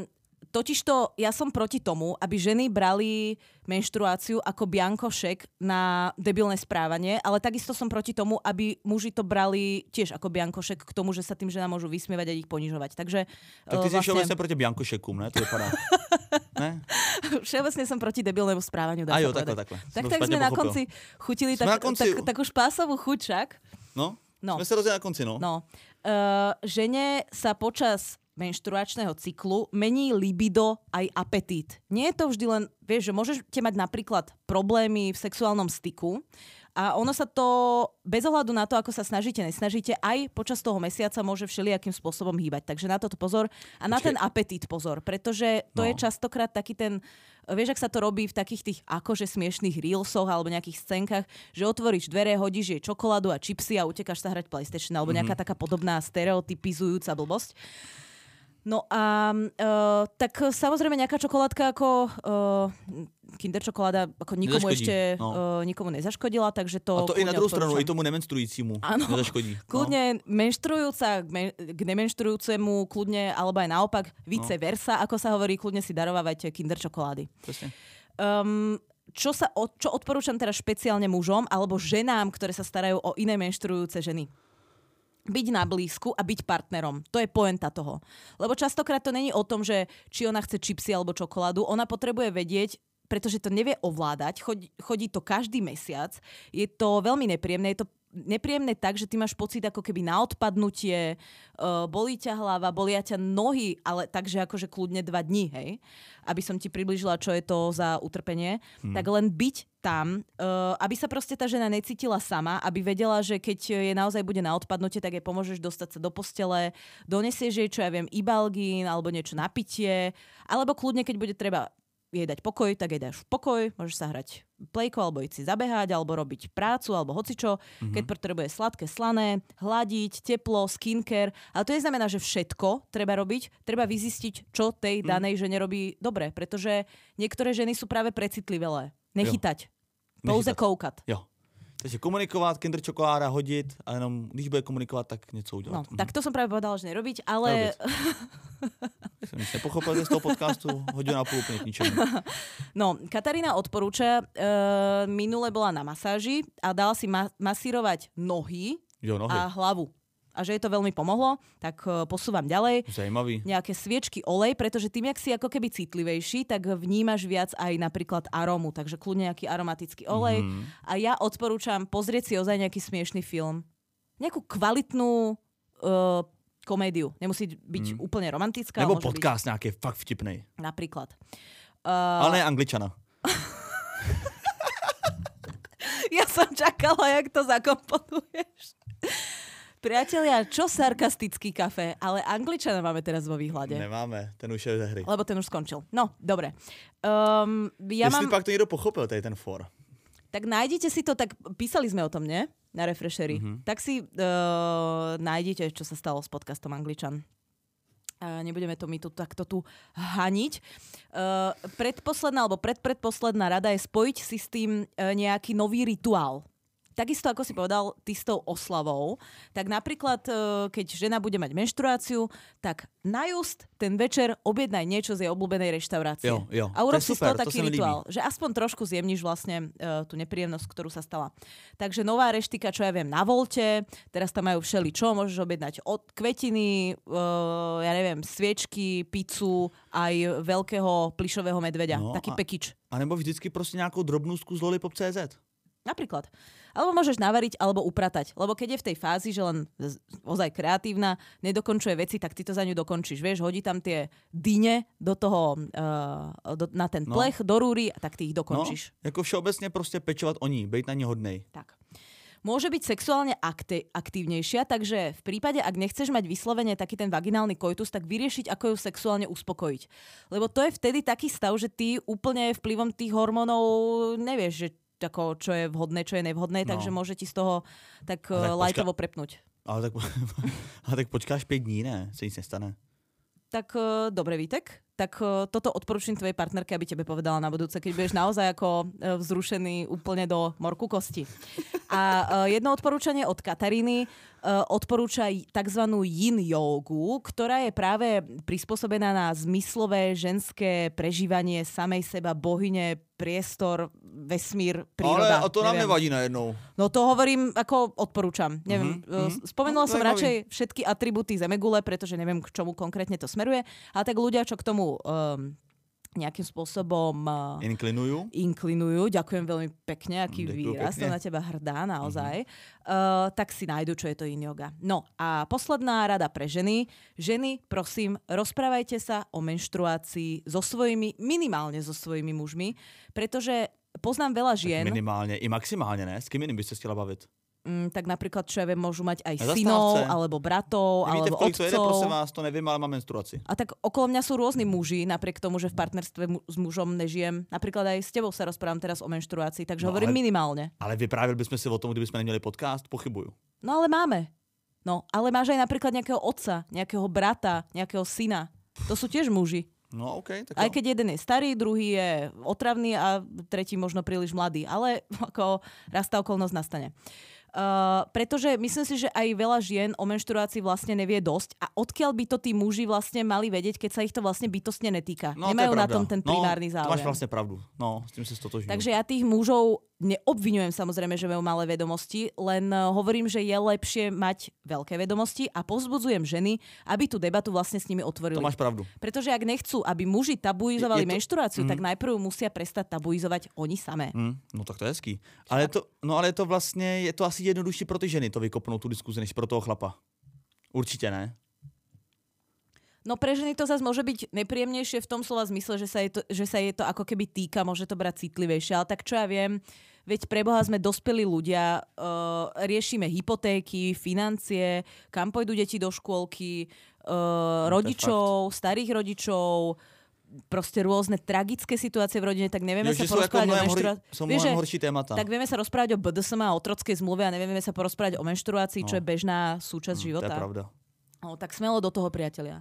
totižto ja som proti tomu, aby ženy brali menštruáciu ako biankošek na debilné správanie, ale takisto som proti tomu, aby muži to brali tiež ako biankošek k tomu, že sa tým ženám môžu vysmievať a ich ponižovať. Takže, tak ty vlastne... si všeobecne proti biankošekům, ne? To vypadá. Ne? Všeobecne som proti debilnému správaniu. A jo, takhle, takhle. Tak, tak sme na konci chutili tak, na konci... Tak, takú špásovú chuť však. No, no, sme sa rozdieli na konci, no. no. Uh, žene sa počas menštruačného cyklu mení libido aj apetít. Nie je to vždy len, vieš, že môžete mať napríklad problémy v sexuálnom styku a ono sa to, bez ohľadu na to, ako sa snažíte, nesnažíte, aj počas toho mesiaca môže všelijakým spôsobom hýbať. Takže na toto pozor a na Počkej. ten apetít pozor, pretože to no. je častokrát taký ten, vieš, ak sa to robí v takých tých akože smiešných reelsoch alebo nejakých scénkach, že otvoríš dvere, hodíš jej čokoládu a čipsy a utekáš sa hrať PlayStation alebo nejaká mm-hmm. taká podobná stereotypizujúca blbosť. No a uh, tak samozrejme nejaká čokoládka ako uh, Kinder čokoláda ako nikomu nezaškodí, ešte no. uh, nikomu nezaškodila, takže to... A to i na druhou stranu, i tomu nemenstrujícímu ano, nezaškodí. Kľudne no. menštrujúca k nemenštrujúcemu, kľudne, alebo aj naopak, vice no. versa, ako sa hovorí, kľudne si darovávajte Kinder čokolády. Um, čo, sa, čo odporúčam teraz špeciálne mužom alebo ženám, ktoré sa starajú o iné menštrujúce ženy? Byť na blízku a byť partnerom. To je pointa toho. Lebo častokrát to není o tom, že či ona chce čipsy alebo čokoládu. Ona potrebuje vedieť, pretože to nevie ovládať. Chodí, chodí to každý mesiac. Je to veľmi nepríjemné. Je to nepríjemné tak, že ty máš pocit ako keby na odpadnutie, uh, bolí ťa hlava, bolia ťa nohy, ale takže akože kľudne dva dní, hej? Aby som ti priblížila, čo je to za utrpenie. Hmm. Tak len byť tam, uh, aby sa proste tá žena necítila sama, aby vedela, že keď je naozaj bude na odpadnutie, tak jej pomôžeš dostať sa do postele, donesieš jej, čo ja viem, ibalgín alebo niečo na pitie, alebo kľudne, keď bude treba jej dať pokoj, tak jej dáš pokoj, môžeš sa hrať plejko, alebo ísť si zabehať, alebo robiť prácu, alebo hocičo, mm-hmm. keď potrebuje sladké, slané, hladiť, teplo, skincare. Ale to neznamená, že všetko treba robiť, treba vyzistiť, čo tej danej mm. žene robí dobre, pretože niektoré ženy sú práve precitlivé. Nechytať. Jo. Pouze Nechytať. koukat. Jo. Takže komunikovat, Kinder čokoláda hodit a jenom, když bude komunikovat, tak něco udělat. No, mm. tak to som práve povedala, že nerobiť, ale... Som nič nepochopil z toho podcastu, hodinu a půl úplne k ničemu. No, Katarína odporúča, e, minule bola na masáži a dala si ma- masírovať nohy, jo, nohy a hlavu. A že jej to veľmi pomohlo, tak uh, posúvam ďalej. Zajímavý. Nejaké sviečky, olej, pretože tým, jak si ako keby citlivejší, tak vnímaš viac aj napríklad arómu, takže kľudne nejaký aromatický olej. Mm. A ja odporúčam pozrieť si ozaj nejaký smiešný film. Nejakú kvalitnú uh, komédiu. Nemusí byť mm. úplne romantická. Nebo podcast byť... nejaký fakt vtipnej. Napríklad. Uh... Ale ne Angličana. Ja som čakala, jak to zakomponuješ. Priatelia, čo sarkastický kafe, ale Angličana máme teraz vo výhľade. Nemáme, ten už je ze hry. Lebo ten už skončil. No, dobre. Um, ja Jestli mám... pak to niekto pochopil, tady ten for. Tak nájdete si to, tak písali sme o tom, nie? Na Refreshery. Mm-hmm. Tak si uh, nájdete, čo sa stalo s podcastom Angličan. Uh, nebudeme to my tu takto tu haniť. Uh, predposledná alebo predpredposledná rada je spojiť si s tým uh, nejaký nový rituál. Takisto, ako si povedal, ty s tou oslavou, tak napríklad, keď žena bude mať menštruáciu, tak na just ten večer objednaj niečo z jej obľúbenej reštaurácie. Jo, jo. A urob to si z toho taký rituál, že aspoň trošku zjemníš vlastne uh, tú nepríjemnosť, ktorú sa stala. Takže nová reštika, čo ja viem, na Volte, teraz tam majú všeli čo, môžeš objednať od kvetiny, uh, ja neviem, sviečky, pizzu, aj veľkého plišového medveďa. No, taký a, pekič. A nebo vždycky proste nejakú drobnústku z lollipop bodka cé zet. Napríklad. Alebo môžeš navariť, alebo upratať. Lebo keď je v tej fázi, že len ozaj kreatívna, nedokončuje veci, tak ty to za ňu dokončíš. Vieš, hodí tam tie dyne do toho, uh, do, na ten plech, no. do rúry, a tak ty ich dokončíš. No, ako všeobecne proste pečovať o ní, bejť na ní hodnej. Tak. Môže byť sexuálne akti- aktívnejšia, takže v prípade, ak nechceš mať vyslovene taký ten vaginálny koitus, tak vyriešiť, ako ju sexuálne uspokojiť. Lebo to je vtedy taký stav, že ty úplne vplyvom tých hormónov nevieš, že ako, čo je vhodné, čo je nevhodné, no. takže môže ti z toho tak, tak lajtovo počka... prepnúť. Ale tak, ale tak počkáš päť dní, ne? Se nic nestane. Tak uh, dobre, Vítek. tak uh, toto odporúčam tvojej partnerke, aby tebe povedala na budúce, keď budeš naozaj ako uh, vzrušený úplne do morku kosti. A uh, jedno odporúčanie od Kataríny uh, odporúča tzv. Yin jogu, ktorá je práve prispôsobená na zmyslové ženské prežívanie samej seba, bohyne, priestor, vesmír, príroda. Ale to nám nevadí najednou. No to hovorím, ako odporúčam. Neviem, mm-hmm. spomenula no, som radšej všetky atribúty zemegule, pretože neviem, k čomu konkrétne to smeruje. Ale tak ľudia, čo k tomu um, nejakým spôsobom uh, inklinujú. inklinujú, ďakujem veľmi pekne, aký Ďakujem výraz, pekne. To na teba hrdá naozaj, mm-hmm. uh, tak si nájdu, čo je to yin yoga. No a posledná rada pre ženy. Ženy, prosím, rozprávajte sa o menštruácii so svojimi, minimálne so svojimi mužmi, pretože poznám veľa žien. Tak minimálne i maximálne, ne? S kým iným by ste chcela bavit? Mm, tak napríklad, čo ja viem, môžu mať aj synov, alebo bratov, Nevíte, alebo otcov. Nevíte, otcov. prosím vás, to neviem, ale mám menstruaci. A tak okolo mňa sú rôzni muži, napriek tomu, že v partnerstve mu- s mužom nežijem. Napríklad aj s tebou sa rozprávam teraz o menštruácii, takže no, hovorím ale, minimálne. Ale vyprávili bychom si o tom, kdyby sme neměli podcast? Pochybuju. No ale máme. No, ale máš aj napríklad nejakého otca, nejakého brata, nejakého syna. To sú tiež muži. No, okay, tak aj jo. keď jeden je starý, druhý je otravný a tretí možno príliš mladý. Ale ako raz tá okolnosť nastane. Uh, pretože myslím si, že aj veľa žien o menštruácii vlastne nevie dosť a odkiaľ by to tí muži vlastne mali vedieť, keď sa ich to vlastne bytostne netýka. No, Nemajú to na tom ten primárny no, záujem. To máš vlastne pravdu. No, s tým sa stotožňujem. Takže ja tých mužov neobviňujem samozrejme, že majú malé vedomosti, len uh, hovorím, že je lepšie mať veľké vedomosti a povzbudzujem ženy, aby tú debatu vlastne s nimi otvorili. To máš pravdu. Pretože ak nechcú, aby muži tabuizovali je, je to, menštruáciu, mm. tak najprv musia prestať tabuizovať oni samé. Mm, no tak to je hezký. Ale je to, no ale je to vlastně, je to asi jednodušší pro ty ženy to vykopnout tu diskuzi, než pro toho chlapa. Určitě ne. No pre ženy to zase môže byť nepríjemnejšie v tom slova zmysle, že sa, je to, že sa je to ako keby týka, môže to brať citlivejšie, ale tak čo ja viem, veď preboha sme dospelí ľudia, uh, riešime hypotéky, financie, kam pôjdu deti do škôlky, uh, no, rodičov, starých rodičov, proste rôzne tragické situácie v rodine, tak nevieme jo, sa porozprávať o menštruácii. Sú mnohem horší témata. Tak vieme sa rozprávať o bé dé es em a o otrockej zmluve a nevieme sa porozprávať o menštruácii, no. čo je bežná súčasť no, života. To je pravda. No, tak smelo do toho, priatelia.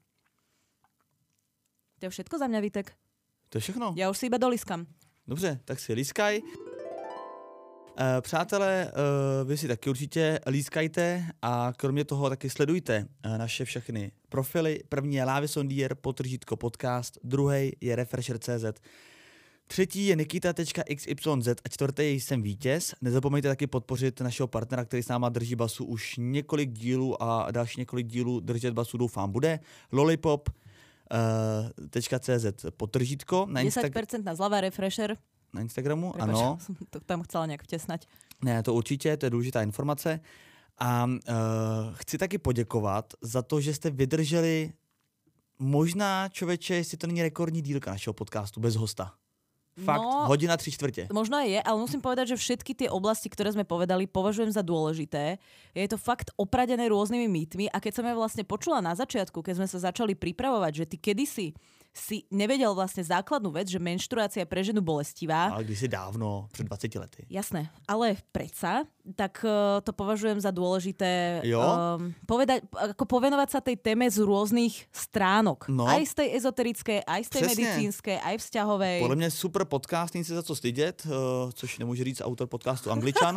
To je všetko za mňa, Vítek. To je všechno. Já už si iba doliskám. Dobře, tak si lískaj. Uh, přátelé, uh, vy si taky určitě lískajte a kromě toho taky sledujte uh, naše všechny profily. První je Lávy Sondier, potržítko podcast, druhý je Refresher tečka cé zet, třetí je nikita tečka iks ypsilon zet a čtvrtý jsem Vítěz. Nezapomeňte taky podpořit našeho partnera, který s náma drží basu už několik dílů a další několik dílů držet basu doufám bude. Lollipop. Uh, .cz potržítko. Na desať percent na zľava Refresher. Na Instagramu, Prepač, ano. Som to tam chcela nejak vtesnať. Ne, to určitě, to je důležitá informace. A uh, chci taky poděkovat za to, že jste vydrželi možná, člověče, jestli to není rekordní dílka našeho podcastu bez hosta. Fakt, no, hodina tři čtvrtě. Možno aj je, ale musím povedať, že všetky tie oblasti, ktoré sme povedali, považujem za dôležité. Je to fakt opradené rôznymi mýtmi a keď som ja vlastne počula na začiatku, keď sme sa začali pripravovať, že ty kedysi si nevedel vlastne základnú vec, že menštruácia je pre ženu bolestivá. Ale kdysi dávno, před dvaceti lety. Jasné, ale predsa, tak uh, to považujem za dôležité um, povedať, ako povenovať sa tej téme z rôznych stránok. No. Aj z tej ezoterické, aj z tej Přesně. medicínskej, aj vzťahovej. Podle mě super podcast, není se za co stydět, uh, což nemůže říct autor podcastu Angličan.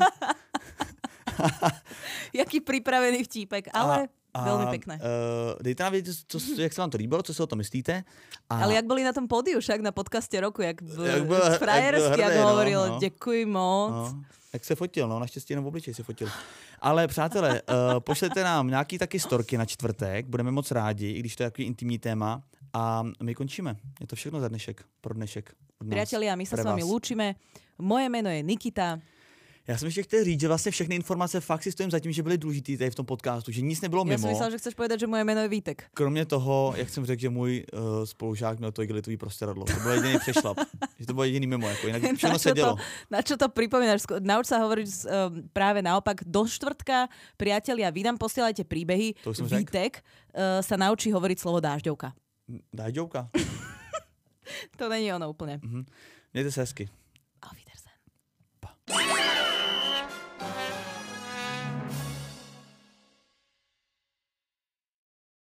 Jaký pripravený vtípek, ale... A... A, veľmi pekné. Uh, dejte nám vědět, co, jak se vám to líbilo, co si o tom myslíte. A... Ale jak boli na tom pódiu však na podcaste roku, jak, b- jak byl, frajersky, jak, jak hovoril, no, no. Děkuji moc. No. Jak se fotil, no, naštěstí jenom v obličeji se fotil. Ale přátelé, uh, pošlete nám nějaký taky storky na čtvrtek, budeme moc rádi, i když to je takový intimní téma. A my končíme. Je to všechno za dnešek, pro dnešek. Priatelia, my sa s vami lúčime. Moje meno je Nikita. Já jsem ještě chtěl říct, že vlastně všechny informace fakt si stojím za tím, že byly důležitý tady v tom podcastu, že nic nebylo mimo. Já jsem myslel, že chceš povedať, že moje jméno je Vítek. Kromě toho, jak jsem řekl, že můj uh, spolužák měl to igelitový prostěradlo. To byl jediný přešlap. Že to bylo jediný mimo, jako jinak všechno se dělo. Na čo to pripomínaš? Nauč sa hovoriť um, práve naopak. Do štvrtka, priatelia, vy nám posielajte príbehy. Vítek uh, sa naučí hovoriť slovo dážďovka. Dážďovka? To není ono úplne. Mm-hmm. Mějte se hezky. Auf Wiedersehen.